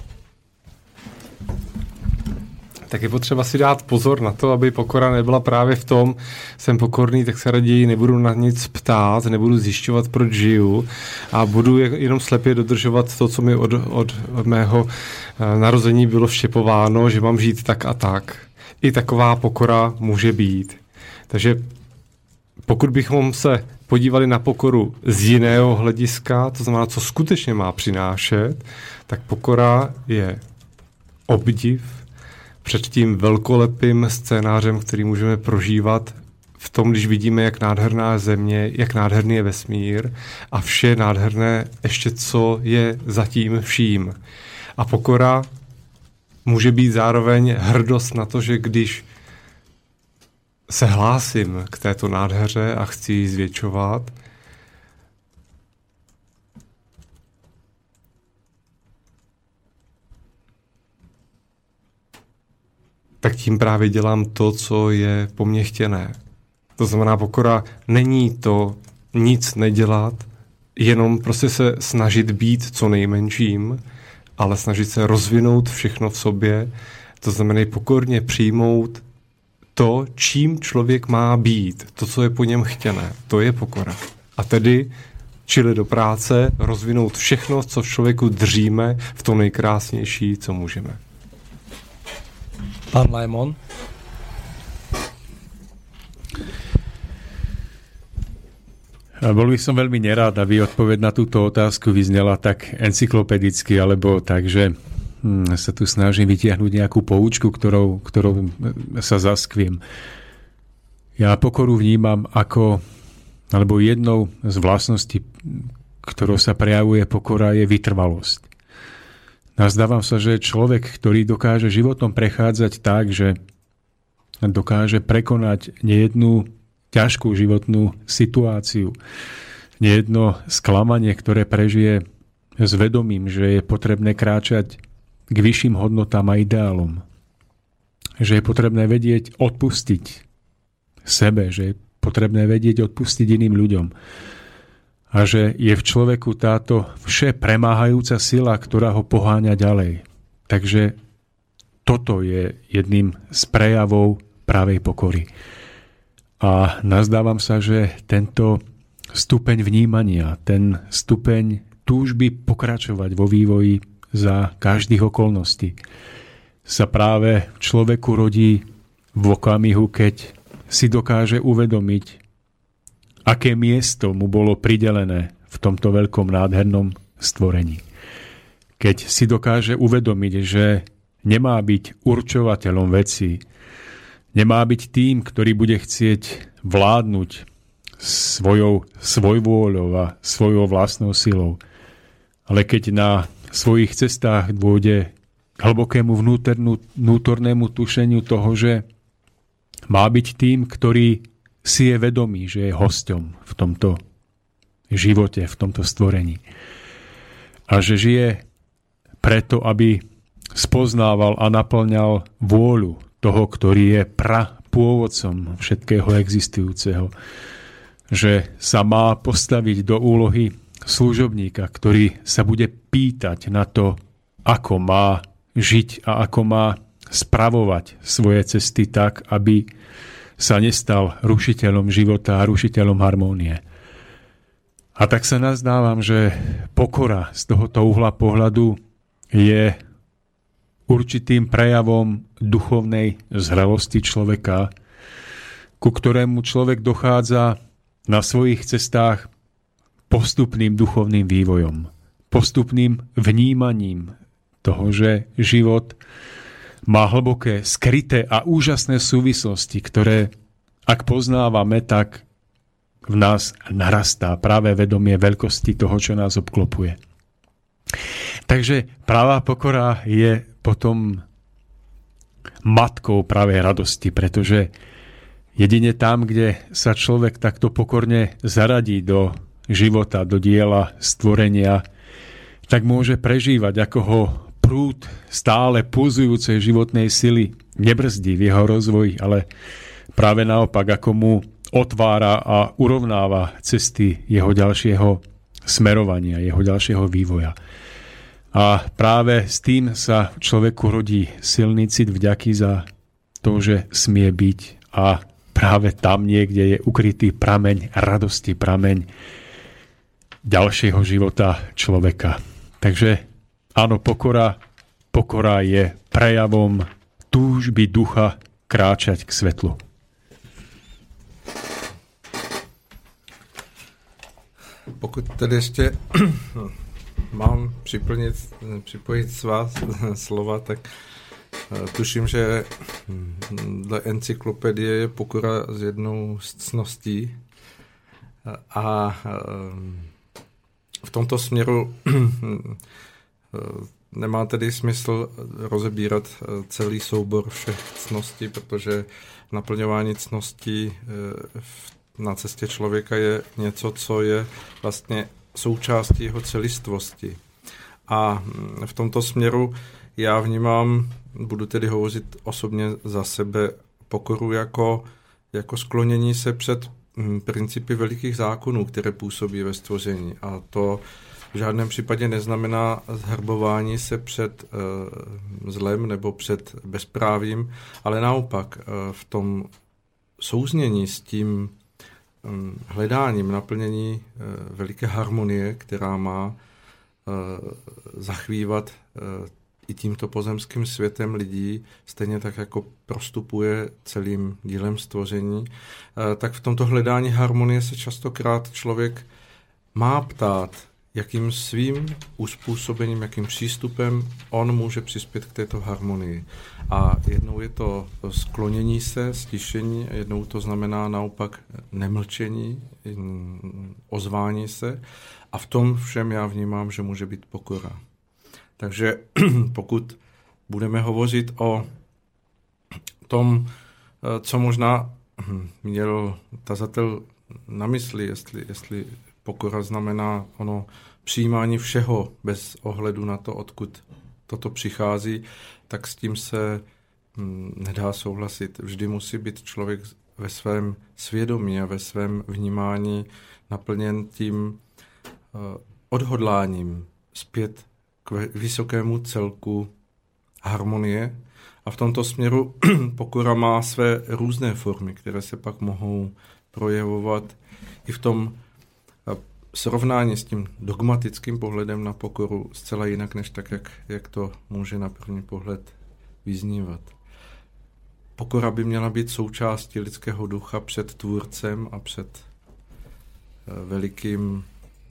Tak je potřeba si dát pozor na to, aby pokora nebyla právě v tom, jsem pokorný, tak se raději nebudu na nic ptát, nebudu zjišťovat, proč žiju a budu jenom slepě dodržovat to, co mi od mého narození bylo vštěpováno, že mám žít tak a tak. I taková pokora může být. Takže Pokud bychom se podívali na pokoru z jiného hlediska, to znamená, co skutečně má přinášet, tak pokora je obdiv před tím velkolepým scénářem, který můžeme prožívat v tom, když vidíme, jak nádherná je země, jak nádherný je vesmír a vše nádherné ještě, co je zatím vším. A pokora může být zároveň hrdost na to, že když se hlásím k této nádheře a chci ji zvětšovat, tak tím právě dělám to, co je po mně chtěné. To znamená, pokora není to nic nedělat, jenom prostě se snažit být co nejmenším, ale snažit se rozvinout všechno v sobě. To znamená pokorně přijmout to, čím člověk má být, to, co je po něm chtěné. To je pokora. A tedy čili do práce, rozvinout všechno, co v člověku držíme, v to nejkrásnější, co můžeme. Pán Lajmon? Bol by som veľmi nerád, aby odpoveď na túto otázku vyznela tak encyklopedicky, alebo tak, že sa tu snažím vytiahnuť nejakú poučku, ktorou sa zaskviem. Ja pokoru vnímam ako, alebo jednou z vlastností, ktorou sa prejavuje pokora, je vytrvalosť. Nazdávam sa, že človek, ktorý dokáže životom prechádzať tak, že dokáže prekonať nejednú ťažkú životnú situáciu, nejedno sklamanie, ktoré prežije s vedomím, že je potrebné kráčať k vyšším hodnotám a ideálom. Že je potrebné vedieť odpustiť sebe, že je potrebné vedieť odpustiť iným ľuďom. A že je v človeku táto vše premáhajúca sila, ktorá ho poháňa ďalej. Takže toto je jedným z prejavov pravej pokory. A nazdávam sa, že tento stupeň vnímania, ten stupeň túžby pokračovať vo vývoji za každých okolností sa práve v človeku rodí v okamihu, keď si dokáže uvedomiť, aké miesto mu bolo pridelené v tomto veľkom nádhernom stvorení. Keď si dokáže uvedomiť, že nemá byť určovateľom vecí, nemá byť tým, ktorý bude chcieť vládnuť svojou svojvôľou a svojou vlastnou silou. Ale keď na svojich cestách dôjde k hlbokému vnútornému tušeniu toho, že má byť tým, ktorý si je vedomý, že je hosťom v tomto živote, v tomto stvorení. A že žije preto, aby spoznával a naplňal vôľu toho, ktorý je pôvodcom všetkého existujúceho. Že sa má postaviť do úlohy služobníka, ktorý sa bude pýtať na to, ako má žiť a ako má spravovať svoje cesty tak, aby sa nestal rušiteľom života a rušiteľom harmónie. A tak sa nazdávam, že pokora z tohoto uhla pohľadu je určitým prejavom duchovnej zrelosti človeka, ku ktorému človek dochádza na svojich cestách postupným duchovným vývojom, postupným vnímaním toho, že život má hlboké, skryté a úžasné súvislosti, ktoré, ak poznávame, tak v nás narastá práve vedomie veľkosti toho, čo nás obklopuje. Takže pravá pokora je potom matkou pravej radosti, pretože jedine tam, kde sa človek takto pokorne zaradí do života, do diela stvorenia, tak môže prežívať, ako ho prúd stále pulzujúcej životnej sily nebrzdí v jeho rozvoji, ale práve naopak, ako mu otvára a urovnáva cesty jeho ďalšieho smerovania, jeho ďalšieho vývoja. A práve s tým sa človeku rodí silný cit vďaky za to, že smie byť, a práve tam niekde je ukrytý prameň radosti, prameň ďalšieho života človeka. Takže áno, pokora je prejavom túžby ducha kráčať k svetlu. Pokud tedy ještě mám připojit svá slova, tak tuším, že dle encyklopedie je pokora z jednou z ctností a v tomto směru nemá tedy smysl rozebírat celý soubor všech ctností, protože naplňování ctností na cestě člověka je něco, co je vlastně součástí jeho celistvosti. A v tomto směru já vnímám, budu tedy hovořit osobně za sebe, pokoru jako sklonění se před principy velikých zákonů, které působí ve stvoření. A to v žádném případě neznamená zhrbování se před zlem nebo před bezprávím, ale naopak v tom souznění s tím hledáním naplnění veliké harmonie, která má zachvívat i tímto pozemským světem lidí, stejně tak jako prostupuje celým dílem stvoření, tak v tomto hledání harmonie se častokrát člověk má ptát, jakým svým uspůsobením, jakým přístupem on může přispět k této harmonii. A jednou je to sklonění se, stišení, jednou to znamená naopak nemlčení, ozvání se. A v tom všem já vnímám, že může být pokora. Takže pokud budeme hovořit o tom, co možná měl tazatel na mysli, jestli pokora znamená ono přijímání všeho bez ohledu na to, odkud toto přichází, tak s tím se nedá souhlasit. Vždy musí být člověk ve svém svědomí a ve svém vnímání naplněn tím odhodláním zpět k vysokému celku harmonie. A v tomto směru pokora má své různé formy, které se pak mohou projevovat i v tom srovnání s tím dogmatickým pohledem na pokoru zcela jinak, než tak, jak to může na první pohled vyznívat. Pokora by měla být součástí lidského ducha před tvůrcem a před velikým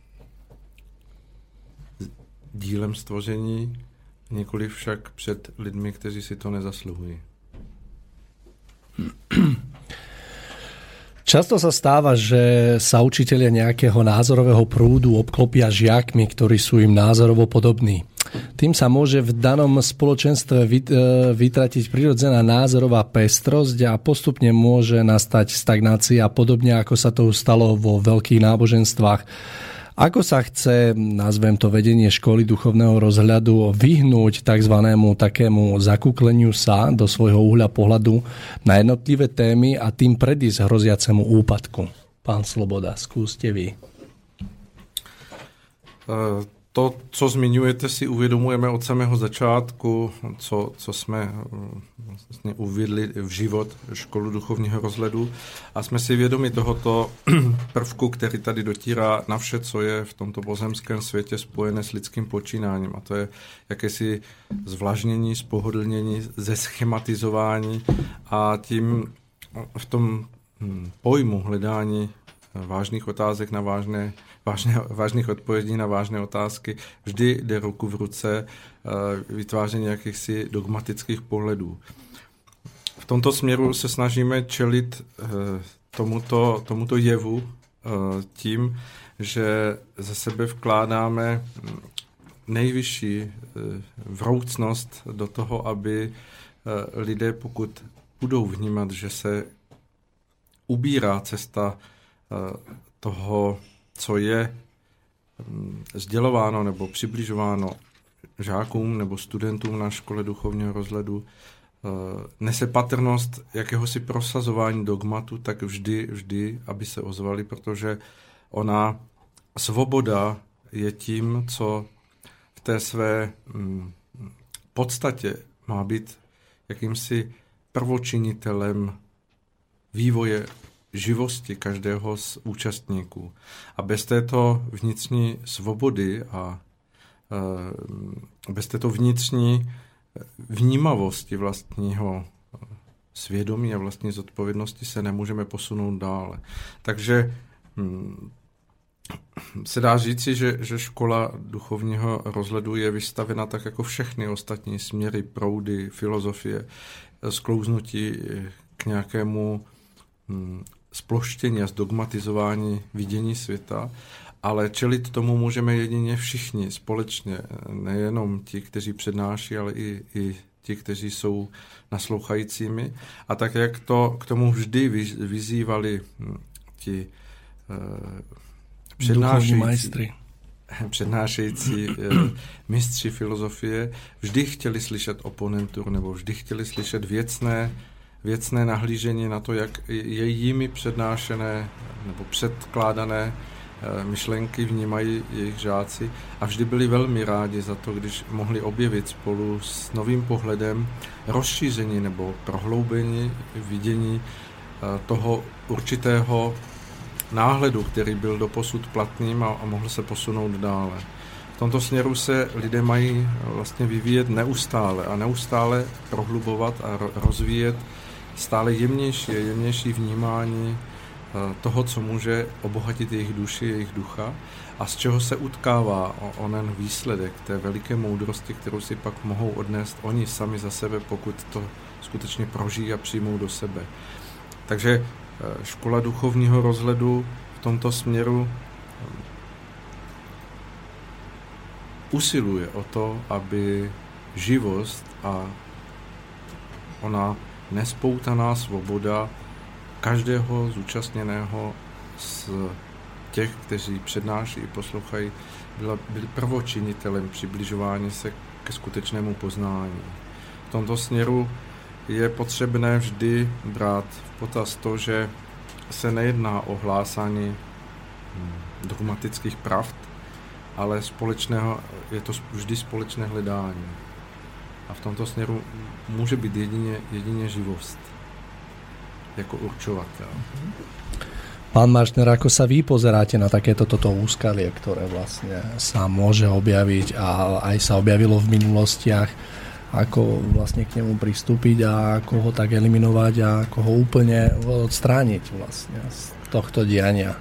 dílem stvoření, nikoliv však před lidmi, kteří si to nezasluhují. Často sa stáva, že sa učitelia nejakého názorového prúdu obklopia žiakmi, ktorí sú im názorovo podobní. Tým sa môže v danom spoločenstve vytratiť prirodzená názorová pestrosť a postupne môže nastať stagnácia, podobne ako sa to stalo vo veľkých náboženstvách. Ako sa chce, nazvem to vedenie školy duchovného rozhľadu, vyhnúť takzvanému takému zakúkleniu sa do svojho uhľa pohľadu na jednotlivé témy a tým predísť hroziacemu úpadku? Pán Sloboda, skúste vy. To, co zmiňujete, si uvědomujeme od samého začátku, co jsme vlastně uvedli v život školu duchovního rozhledu a jsme si vědomi tohoto prvku, který tady dotírá na vše, co je v tomto pozemském světě spojené s lidským počínáním. A to je jakési zvlažnění, spohodlnění, zeschematizování a tím v tom pojmu hledání vážných otázek na vážných odpovědí na vážné otázky vždy jde ruku v ruce vytváření jakýchsi dogmatických pohledů. V tomto směru se snažíme čelit tomuto jevu tím, že ze sebe vkládáme nejvyšší vroucnost do toho, aby lidé, pokud budou vnímat, že se ubírá cesta toho, co je sdělováno nebo přibližováno žákům nebo studentům na škole duchovního rozhledu, nese patrnost jakéhosi prosazování dogmatu, tak vždy, aby se ozvali, protože ona svoboda je tím, co v té své podstatě má být jakýmsi prvočinitelem vývoje živosti každého z účastníků. A bez této vnitřní svobody a bez této vnitřní vnímavosti vlastního svědomí a vlastní zodpovědnosti se nemůžeme posunout dále. Takže se dá říci, že škola duchovního rozhledu je vystavena tak jako všechny ostatní směry, proudy, filozofie, sklouznutí k nějakému sploštění a zdogmatizování vidění světa, ale čelit tomu můžeme jedině všichni společně, nejenom ti, kteří přednáší, ale i ti, kteří jsou naslouchajícími. A tak, jak to k tomu vždy vyzývali ti přednášející mistři filozofie, vždy chtěli slyšet oponentur nebo vždy chtěli slyšet věcné nahlížení na to, jak je jimi přednášené nebo předkládané myšlenky vnímají jejich žáci a vždy byli velmi rádi za to, když mohli objevit spolu s novým pohledem rozšíření nebo prohloubení vidění toho určitého náhledu, který byl doposud platným a mohl se posunout dále. V tomto směru se lidé mají vlastně vyvíjet neustále a neustále prohlubovat a rozvíjet stále jemnější vnímání toho, co může obohatit jejich duši, jejich ducha a z čeho se utkává onen výsledek té veliké moudrosti, kterou si pak mohou odnést oni sami za sebe, pokud to skutečně prožijí a přijmou do sebe. Takže škola duchovního rozhledu v tomto směru usiluje o to, aby živost a ona nespoutaná svoboda každého zúčastněného z těch, kteří přednáší i poslouchají, byli prvočinitelem přibližování se ke skutečnému poznání. V tomto směru je potřebné vždy brát v potaz to, že se nejedná o hlásání dogmatických pravd, ale je to vždy společné hledání. A v tomto směru může být jedině živost jako určovateľ. Pán Maršner, ako sa vy pozeráte na takéto úskalie, ktoré vlastne sa môže objaviť a aj sa objavilo v minulostiach, ako vlastne k nemu pristúpiť a ako ho tak eliminovať a ako ho úplne odstrániť vlastne z tohto diania?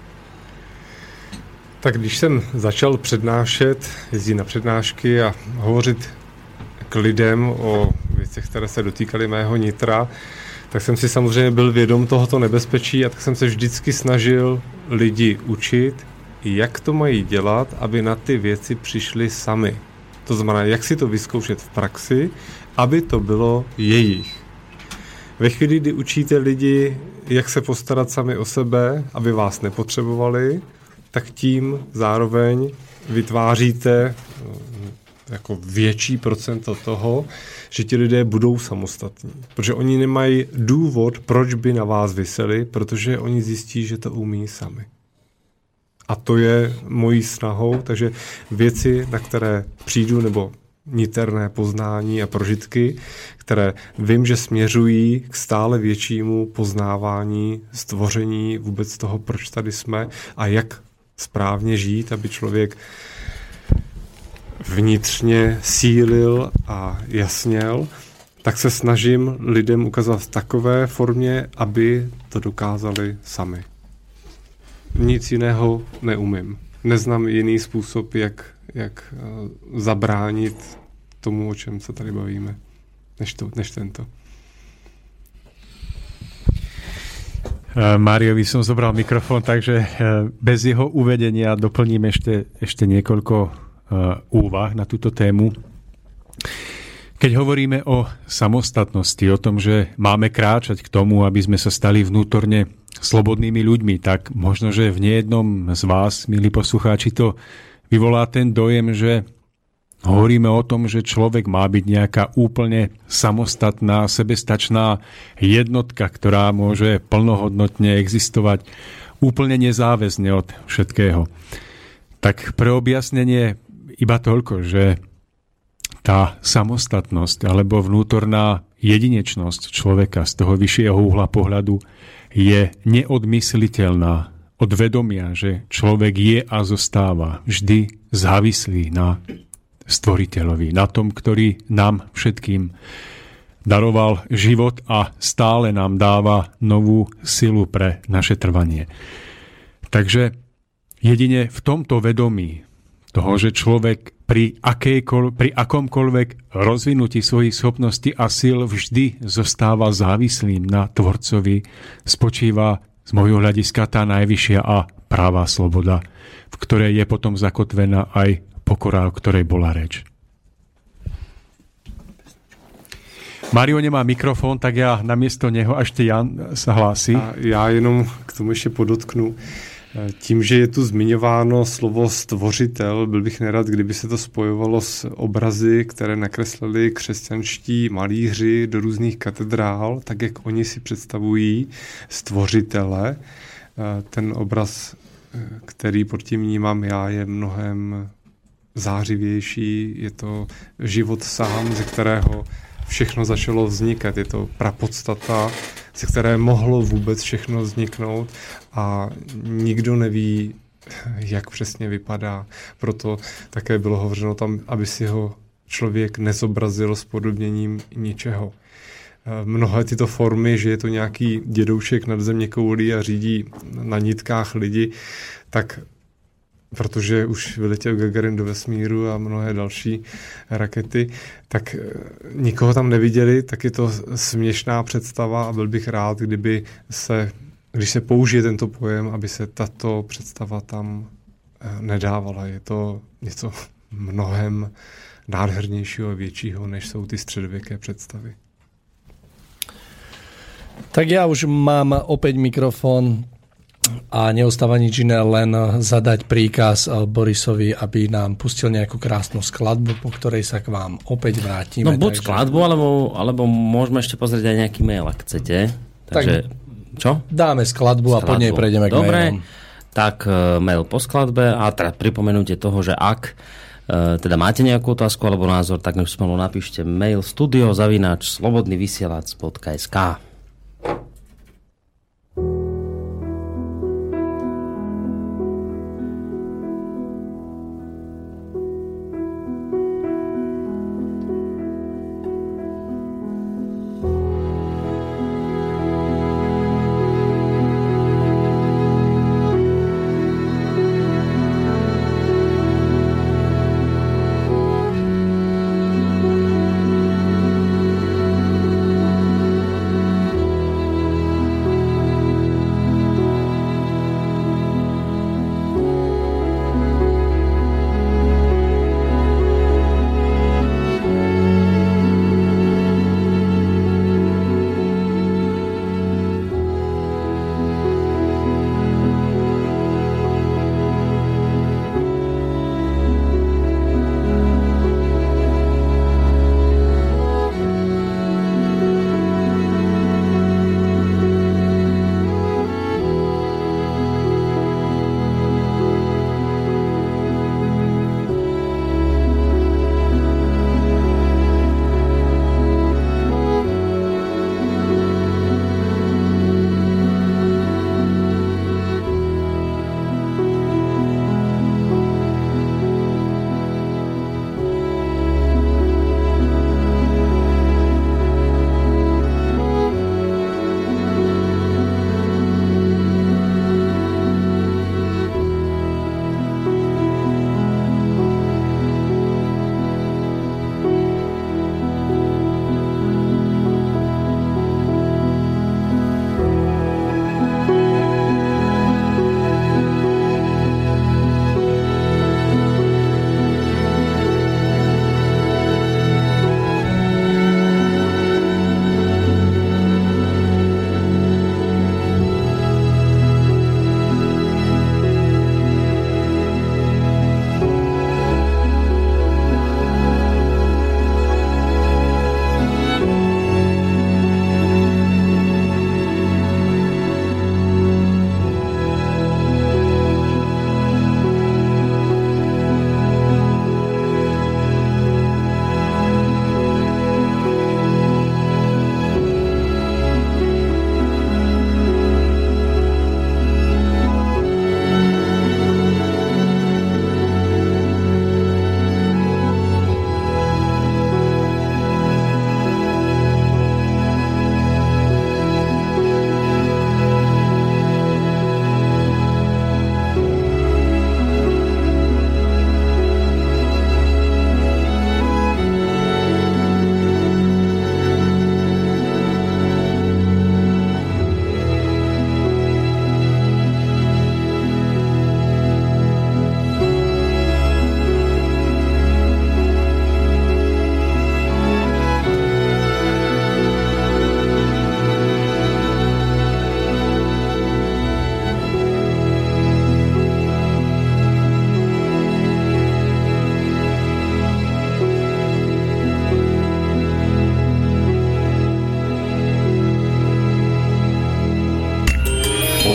Tak když jsem začal přednášet, jezdit na přednášky a hovořit k lidem o věcech, které se dotýkaly mého nitra, tak jsem si samozřejmě byl vědom tohoto nebezpečí a tak jsem se vždycky snažil lidi učit, jak to mají dělat, aby na ty věci přišli sami. To znamená, jak si to vyzkoušet v praxi, aby to bylo jejich. Ve chvíli, kdy učíte lidi, jak se postarat sami o sebe, aby vás nepotřebovali, tak tím zároveň vytváříte jako větší procento toho, že ti lidé budou samostatní. Protože oni nemají důvod, proč by na vás viseli, protože oni zjistí, že to umí sami. A to je mojí snahou, takže věci, na které přijdu, nebo niterné poznání a prožitky, které vím, že směřují k stále většímu poznávání, stvoření vůbec toho, proč tady jsme a jak správně žít, aby člověk vnitřně sílil a jasněl, tak se snažím lidem ukázat v takové formě, aby to dokázali sami. Nic jiného neumím. Neznám jiný způsob, jak zabránit tomu, o čem se tady bavíme, než tento. Máriovi som zobral mikrofón, takže bez jeho uvedenia doplním ešte niekoľko úvah na túto tému. Keď hovoríme o samostatnosti, o tom, že máme kráčať k tomu, aby sme sa stali vnútorne slobodnými ľuďmi, tak možno, že v nejednom z vás, milí poslucháči, to vyvolá ten dojem, že hovoríme o tom, že človek má byť nejaká úplne samostatná, sebestačná jednotka, ktorá môže plnohodnotne existovať úplne nezáväzne od všetkého. Tak pre objasnenie iba toľko, že tá samostatnosť alebo vnútorná jedinečnosť človeka z toho vyššieho uhla pohľadu je neodmysliteľná od vedomia, že človek je a zostáva vždy závislý na stvoriteľovi, na tom, ktorý nám všetkým daroval život a stále nám dáva novú silu pre naše trvanie. Takže Jedine v tomto vedomí toho, že človek pri akomkoľvek rozvinutí svojich schopností a síl vždy zostáva závislým na tvorcovi, spočíva z môjho hľadiska tá najvyššia a práva sloboda, v ktorej je potom zakotvená aj pokora, o ktorej bola reč. Mario nemá mikrofon, tak já namiesto něho, až ty Jan se hlásí. A já jenom k tomu ještě podotknu. Tím, že je tu zmiňováno slovo stvořitel, byl bych nerad, kdyby se to spojovalo s obrazy, které nakreslili křesťanští malíři do různých katedrál, tak jak oni si představují stvořitele. Ten obraz, který pod tím vnímám já, je mnohem zářivější. Je to život sám, ze kterého všechno začalo vznikat. Je to prapodstata, ze které mohlo vůbec všechno vzniknout a nikdo neví, jak přesně vypadá. Proto také bylo hovořeno tam, aby si ho člověk nezobrazil s podobněním ničeho. Mnohé tyto formy, že je to nějaký dědoušek nad zeměkoulí a řídí na nitkách lidi, tak protože už vyletěl Gagarin do vesmíru a mnohé další rakety, tak nikoho tam neviděli, tak je to směšná představa a byl bych rád, když se použije tento pojem, aby se tato představa tam nedávala. Je to něco mnohem nádhernějšího a většího, než jsou ty středověké představy. Tak ja už mám opäť mikrofón a neostáva nič iné, len zadať príkaz Borisovi, aby nám pustil nejakú krásnu skladbu, po ktorej sa k vám opäť vrátime. No buď skladbu, alebo môžeme ešte pozrieť aj nejaký mail, ak chcete. Takže, čo? Dáme skladbu a po nej prejdeme k mailom. Tak mail po skladbe a teda pripomenutie toho, že ak teda máte nejakú otázku alebo názor, tak spolu napíšte mail studio@slobodnyvysielac.sk.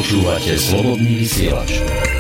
Počúvate Slobodný vysielač.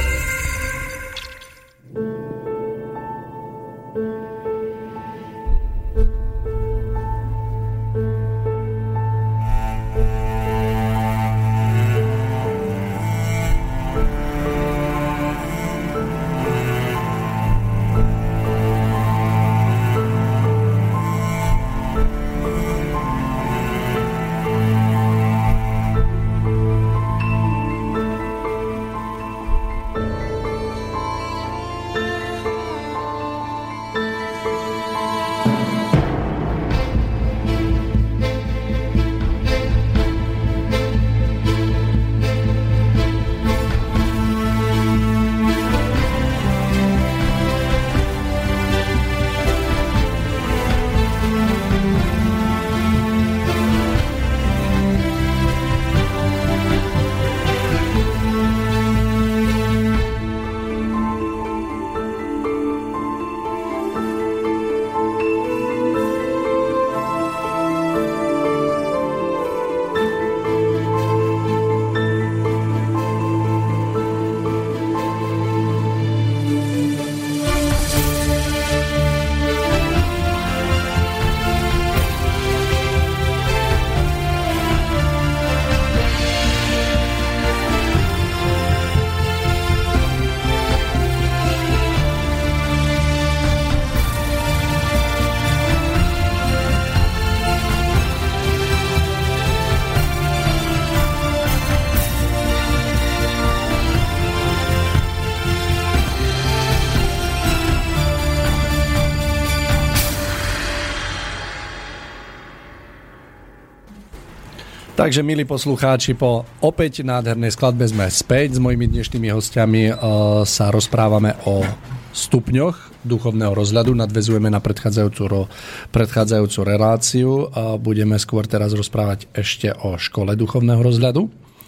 Takže, milí poslucháči, po opäť nádhernej skladbe sme späť. S mojimi dnešnými hostiami sa rozprávame o stupňoch duchovného rozhľadu. Nadväzujeme na predchádzajúcu reláciu. Budeme skôr teraz rozprávať ešte o škole duchovného rozhľadu.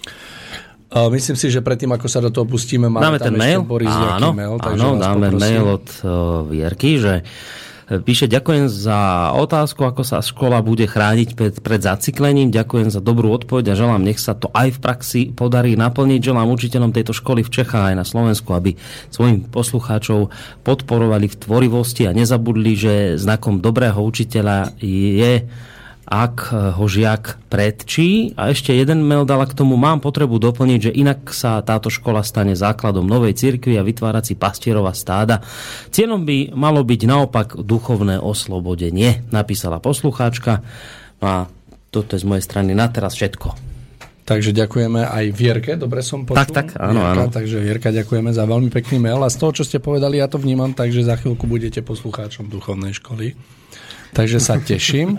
Myslím si, že predtým, ako sa do toho pustíme, máme tam ten ešte mail. Boris nejaký mail. Áno, dáme poprosím. Mail od Vierky, že píše: ďakujem za otázku, ako sa škola bude chrániť pred zacyklením. Ďakujem za dobrú odpoveď a želám, nech sa to aj v praxi podarí naplniť. Želám učiteľom tejto školy v Čechách aj na Slovensku, aby svojim poslucháčov podporovali v tvorivosti a nezabudli, že znakom dobrého učiteľa je, ak ho žiak predčí. A ešte jeden mail dala k tomu: mám potrebu doplniť, že inak sa táto škola stane základom novej cirkvi a vytvárací pastierova stáda. Cieľom by malo byť naopak duchovné oslobodenie, napísala poslucháčka. A toto je z mojej strany na teraz všetko. Takže ďakujeme aj Vierke, dobre som počul. Tak, áno, Vierka, áno. Takže Vierka, ďakujeme za veľmi pekný mail a z toho, čo ste povedali, ja to vnímam, takže za chvíľku budete poslucháčom duchovnej školy. Takže sa teším.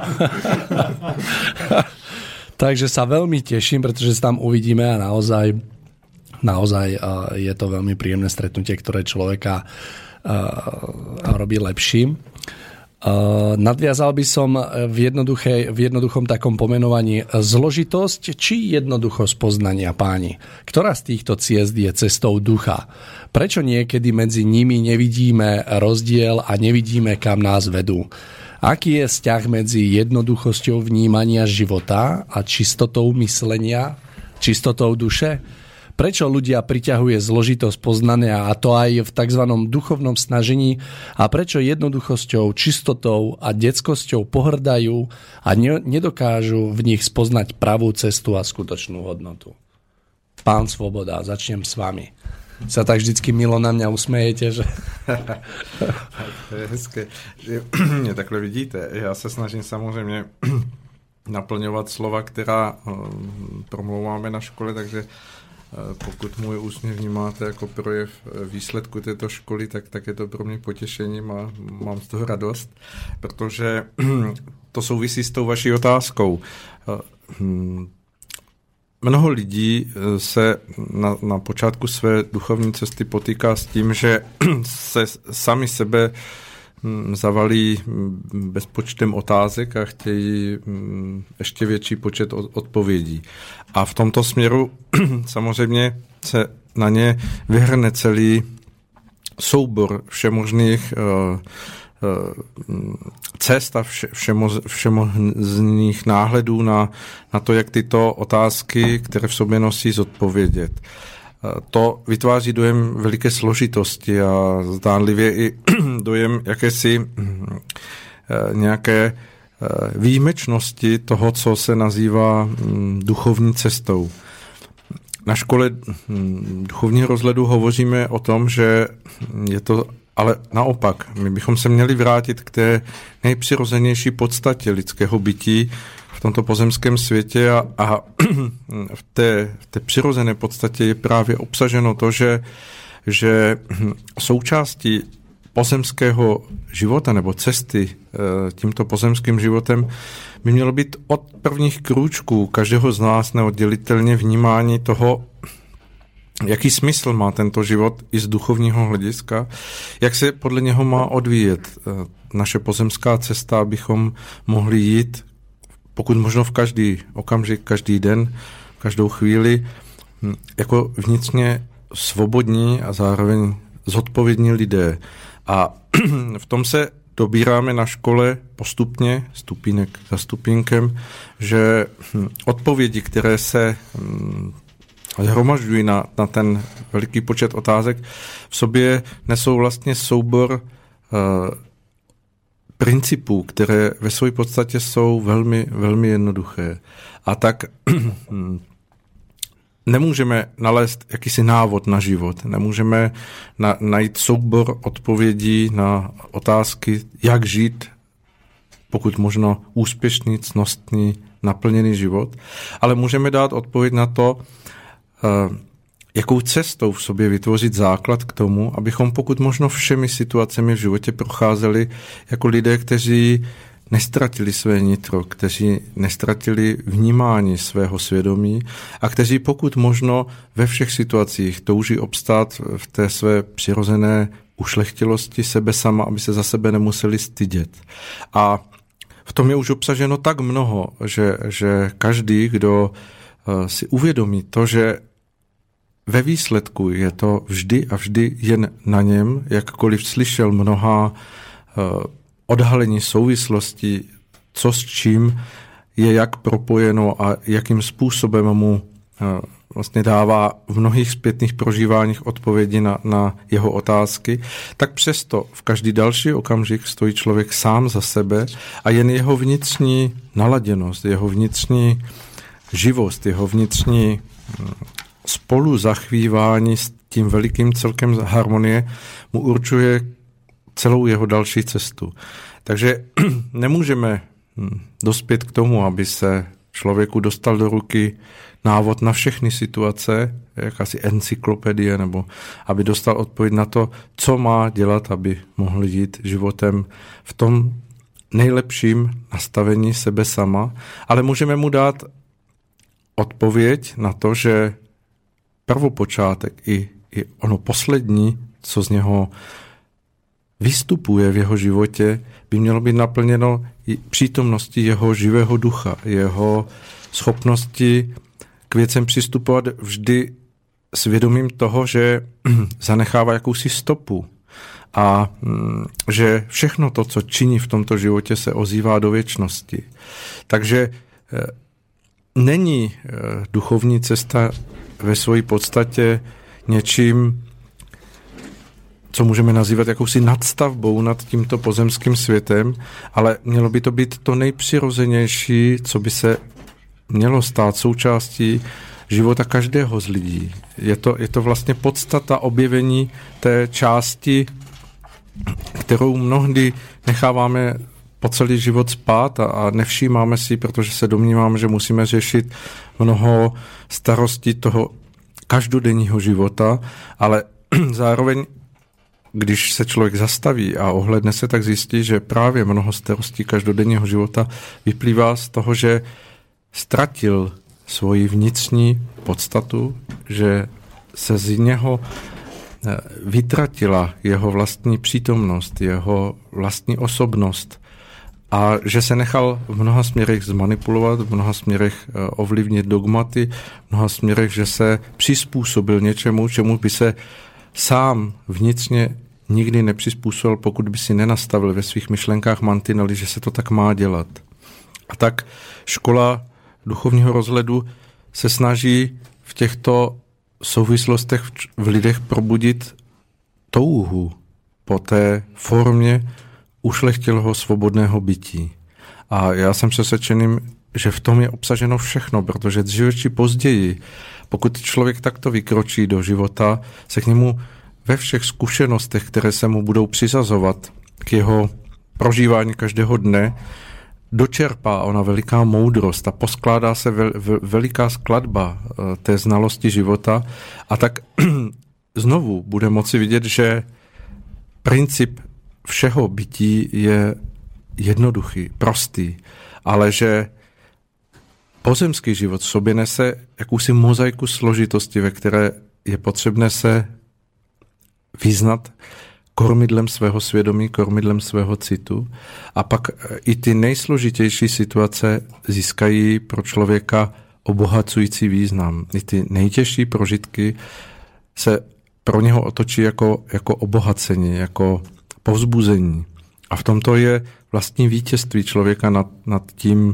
Takže sa veľmi teším, pretože sa tam uvidíme a naozaj je to veľmi príjemné stretnutie, ktoré človeka robí lepším. Nadviazal by som v jednoduchom takom pomenovaní zložitosť či jednoduchosť poznania, páni. Ktorá z týchto ciest je cestou ducha? Prečo niekedy medzi nimi nevidíme rozdiel a nevidíme, kam nás vedú? Aký je vzťah medzi jednoduchosťou vnímania života a čistotou myslenia, čistotou duše? Prečo ľudia priťahuje zložitosť poznania, a to aj v tzv. Duchovnom snažení, a prečo jednoduchosťou, čistotou a detskosťou pohrdajú a nedokážu v nich spoznať pravú cestu a skutočnú hodnotu? Pán Svoboda, začnem s vami. Sa tak vždycky milo na mňa usmejete, že... To je hezké, že mě takhle vidíte. Já se snažím samozřejmě naplňovat slova, která promlouváme na škole, takže pokud můj úsměv vnímáte jako projev výsledku této školy, tak je to pro mě potěšením a mám z toho radost, protože to souvisí s tou vaší otázkou. Mnoho lidí se na počátku své duchovní cesty potýká s tím, že se sami sebe zavalí bezpočtem otázek a chtějí ještě větší počet odpovědí. A v tomto směru samozřejmě se na ně vyhrne celý soubor všemožných cest a všemožných náhledů na to, jak tyto otázky, které v sobě nosí, zodpovědět. To vytváří dojem veliké složitosti a zdánlivě i dojem jakési nějaké výjimečnosti toho, co se nazývá duchovní cestou. Na škole duchovního rozhledu hovoříme o tom, že je to ale naopak. My bychom se měli vrátit k té nejpřirozenější podstatě lidského bytí v tomto pozemském světě a v té přirozené podstatě je právě obsaženo to, že součástí pozemského života nebo cesty tímto pozemským životem by mělo být od prvních krůčků každého z nás neoddělitelně vnímání toho, jaký smysl má tento život i z duchovního hlediska, jak se podle něho má odvíjet naše pozemská cesta, abychom mohli jít pokud možno v každý okamžik, každý den, každou chvíli jako vnitřně svobodní a zároveň zodpovědní lidé. A v tom se dobíráme na škole postupně, stupínek za stupínkem, že odpovědi, které se zhromažďují na ten veliký počet otázek, v sobě nesou vlastně soubor principů, které ve své podstatě jsou velmi, velmi jednoduché. A tak nemůžeme nalézt jakýsi návod na život, nemůžeme najít soubor odpovědí na otázky, jak žít, pokud možno úspěšný, cnostný, naplněný život, ale můžeme dát odpověď na to, jakou cestou v sobě vytvořit základ k tomu, abychom pokud možno všemi situacemi v životě procházeli jako lidé, kteří nestratili své nitro, kteří nestratili vnímání svého svědomí a kteří pokud možno ve všech situacích touží obstát v té své přirozené ušlechtilosti sebe sama, aby se za sebe nemuseli stydět. A v tom je už obsaženo tak mnoho, že každý, kdo si uvědomí to, že ve výsledku je to vždy a vždy jen na něm, jakkoliv slyšel mnoha odhalení souvislostí, co s čím je jak propojeno a jakým způsobem mu vlastně dává v mnohých zpětných prožíváních odpovědi na jeho otázky, tak přesto v každý další okamžik stojí člověk sám za sebe a jen jeho vnitřní naladěnost, jeho vnitřní živost, jeho vnitřní spolu zachvívání s tím velikým celkem harmonie mu určuje celou jeho další cestu. Takže nemůžeme dospět k tomu, aby se člověku dostal do ruky návod na všechny situace, jakási encyklopedie, nebo aby dostal odpověď na to, co má dělat, aby mohl jít životem v tom nejlepším nastavení sebe sama, ale můžeme mu dát odpověď na to, že prvopočátek i ono poslední, co z něho vystupuje v jeho životě, by mělo být naplněno i přítomností jeho živého ducha, jeho schopnosti k věcem přistupovat vždy svědomím toho, že zanechává jakousi stopu a že všechno to, co činí v tomto životě, se ozývá do věčnosti. Takže není duchovní cesta ve své podstatě něčím, co můžeme nazývat jakousi nadstavbou nad tímto pozemským světem, ale mělo by to být to nejpřirozenější, co by se mělo stát součástí života každého z lidí. Je to vlastně podstata objevení té části, kterou mnohdy necháváme po celý život spát a nevšímáme si, protože se domníváme, že musíme řešit mnoho starostí toho každodenního života, ale zároveň, když se člověk zastaví a ohledne se, tak zjistí, že právě mnoho starostí každodenního života vyplývá z toho, že ztratil svoji vnitřní podstatu, že se z něho vytratila jeho vlastní přítomnost, jeho vlastní osobnost a že se nechal v mnoha směrech zmanipulovat, v mnoha směrech ovlivnit dogmaty, v mnoha směrech, že se přizpůsobil něčemu, čemu by se sám vnitřně nikdy nepřizpůsobil, pokud by si nenastavil ve svých myšlenkách mantinely, že se to tak má dělat. A tak škola duchovního rozhledu se snaží v těchto souvislostech v lidech probudit touhu po té formě ušlechtilého svobodného bytí. A já jsem přesvědčený, že v tom je obsaženo všechno, protože dříve či později, pokud člověk takto vykročí do života, se k němu ve všech zkušenostech, které se mu budou přizazovat k jeho prožívání každého dne, dočerpá ona veliká moudrost a poskládá se veliká skladba té znalosti života a tak znovu bude moci vidět, že princip všeho bytí je jednoduchý, prostý, ale že pozemský život v sobě nese jakousi mozaiku složitosti, ve které je potřebné se vyznat kormidlem svého svědomí, kormidlem svého citu a pak i ty nejsložitější situace získají pro člověka obohacující význam. I ty nejtěžší prožitky se pro něho otočí jako obohacení, jako povzbuzení. A v tomto je vlastní vítězství člověka nad tím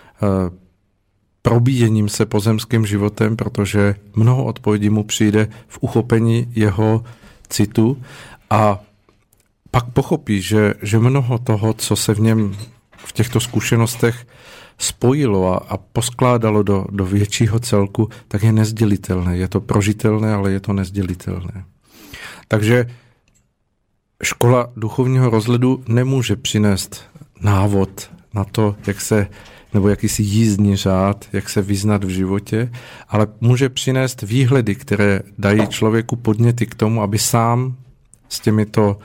probíjením se pozemským životem, protože mnoho odpovědí mu přijde v uchopení jeho citu a pak pochopí, že mnoho toho, co se v něm v těchto zkušenostech spojilo a poskládalo do většího celku, tak je nezdělitelné. Je to prožitelné, ale je to nezdělitelné. Takže škola duchovního rozhledu nemůže přinést návod na to, nebo jakýsi jízdní řád, jak se vyznat v životě, ale může přinést výhledy, které dají člověku podněty k tomu, aby sám s těmito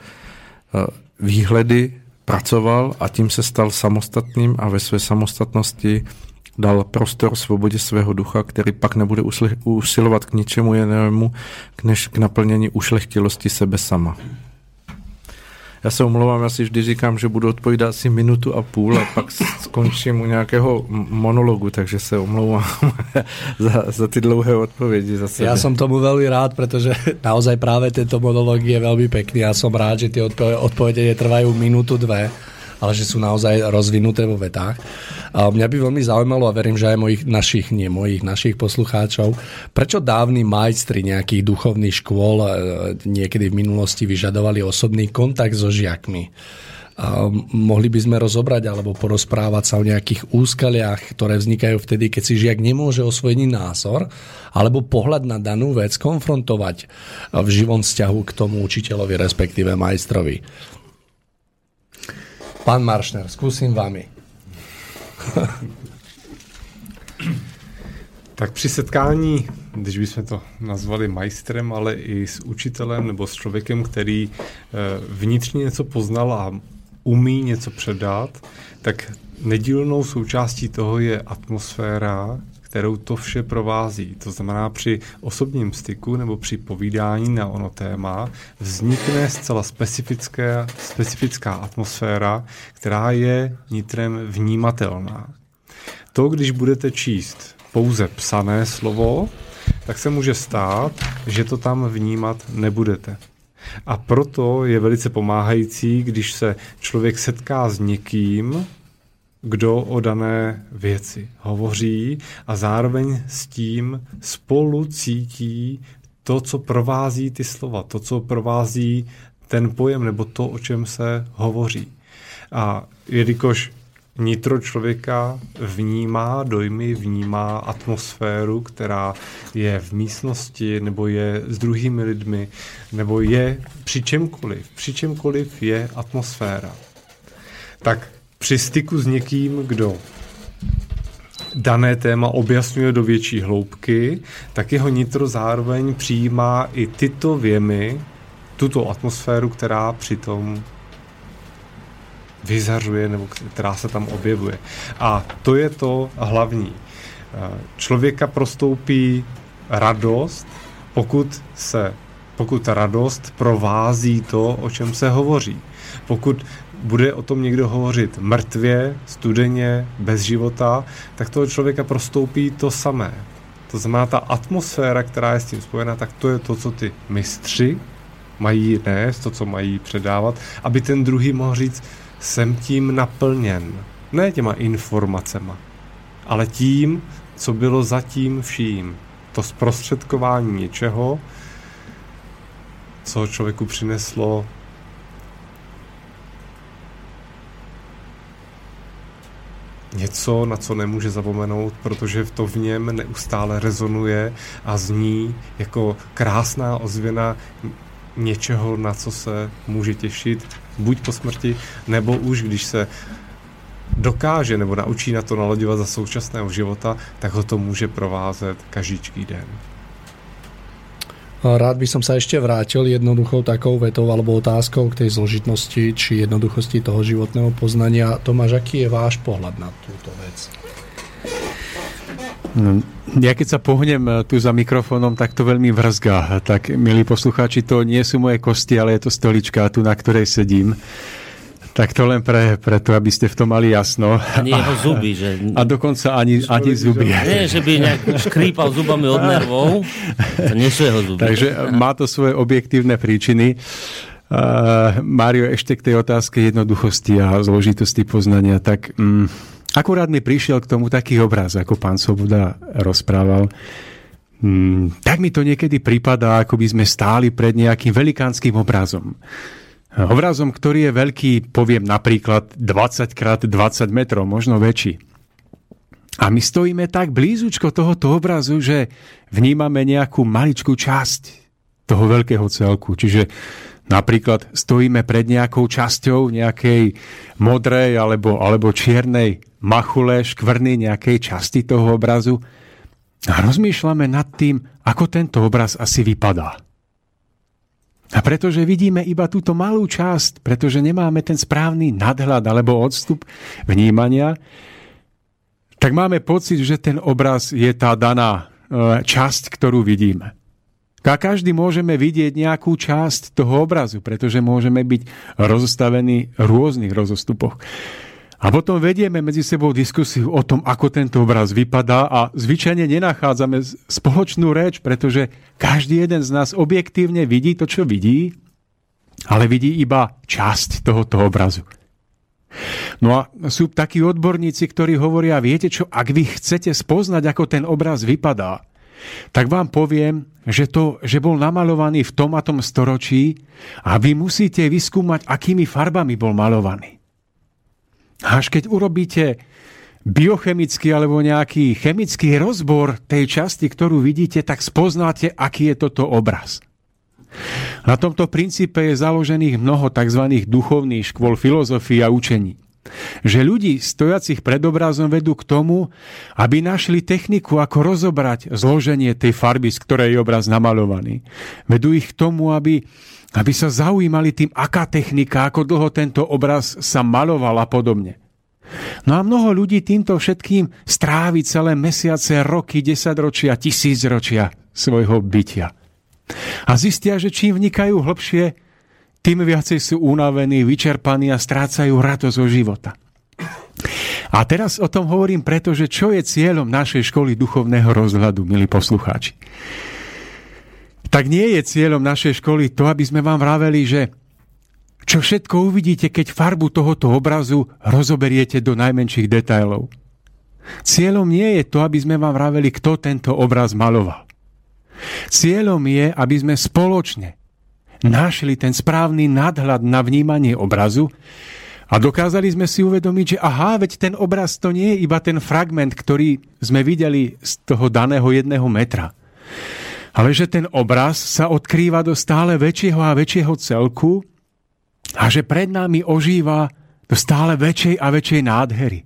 výhledy pracoval a tím se stal samostatným a ve své samostatnosti dal prostor svobodě svého ducha, který pak nebude usilovat k ničemu jinému, než k naplnění ušlechtilosti sebe sama. Já se omlouvám, já si vždy říkám, že budu odpovídat asi 1,5 minuty a pak skončím u nějakého monologu, takže se omlouvám za ty dlouhé odpovědi. Za sebe. Ja som tomu veľmi rád, pretože naozaj práve tento monolog je veľmi pekný. Ja som rád, že tie odpovede netrvajú 1-2 minúty, ale že sú naozaj rozvinuté vo vetách. A mňa by veľmi zaujímalo, a verím, že aj našich poslucháčov, prečo dávni majstri nejakých duchovných škôl niekedy v minulosti vyžadovali osobný kontakt so žiakmi. A mohli by sme rozobrať alebo porozprávať sa o nejakých úskaliach, ktoré vznikajú vtedy, keď si žiak nemôže osvojený názor alebo pohľad na danú vec konfrontovať v živom vzťahu k tomu učiteľovi, respektíve majstrovi. Pán Maršner, skúsim vami. Tak při setkání, když bychom to nazvali majstrem, ale i s učitelem nebo s člověkem, který vnitřně něco poznal a umí něco předat, tak nedílnou součástí toho je atmosféra, kterou to vše provází. To znamená, při osobním styku nebo při povídání na ono téma vznikne zcela specifická atmosféra, která je nitrem vnímatelná. To, když budete číst pouze psané slovo, tak se může stát, že to tam vnímat nebudete. A proto je velice pomáhající, když se člověk setká s někým, kdo o dané věci hovoří a zároveň s tím spolu cítí to, co provází ty slova, to, co provází ten pojem nebo to, o čem se hovoří. A jelikož nitro člověka vnímá dojmy, vnímá atmosféru, která je v místnosti, nebo je s druhými lidmi, nebo je při čemkoliv je atmosféra. Tak při styku s někým, kdo dané téma objasňuje do větší hloubky, tak jeho nitro zároveň přijímá i tyto věmy, tuto atmosféru, která přitom vyzařuje nebo která se tam objevuje. A to je to hlavní. Člověka prostoupí radost, pokud radost provází to, o čem se hovoří. Pokud bude o tom někdo hovořit mrtvě, studeně, bez života, tak toho člověka prostoupí to samé. To znamená, ta atmosféra, která je s tím spojena, tak to je to, co ty mistři mají nést, to, co mají předávat, aby ten druhý mohl říct, jsem tím naplněn. Ne těma informacema, ale tím, co bylo zatím vším. To zprostředkování něčeho, co člověku přineslo něco, na co nemůže zapomenout, protože to v něm neustále rezonuje a zní jako krásná ozvěna něčeho, na co se může těšit, buď po smrti, nebo už když se dokáže nebo naučí na to nalaďovat za současného života, tak ho to může provázet každý den. Rád by som sa ešte vrátil jednoduchou takou vetou alebo otázkou k tej zložitnosti či jednoduchosti toho životného poznania. Tomáš, aký je váš pohľad na túto vec? Ja keď sa pohnem tu za mikrofónom, tak to veľmi vrzgá. Tak, milí poslucháči, to nie sú moje kosti, ale je to stolička tu, na ktorej sedím. Tak to len preto, aby ste v tom mali jasno. Ani jeho zuby. Že... A dokonca ani zuby. Nie, že by nejak škrípal zubami od nervov. To nie sú jeho zuby. Takže má to svoje objektívne príčiny. Mário, ešte k tej otázke jednoduchosti a zložitosti poznania. Tak akurát mi prišiel k tomu taký obraz, ako pán Svoboda rozprával. Tak mi to niekedy pripadá, ako by sme stáli pred nejakým velikánskym obrazom. Obrazom, ktorý je veľký, poviem napríklad 20x20 metrov, možno väčší. A my stojíme tak blízučko tohoto obrazu, že vnímame nejakú maličkú časť toho veľkého celku. Čiže napríklad stojíme pred nejakou časťou nejakej modrej alebo čiernej machule, škvrny nejakej časti toho obrazu a rozmýšľame nad tým, ako tento obraz asi vypadá. A pretože vidíme iba túto malú časť, pretože nemáme ten správny nadhľad alebo odstup vnímania, tak máme pocit, že ten obraz je tá daná časť, ktorú vidíme. A každý môžeme vidieť nejakú časť toho obrazu, pretože môžeme byť rozostavení v rôznych rozostupoch. A potom vedieme medzi sebou diskusiu o tom, ako tento obraz vypadá a zvyčajne nenachádzame spoločnú reč, pretože každý jeden z nás objektívne vidí to, čo vidí, ale vidí iba časť tohoto obrazu. No a sú takí odborníci, ktorí hovoria, viete čo, ak vy chcete spoznať, ako ten obraz vypadá, tak vám poviem, že bol namalovaný v tom a tom storočí a vy musíte vyskúmať, akými farbami bol malovaný. Až keď urobíte biochemický alebo nejaký chemický rozbor tej časti, ktorú vidíte, tak spoznáte, aký je toto obraz. Na tomto princípe je založených mnoho tzv. Duchovných škôl filozofii a učení. Že ľudí stojacich pred obrazom vedú k tomu, aby našli techniku, ako rozobrať zloženie tej farby, z ktorej je obraz namalovaný. Vedú ich k tomu, aby sa zaujímali tým, aká technika, ako dlho tento obraz sa maloval a podobne. No a mnoho ľudí týmto všetkým strávi celé mesiace, roky, 10 ročia, 1000 ročia svojho bytia. A zistia, že čím vnikajú hlbšie, tým viacej sú unavení, vyčerpaní a strácajú radosť zo života. A teraz o tom hovorím preto, že čo je cieľom našej školy duchovného rozhľadu, milí poslucháči. Tak nie je cieľom našej školy to, aby sme vám vraveli, že čo všetko uvidíte, keď farbu tohoto obrazu rozoberiete do najmenších detailov. Cieľom nie je to, aby sme vám vraveli, kto tento obraz maloval. Cieľom je, aby sme spoločne našli ten správny nadhľad na vnímanie obrazu a dokázali sme si uvedomiť, že veď ten obraz to nie je iba ten fragment, ktorý sme videli z toho daného 1 metra. Ale že ten obraz sa odkrýva do stále väčšieho a väčšieho celku a že pred nami ožíva do stále väčšej a väčšej nádhery.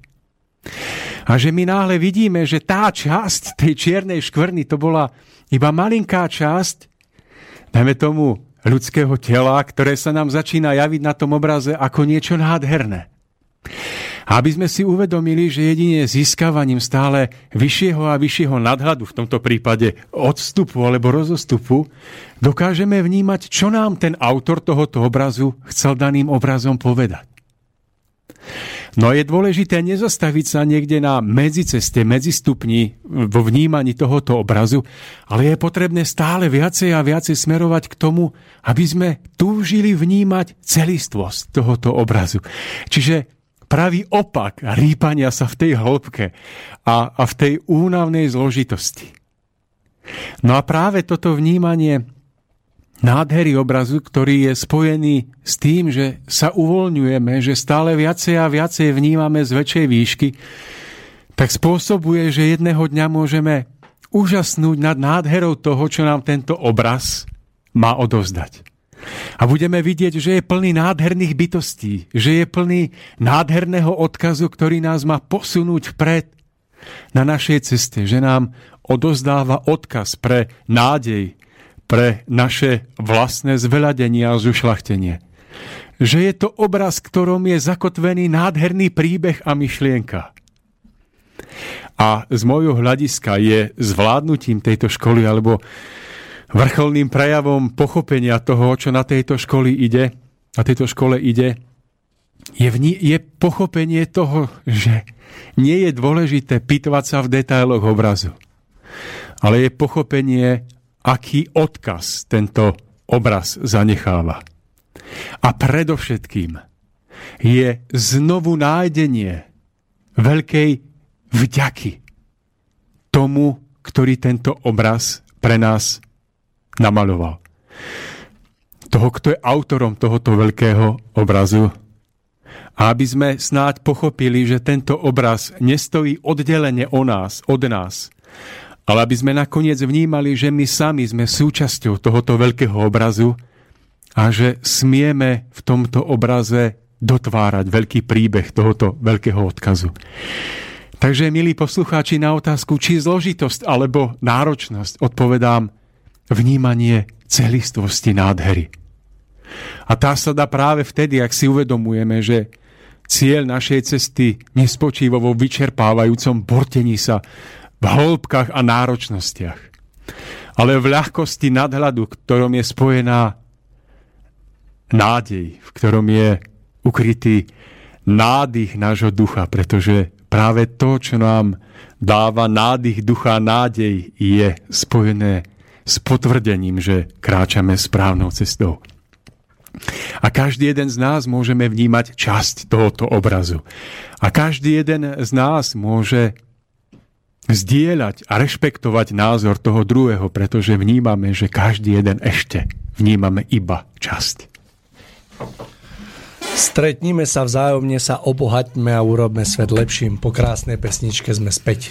A že my náhle vidíme, že tá časť tej čiernej škvrny to bola iba malinká časť, dajme tomu ľudského tela, ktoré sa nám začína javiť na tom obraze ako niečo nádherné. A aby sme si uvedomili, že jedine získavaním stále vyššieho a vyššieho nadhľadu, v tomto prípade odstupu alebo rozostupu, dokážeme vnímať, čo nám ten autor tohoto obrazu chcel daným obrazom povedať. No je dôležité nezastaviť sa niekde na medziceste, medzistupni vo vnímaní tohoto obrazu, ale je potrebné stále viacej a viacej smerovať k tomu, aby sme túžili vnímať celistvosť tohoto obrazu. Čiže pravý opak rýpania sa v tej hĺbke a v tej únavnej zložitosti. No a práve toto vnímanie nádhery obrazu, ktorý je spojený s tým, že sa uvoľňujeme, že stále viacej a viacej vnímame z väčšej výšky, tak spôsobuje, že jedného dňa môžeme úžasnúť nad nádherou toho, čo nám tento obraz má odovzdať. A budeme vidieť, že je plný nádherných bytostí, že je plný nádherného odkazu, ktorý nás má posunúť vpred na našej ceste, že nám odovzdáva odkaz pre nádej, pre naše vlastné zveľadenie a zušľachtenie. Že je to obraz, v ktorom je zakotvený nádherný príbeh a myšlienka. A z môjho hľadiska je zvládnutím tejto školy alebo vrcholným prejavom pochopenia toho, čo na tejto škole ide, je pochopenie toho, že nie je dôležité pýtovať sa v detailoch obrazu, ale je pochopenie, aký odkaz tento obraz zanecháva. A predovšetkým je znovu nájdenie veľkej vďaky tomu, ktorý tento obraz pre nás namaloval. Toho, kto je autorom tohoto veľkého obrazu. A aby sme snáď pochopili, že tento obraz nestojí oddelene od nás, ale aby sme nakoniec vnímali, že my sami sme súčasťou tohoto veľkého obrazu a že smieme v tomto obraze dotvárať veľký príbeh tohoto veľkého odkazu. Takže, milí poslucháči, na otázku, či zložitosť alebo náročnosť, odpovedám vnímanie celistvosti nádhery. A tá sa dá práve vtedy, ak si uvedomujeme, že cieľ našej cesty nespočíva vo vyčerpávajúcom bortení sa v hĺbkach a náročnostiach, ale v ľahkosti nadhľadu, v ktorom je spojená nádej, v ktorom je ukrytý nádych nášho ducha, pretože práve to, čo nám dáva nádych ducha a nádej, je spojené s potvrdením, že kráčame správnou cestou. A každý jeden z nás môžeme vnímať časť tohoto obrazu. A každý jeden z nás môže zdieľať a rešpektovať názor toho druhého, pretože vnímame, že každý jeden ešte vnímame iba časť. Stretnime sa vzájomne, sa obohaťme a urobme svet lepším. Po krásnej pesničke sme späť.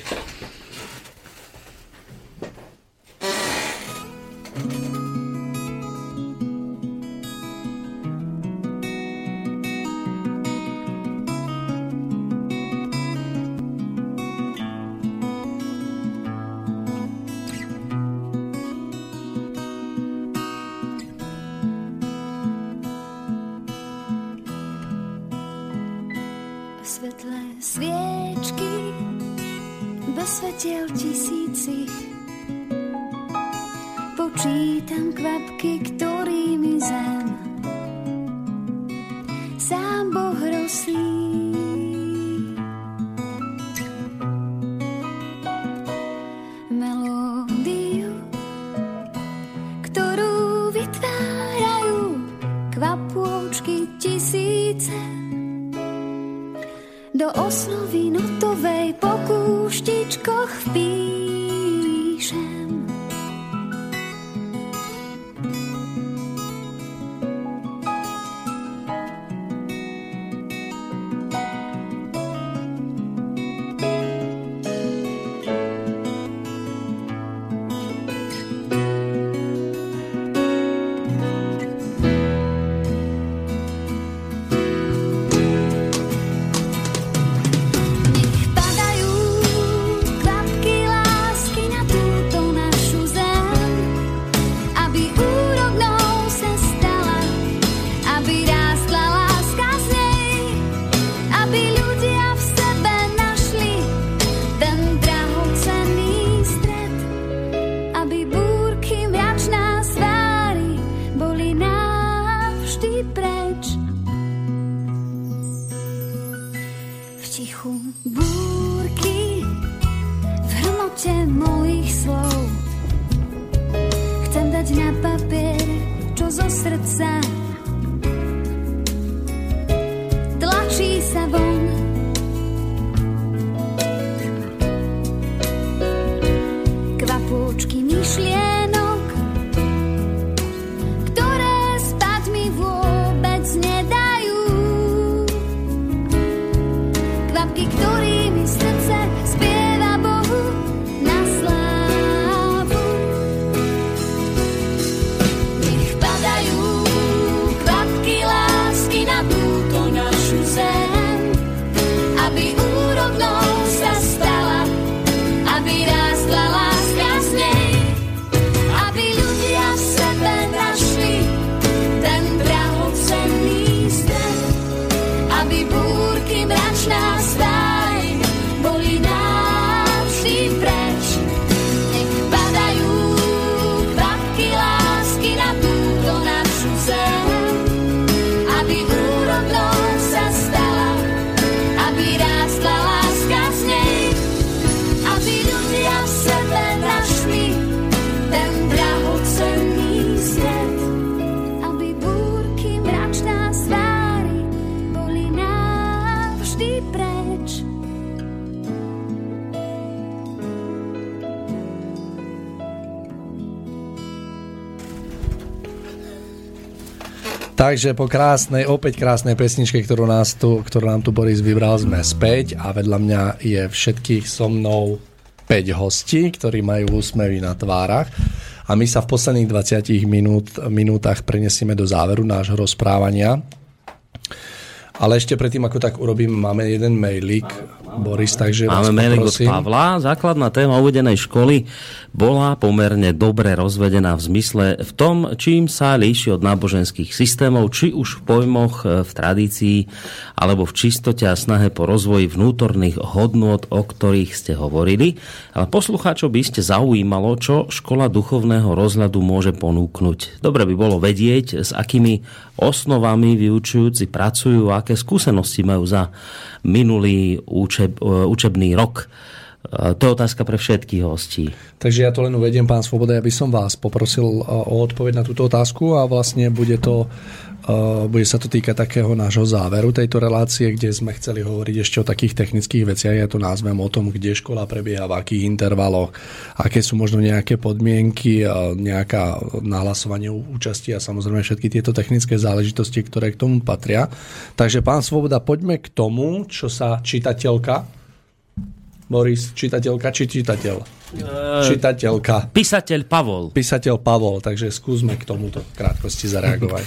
Do osnovy notovej po kúštičkoch vpíšem. Kvapky lásky na túto búrky v hromote mojich slov. Chcem dať na papier, čo zo srdca tlačí sa von. Kvapôčky myšlienok, ktoré spať mi vôbec nedajú. Kvapky, ktorými srdce spieva Bohu na slávu. Nech padajú kvapky lásky na túto našu zem, aby úrodnou sa stala, aby rástla láska z nej, aby ľudia v sebe našli ten drahocenný stred, aby búrky mračná stáj boli navždy preč. Nech padajú kvapky lásky na túto našu zem, aby úrodnou sa stala, aby rástla láska z nej, aby ľudia v sebe našli ten drahocenný svet, aby búrky mračná z tvári boli navždy preč. Takže po opäť krásnej pesničke, ktorú nám tu Boris vybral, sme späť a vedľa mňa je všetkých so mnou 5 hostí, ktorí majú úsmevy na tvárach a my sa v posledných 20 minútach prenesieme do záveru nášho rozprávania. Ale ešte predtým, ako tak urobím, máme jeden mailík, Boris, takže máme mailík od Pavla. Základná téma uvedenej školy bola pomerne dobre rozvedená v zmysle v tom, čím sa líši od náboženských systémov, či už v pojmoch, v tradícii, alebo v čistote a snahe po rozvoji vnútorných hodnôt, o ktorých ste hovorili. Ale poslucháčov by ste zaujímalo, čo škola duchovného rozhľadu môže ponúknuť. Dobre by bolo vedieť, s akými osnovami vyučujúci pracujú, aké skúsenosti majú za minulý učebný rok. To je otázka pre všetkých hostí. Takže ja to len uvediem, pán Svoboda, ja by som vás poprosil o odpoveď na túto otázku a vlastne bude sa to týkať takého nášho záveru tejto relácie, kde sme chceli hovoriť ešte o takých technických veciach. Ja to nazvem o tom, kde škola prebieha, v akých intervaloch, aké sú možno nejaké podmienky, nejaká nahlasovanie účasti a samozrejme všetky tieto technické záležitosti, ktoré k tomu patria. Takže pán Svoboda, poďme k tomu, čo sa čitateľka Boris, čitateľka či čitateľ? Čitateľka. Písateľ Pavol. Písateľ Pavol, takže skúsme k tomuto v krátkosti zareagovať.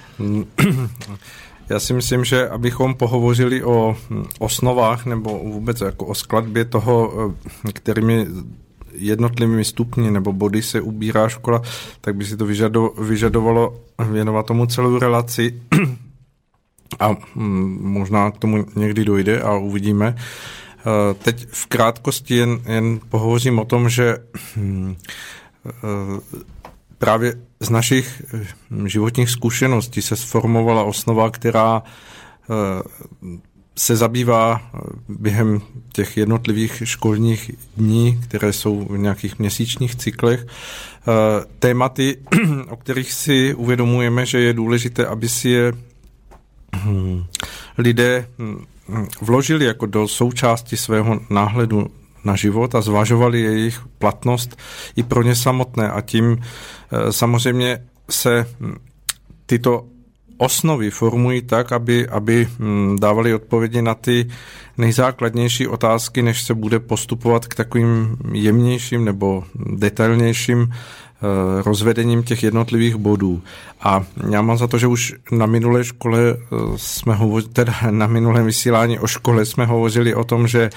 Já si myslím, že abychom pohovořili o osnovách nebo vůbec jako o skladbě toho, kterými jednotlivými stupni nebo body se ubírá škola, tak by si to vyžadovalo věnovat tomu celou relaci a možná k tomu někdy dojde a uvidíme. Teď v krátkosti jen pohovořím o tom, že právě z našich životních zkušeností se sformovala osnova, která se zabývá během těch jednotlivých školních dní, které jsou v nějakých měsíčních cyklech, tématy, o kterých si uvědomujeme, že je důležité, aby si je lidé vložili jako do součásti svého náhledu na život a zvažovali jejich platnost i pro ně samotné. A tím samozřejmě se tyto osnovy formují tak, aby dávali odpovědi na ty nejzákladnější otázky, než se bude postupovat k takovým jemnějším nebo detailnějším rozvedením těch jednotlivých bodů. A já mám za to, že už na minulé škole na minulém vysílání o škole jsme hovořili o tom, že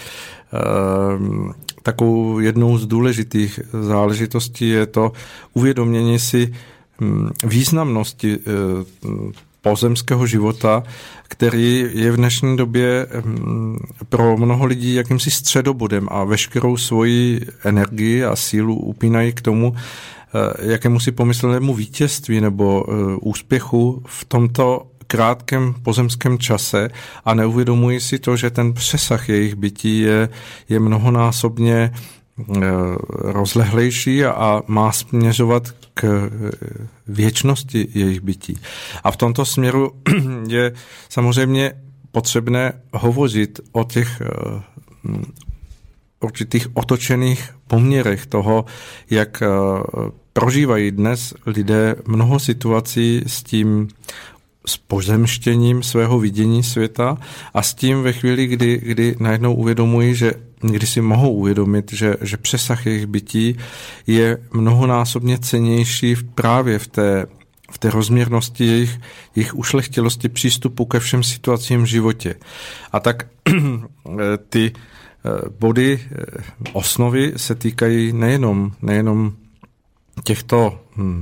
takovou jednou z důležitých záležitostí je to uvědomění si významnosti pozemského života, který je v dnešní době pro mnoho lidí jakýmsi středobodem a veškerou svoji energii a sílu upínají k tomu, jakému si pomyslnému vítězství nebo úspěchu v tomto krátkém pozemském čase a neuvědomují si to, že ten přesah jejich bytí je mnohonásobně rozlehlejší a má směřovat k věčnosti jejich bytí. A v tomto směru je samozřejmě potřebné hovořit o těch určitých otočených poměrech toho, jak prožívají dnes lidé mnoho situací s pozemštěním svého vidění světa a s tím ve chvíli, kdy najednou uvědomují, kdy si mohou uvědomit, že přesah jejich bytí je mnohonásobně cennější právě v té rozměrnosti jejich ušlechtilosti přístupu ke všem situacím v životě. A tak ty body osnovy se týkají nejenom těchto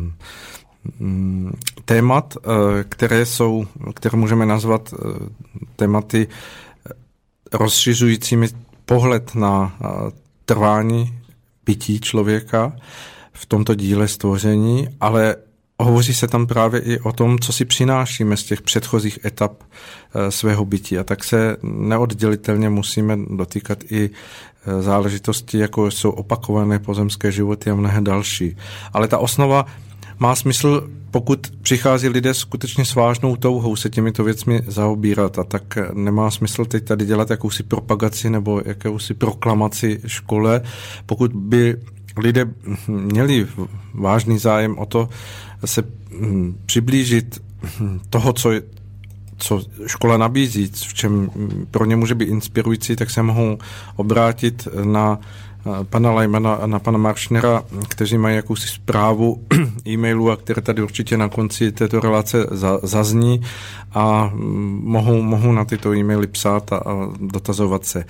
témat, které můžeme nazvat tématy rozšiřujícími pohled na trvání bytí člověka v tomto díle stvoření, ale hovoří se tam právě i o tom, co si přinášíme z těch předchozích etap svého bytí. A tak se neoddělitelně musíme dotýkat i záležitosti, jako jsou opakované pozemské životy a mnohé další. Ale ta osnova má smysl, pokud přichází lidé skutečně s vážnou touhou se těmito věcmi zaobírat, a tak nemá smysl teď tady dělat jakousi propagaci nebo jakousi proklamaci škole. Pokud by lidé měli vážný zájem o to se přiblížit toho, co škola nabízí, v čem pro ně může být inspirující, tak se mohou obrátit na pana Lajmana a na pana Maršnera, kteří mají jakousi zprávu e-mailu, a které tady určitě na konci této relace zazní, a mohou na tyto e-maily psát a dotazovat se.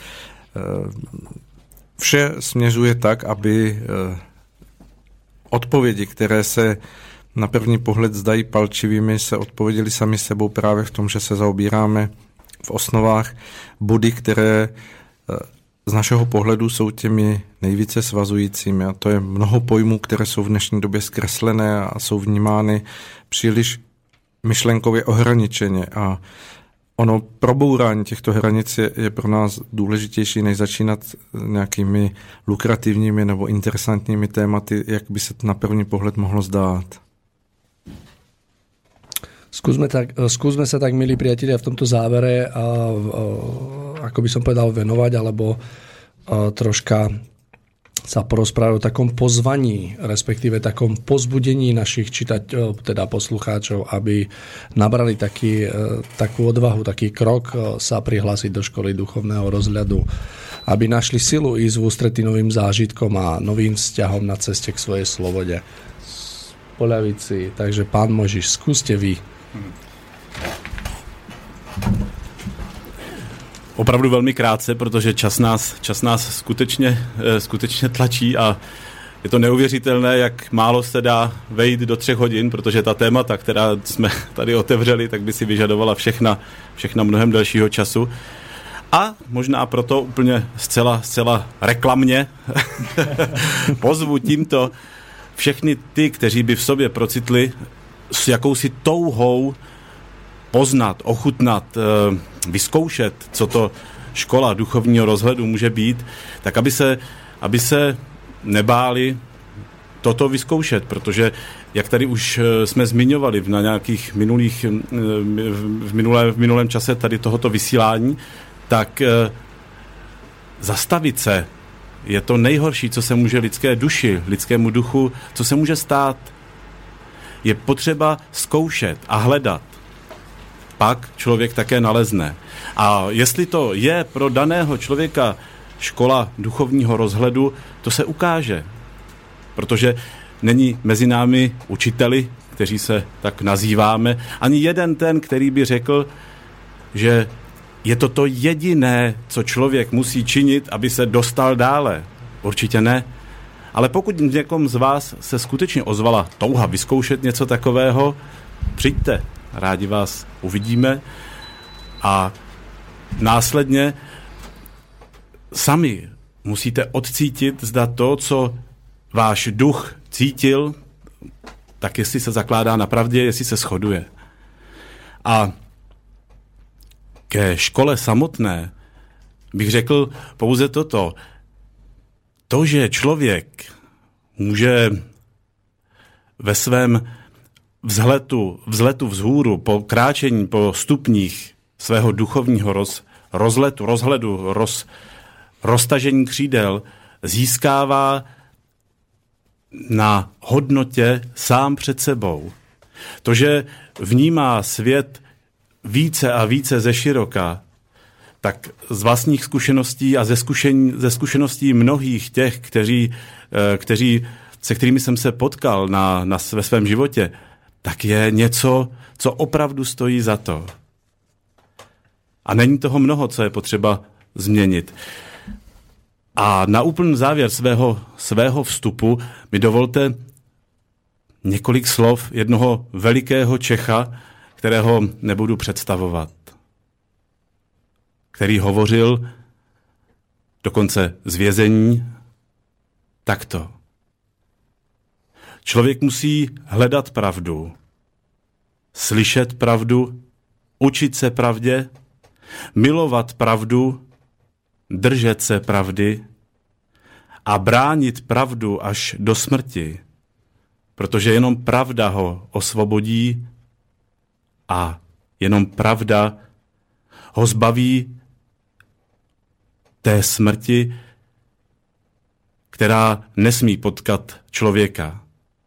Vše směřuje tak, aby odpovědi, které se na první pohled zdají palčivými, se odpověděli sami sebou právě v tom, že se zaobíráme v osnovách body, které z našeho pohledu jsou těmi nejvíce svazujícími. A to je mnoho pojmů, které jsou v dnešní době zkreslené a jsou vnímány příliš myšlenkově ohraničeně. A ono probourání těchto hranic je pro nás důležitější, než začínat nějakými lukrativními nebo interesantními tématy, jak by se na první pohled mohlo zdát. Skúsme sa tak, milí priatelia, v tomto závere ako by som povedal, venovať, alebo troška sa porozprávať o takom pozvaní, respektíve takom pozbudení našich teda poslucháčov, aby nabrali takú odvahu, taký krok sa prihlásiť do školy duchovného rozhľadu, aby našli silu ísť v ústretí novým zážitkom a novým vzťahom na ceste k svojej slobode. Poľaviť si. Takže pán Mojžiš, skúste vy. Opravdu velmi krátce, protože čas nás skutečně tlačí a je to neuvěřitelné, jak málo se dá vejít do 3 hodin, protože ta témata, která jsme tady otevřeli, tak by si vyžadovala všechna mnohem delšího času. A možná proto úplně zcela reklamně pozvu tímto všechny ty, kteří by v sobě procitli s jakousi touhou poznat, ochutnat, vyzkoušet, co to škola duchovního rozhledu může být, tak aby se nebáli toto vyzkoušet, protože jak tady už jsme zmiňovali na nějakých v minulém čase tady tohoto vysílání, tak zastavit se je to nejhorší, co se může lidské duši, lidskému duchu, co se může stát. Je potřeba zkoušet a hledat. Pak člověk také nalezne. A jestli to je pro daného člověka škola duchovního rozhledu, to se ukáže. Protože není mezi námi učiteli, kteří se tak nazýváme, ani jeden ten, který by řekl, že je to jediné, co člověk musí činit, aby se dostal dále. Určitě ne. Ale pokud někom z vás se skutečně ozvala touha vyzkoušet něco takového, přijďte, rádi vás uvidíme a následně sami musíte odcítit, zda to, co váš duch cítil, tak jestli se zakládá na pravdě, jestli se shoduje. A ke škole samotné bych řekl pouze toto. To, že člověk může ve svém vzletu vzhůru, po kráčení po stupních svého duchovního rozhledu, roztažení křídel, získává na hodnotě sám před sebou. To, že vnímá svět více a více ze široka, tak z vlastních zkušeností a ze zkušeností mnohých těch, se kterými jsem se potkal ve svém životě, tak je něco, co opravdu stojí za to. A není toho mnoho, co je potřeba změnit. A na úplný závěr svého vstupu mi dovolte několik slov jednoho velikého Čecha, kterého nebudu představovat, který hovořil dokonce z vězení takto. Člověk musí hledat pravdu, slyšet pravdu, učit se pravdě, milovat pravdu, držet se pravdy a bránit pravdu až do smrti, protože jenom pravda ho osvobodí a jenom pravda ho zbaví té smrti, která nesmí potkat člověka.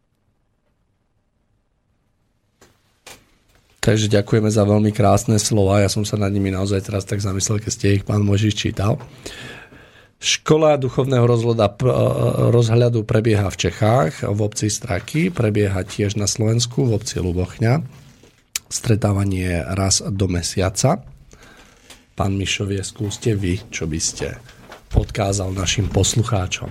Takže ďakujeme za veľmi krásne slova. Ja som sa nad nimi naozaj teraz tak zamyslel, keď ste ich pán Mojžiš čítal. Škola duchovného rozhľadu prebieha v Čechách, v obci Straky, prebieha tiež na Slovensku, v obci Ľubochňa. Stretávanie raz do mesiaca. Pán Mišovie, skúste vy, čo by ste odkázal našim poslucháčom.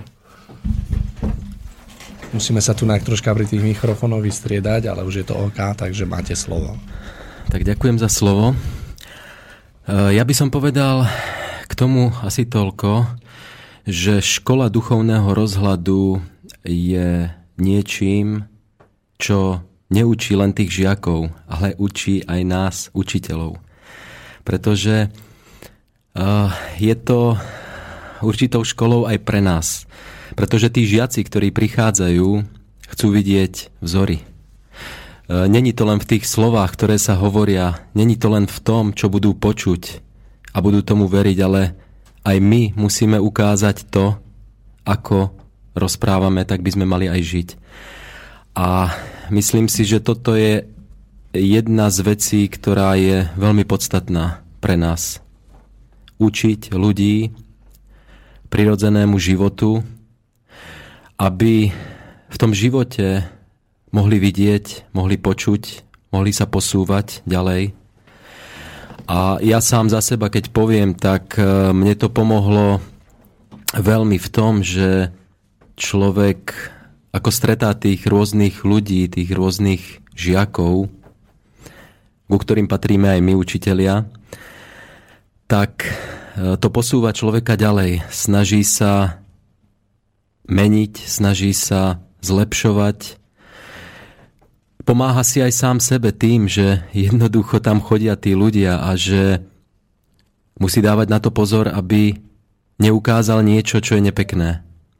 Musíme sa tu troška pri tých mikrofónoch vystriedať, ale už je to OK, takže máte slovo. Tak ďakujem za slovo. Ja by som povedal k tomu asi toľko, že škola duchovného rozhľadu je niečím, čo neučí len tých žiakov, ale učí aj nás, učiteľov. Pretože je to určitou školou aj pre nás. Pretože tí žiaci, ktorí prichádzajú, chcú vidieť vzory. Není to len v tých slovách, ktoré sa hovoria, není to len v tom, čo budú počuť a budú tomu veriť, ale aj my musíme ukázať to, ako rozprávame, tak by sme mali aj žiť. A myslím si, že toto je jedna z vecí, ktorá je veľmi podstatná pre nás. Učiť ľudí prirodzenému životu, aby v tom živote mohli vidieť, mohli počuť, mohli sa posúvať ďalej. A ja sám za seba, keď poviem, tak mne to pomohlo veľmi v tom, že človek, ako stretá tých rôznych ľudí, tých rôznych žiakov, ku ktorým patríme aj my, učitelia, tak to posúva človeka ďalej. Snaží sa meniť, snaží sa zlepšovať. Pomáha si aj sám sebe tým, že jednoducho tam chodia tí ľudia a že musí dávať na to pozor, aby neukázal niečo, čo je nepekné.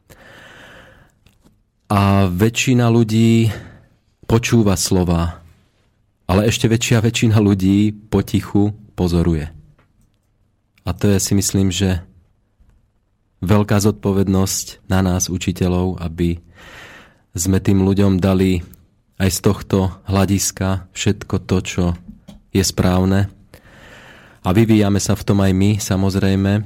A väčšina ľudí počúva slova, ale ešte väčšina ľudí potichu pozoruje. A to je, si myslím, že veľká zodpovednosť na nás, učiteľov, aby sme tým ľuďom dali aj z tohto hľadiska všetko to, čo je správne. A vyvíjame sa v tom aj my, samozrejme.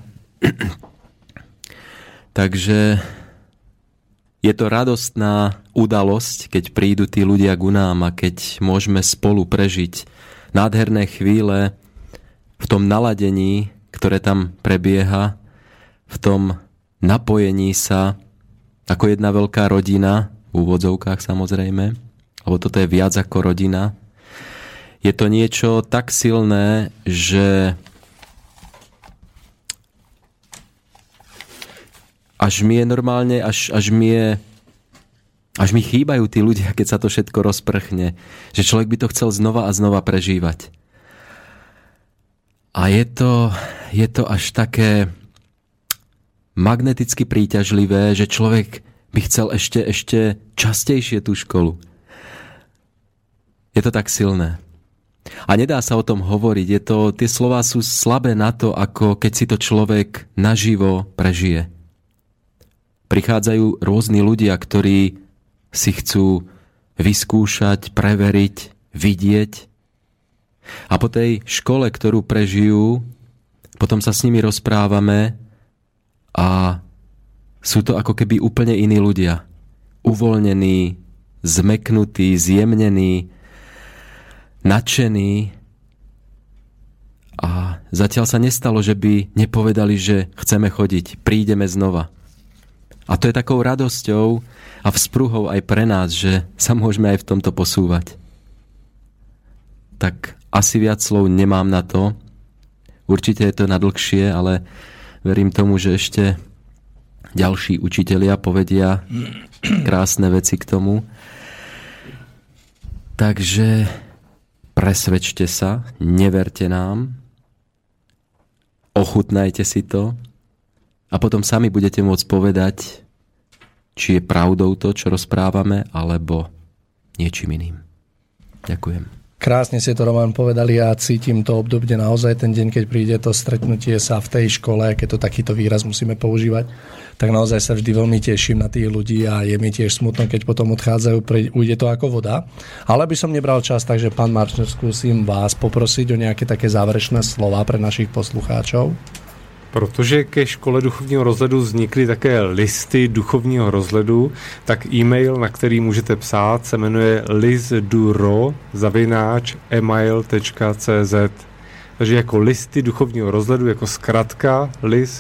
Takže je to radostná udalosť, keď prídu tí ľudia ku nám a keď môžeme spolu prežiť nádherné chvíle v tom naladení, ktoré tam prebieha, v tom napojení sa ako jedna veľká rodina, v úvodzovkách samozrejme, lebo toto je viac ako rodina. Je to niečo tak silné, že až mi je normálne, až mi chýbajú tí ľudia, keď sa to všetko rozprchne. Že človek by to chcel znova a znova prežívať. A je to až také magneticky príťažlivé, že človek by chcel ešte častejšie tú školu. Je to tak silné. A nedá sa o tom hovoriť. Tie slová sú slabé na to, ako keď si to človek naživo prežije. Prichádzajú rôzni ľudia, ktorí si chcú vyskúšať, preveriť, vidieť. A po tej škole, ktorú prežijú, potom sa s nimi rozprávame a sú to ako keby úplne iní ľudia. Uvoľnení, zmeknutí, zjemnení, nadšení. A zatiaľ sa nestalo, že by nepovedali, že chceme chodiť, prídeme znova. A to je takou radosťou a vzpruhou aj pre nás, že sa môžeme aj v tomto posúvať. Tak asi viac slov nemám na to. Určite je to na dlhšie, ale verím tomu, že ešte ďalší učitelia povedia krásne veci k tomu. Takže presvedčte sa, neverte nám, ochutnajte si to a potom sami budete môcť povedať, či je pravdou to, čo rozprávame, alebo niečím iným. Ďakujem. Krásne ste to, Roman, povedali a cítim to obdobne naozaj ten deň, keď príde to stretnutie sa v tej škole, keď to takýto výraz musíme používať, tak naozaj sa vždy veľmi teším na tých ľudí a je mi tiež smutno, keď potom odchádzajú, ujde to ako voda. Ale by som nebral čas, takže pán Marčner, skúsim vás poprosiť o nejaké také záverečné slova pre našich poslucháčov. Protože ke škole duchovního rozhledu vznikly také listy duchovního rozhledu, tak e-mail, na který můžete psát, se jmenuje lisduro@email.cz. Takže jako listy duchovního rozhledu, jako zkratka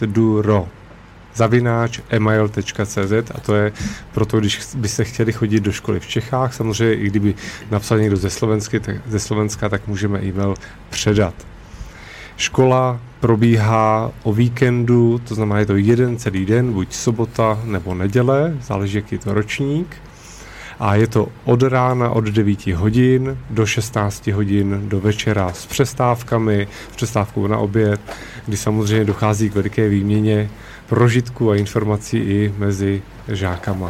lisduro@email.cz, a to je proto, když byste chtěli chodit do školy v Čechách, samozřejmě i kdyby napsal někdo ze Slovenska, tak můžeme e-mail předat. Škola probíhá o víkendu, to znamená, je to jeden celý den, buď sobota nebo neděle, záleží, jaký je to ročník. A je to od rána od 9 hodin do 16 hodin do večera s přestávkami, s přestávkou na oběd, kdy samozřejmě dochází k veliké výměně prožitků a informací i mezi žákama.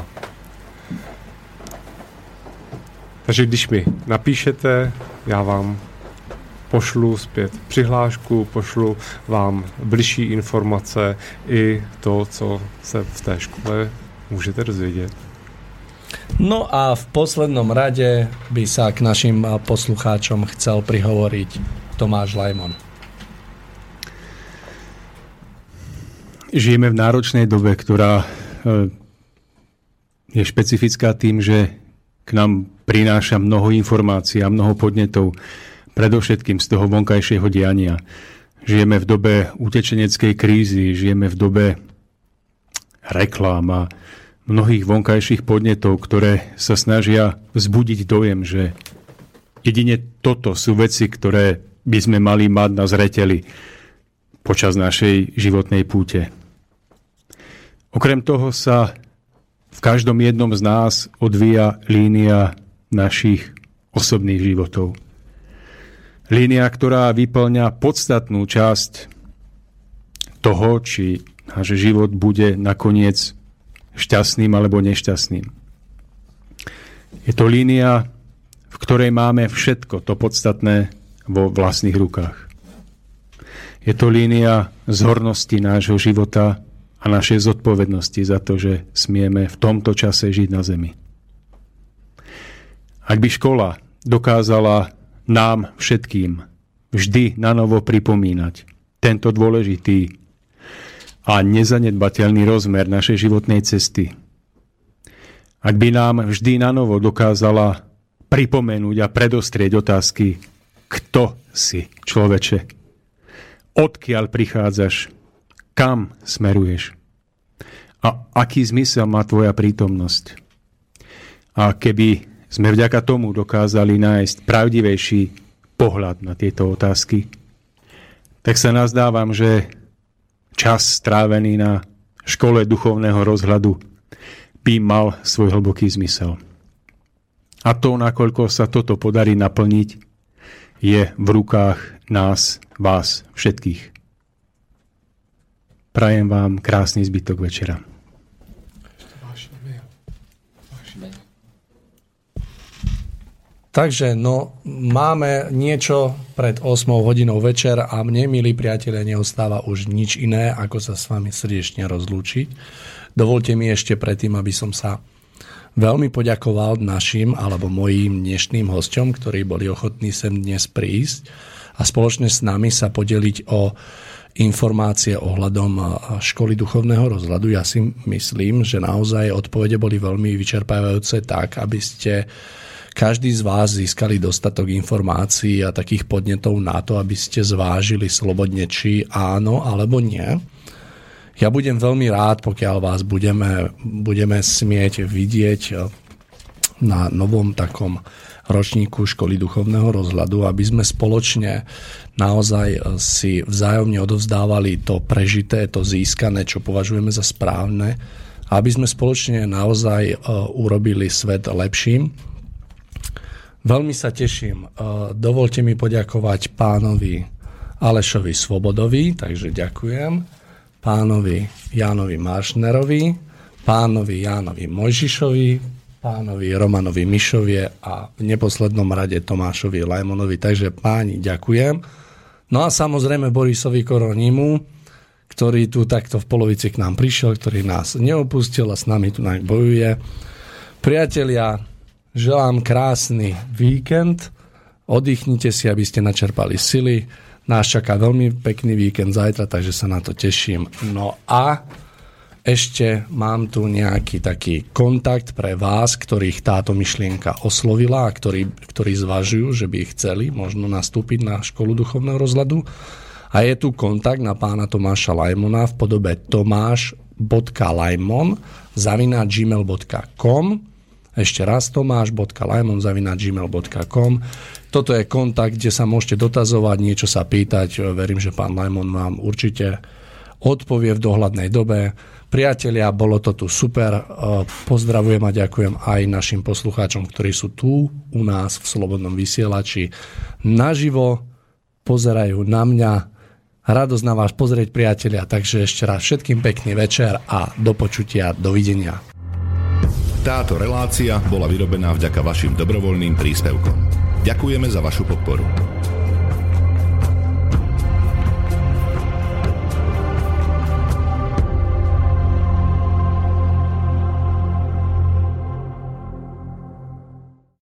Takže když mi napíšete, já vám pošlu zpět přihlášku, pošlu vám bližší informace i to, co se v té škole můžete dozvědět. No a v poslednom rade by sa k našim poslucháčom chcel prihovoriť Tomáš Lajmon. Žijeme v náročnej dobe, ktorá je špecifická tým, že k nám prináša mnoho informácií a mnoho podnetov, predovšetkým z toho vonkajšieho diania. Žijeme v dobe utečeneckej krízy, žijeme v dobe reklám a mnohých vonkajších podnetov, ktoré sa snažia vzbudiť dojem, že jedine toto sú veci, ktoré by sme mali mať na zreteli počas našej životnej púte. Okrem toho sa v každom jednom z nás odvíja línia našich osobných životov. Línia, ktorá vyplňa podstatnú časť toho, či náš život bude nakoniec šťastným alebo nešťastným. Je to línia, v ktorej máme všetko to podstatné vo vlastných rukách. Je to línia zhornosti nášho života a našej zodpovednosti za to, že smieme v tomto čase žiť na zemi. Ak by škola dokázala nám všetkým vždy nanovo pripomínať tento dôležitý a nezanedbateľný rozmer našej životnej cesty. Ak by nám vždy nanovo dokázala pripomenúť a predostrieť otázky, kto si, človeče, odkiaľ prichádzaš, kam smeruješ a aký zmysel má tvoja prítomnosť. A keby sme vďaka tomu dokázali nájsť pravdivejší pohľad na tieto otázky, tak sa nazdávam, že čas strávený na škole duchovného rozhľadu by mal svoj hlboký zmysel. A to, nakoľko sa toto podarí naplniť, je v rukách nás, vás, všetkých. Prajem vám krásny zbytok večera. Takže, máme niečo pred 8 hodinou večer a mne, milí priatelia, neostáva už nič iné, ako sa s vami srdečne rozlúčiť. Dovolte mi ešte predtým, aby som sa veľmi poďakoval našim alebo mojím dnešným hosťom, ktorí boli ochotní sem dnes prísť a spoločne s nami sa podeliť o informácie ohľadom školy duchovného rozhľadu. Ja si myslím, že naozaj odpovede boli veľmi vyčerpávajúce tak, aby ste každý z vás získali dostatok informácií a takých podnetov na to, aby ste zvážili slobodne, či áno alebo nie. Ja budem veľmi rád, pokiaľ vás budeme smieť vidieť na novom takom ročníku školy duchovného rozhľadu, aby sme spoločne naozaj si vzájomne odovzdávali to prežité, to získané, čo považujeme za správne, aby sme spoločne naozaj urobili svet lepším. Veľmi sa teším. Dovolte mi poďakovať pánovi Alešovi Svobodovi, takže ďakujem. Pánovi Jánovi Maršnerovi, pánovi Jánovi Mojžišovi, pánovi Romanovi Mišovie a v neposlednom rade Tomášovi Lajmonovi. Takže páni, ďakujem. No a samozrejme Borisovi Koronimu, ktorý tu takto v polovici k nám prišiel, ktorý nás neopustil a s nami tu bojuje. Priatelia, želám krásny víkend, oddychnite si, aby ste načerpali sily. Nás čaká veľmi pekný víkend zajtra, takže sa na to teším. No a ešte mám tu nejaký taký kontakt pre vás, ktorých táto myšlienka oslovila a ktorí zvažujú, že by chceli možno nastúpiť na školu duchovného rozhľadu. A je tu kontakt na pána Tomáša Lajmona v podobe tomáš.lajmon@gmail.com. Ešte raz tomáš.lajmon@gmail.com. Toto je kontakt, kde sa môžete dotazovať, niečo sa pýtať. Verím, že pán Lajmon vám určite odpovie v dohľadnej dobe. Priatelia, bolo to tu super. Pozdravujem a ďakujem aj našim poslucháčom, ktorí sú tu u nás v Slobodnom vysielači. Naživo pozerajú na mňa. Radosť na vás pozrieť, priatelia. Takže ešte raz všetkým pekný večer a do počutia. Dovidenia. Táto relácia bola vyrobená vďaka vašim dobrovoľným príspevkom. Ďakujeme za vašu podporu.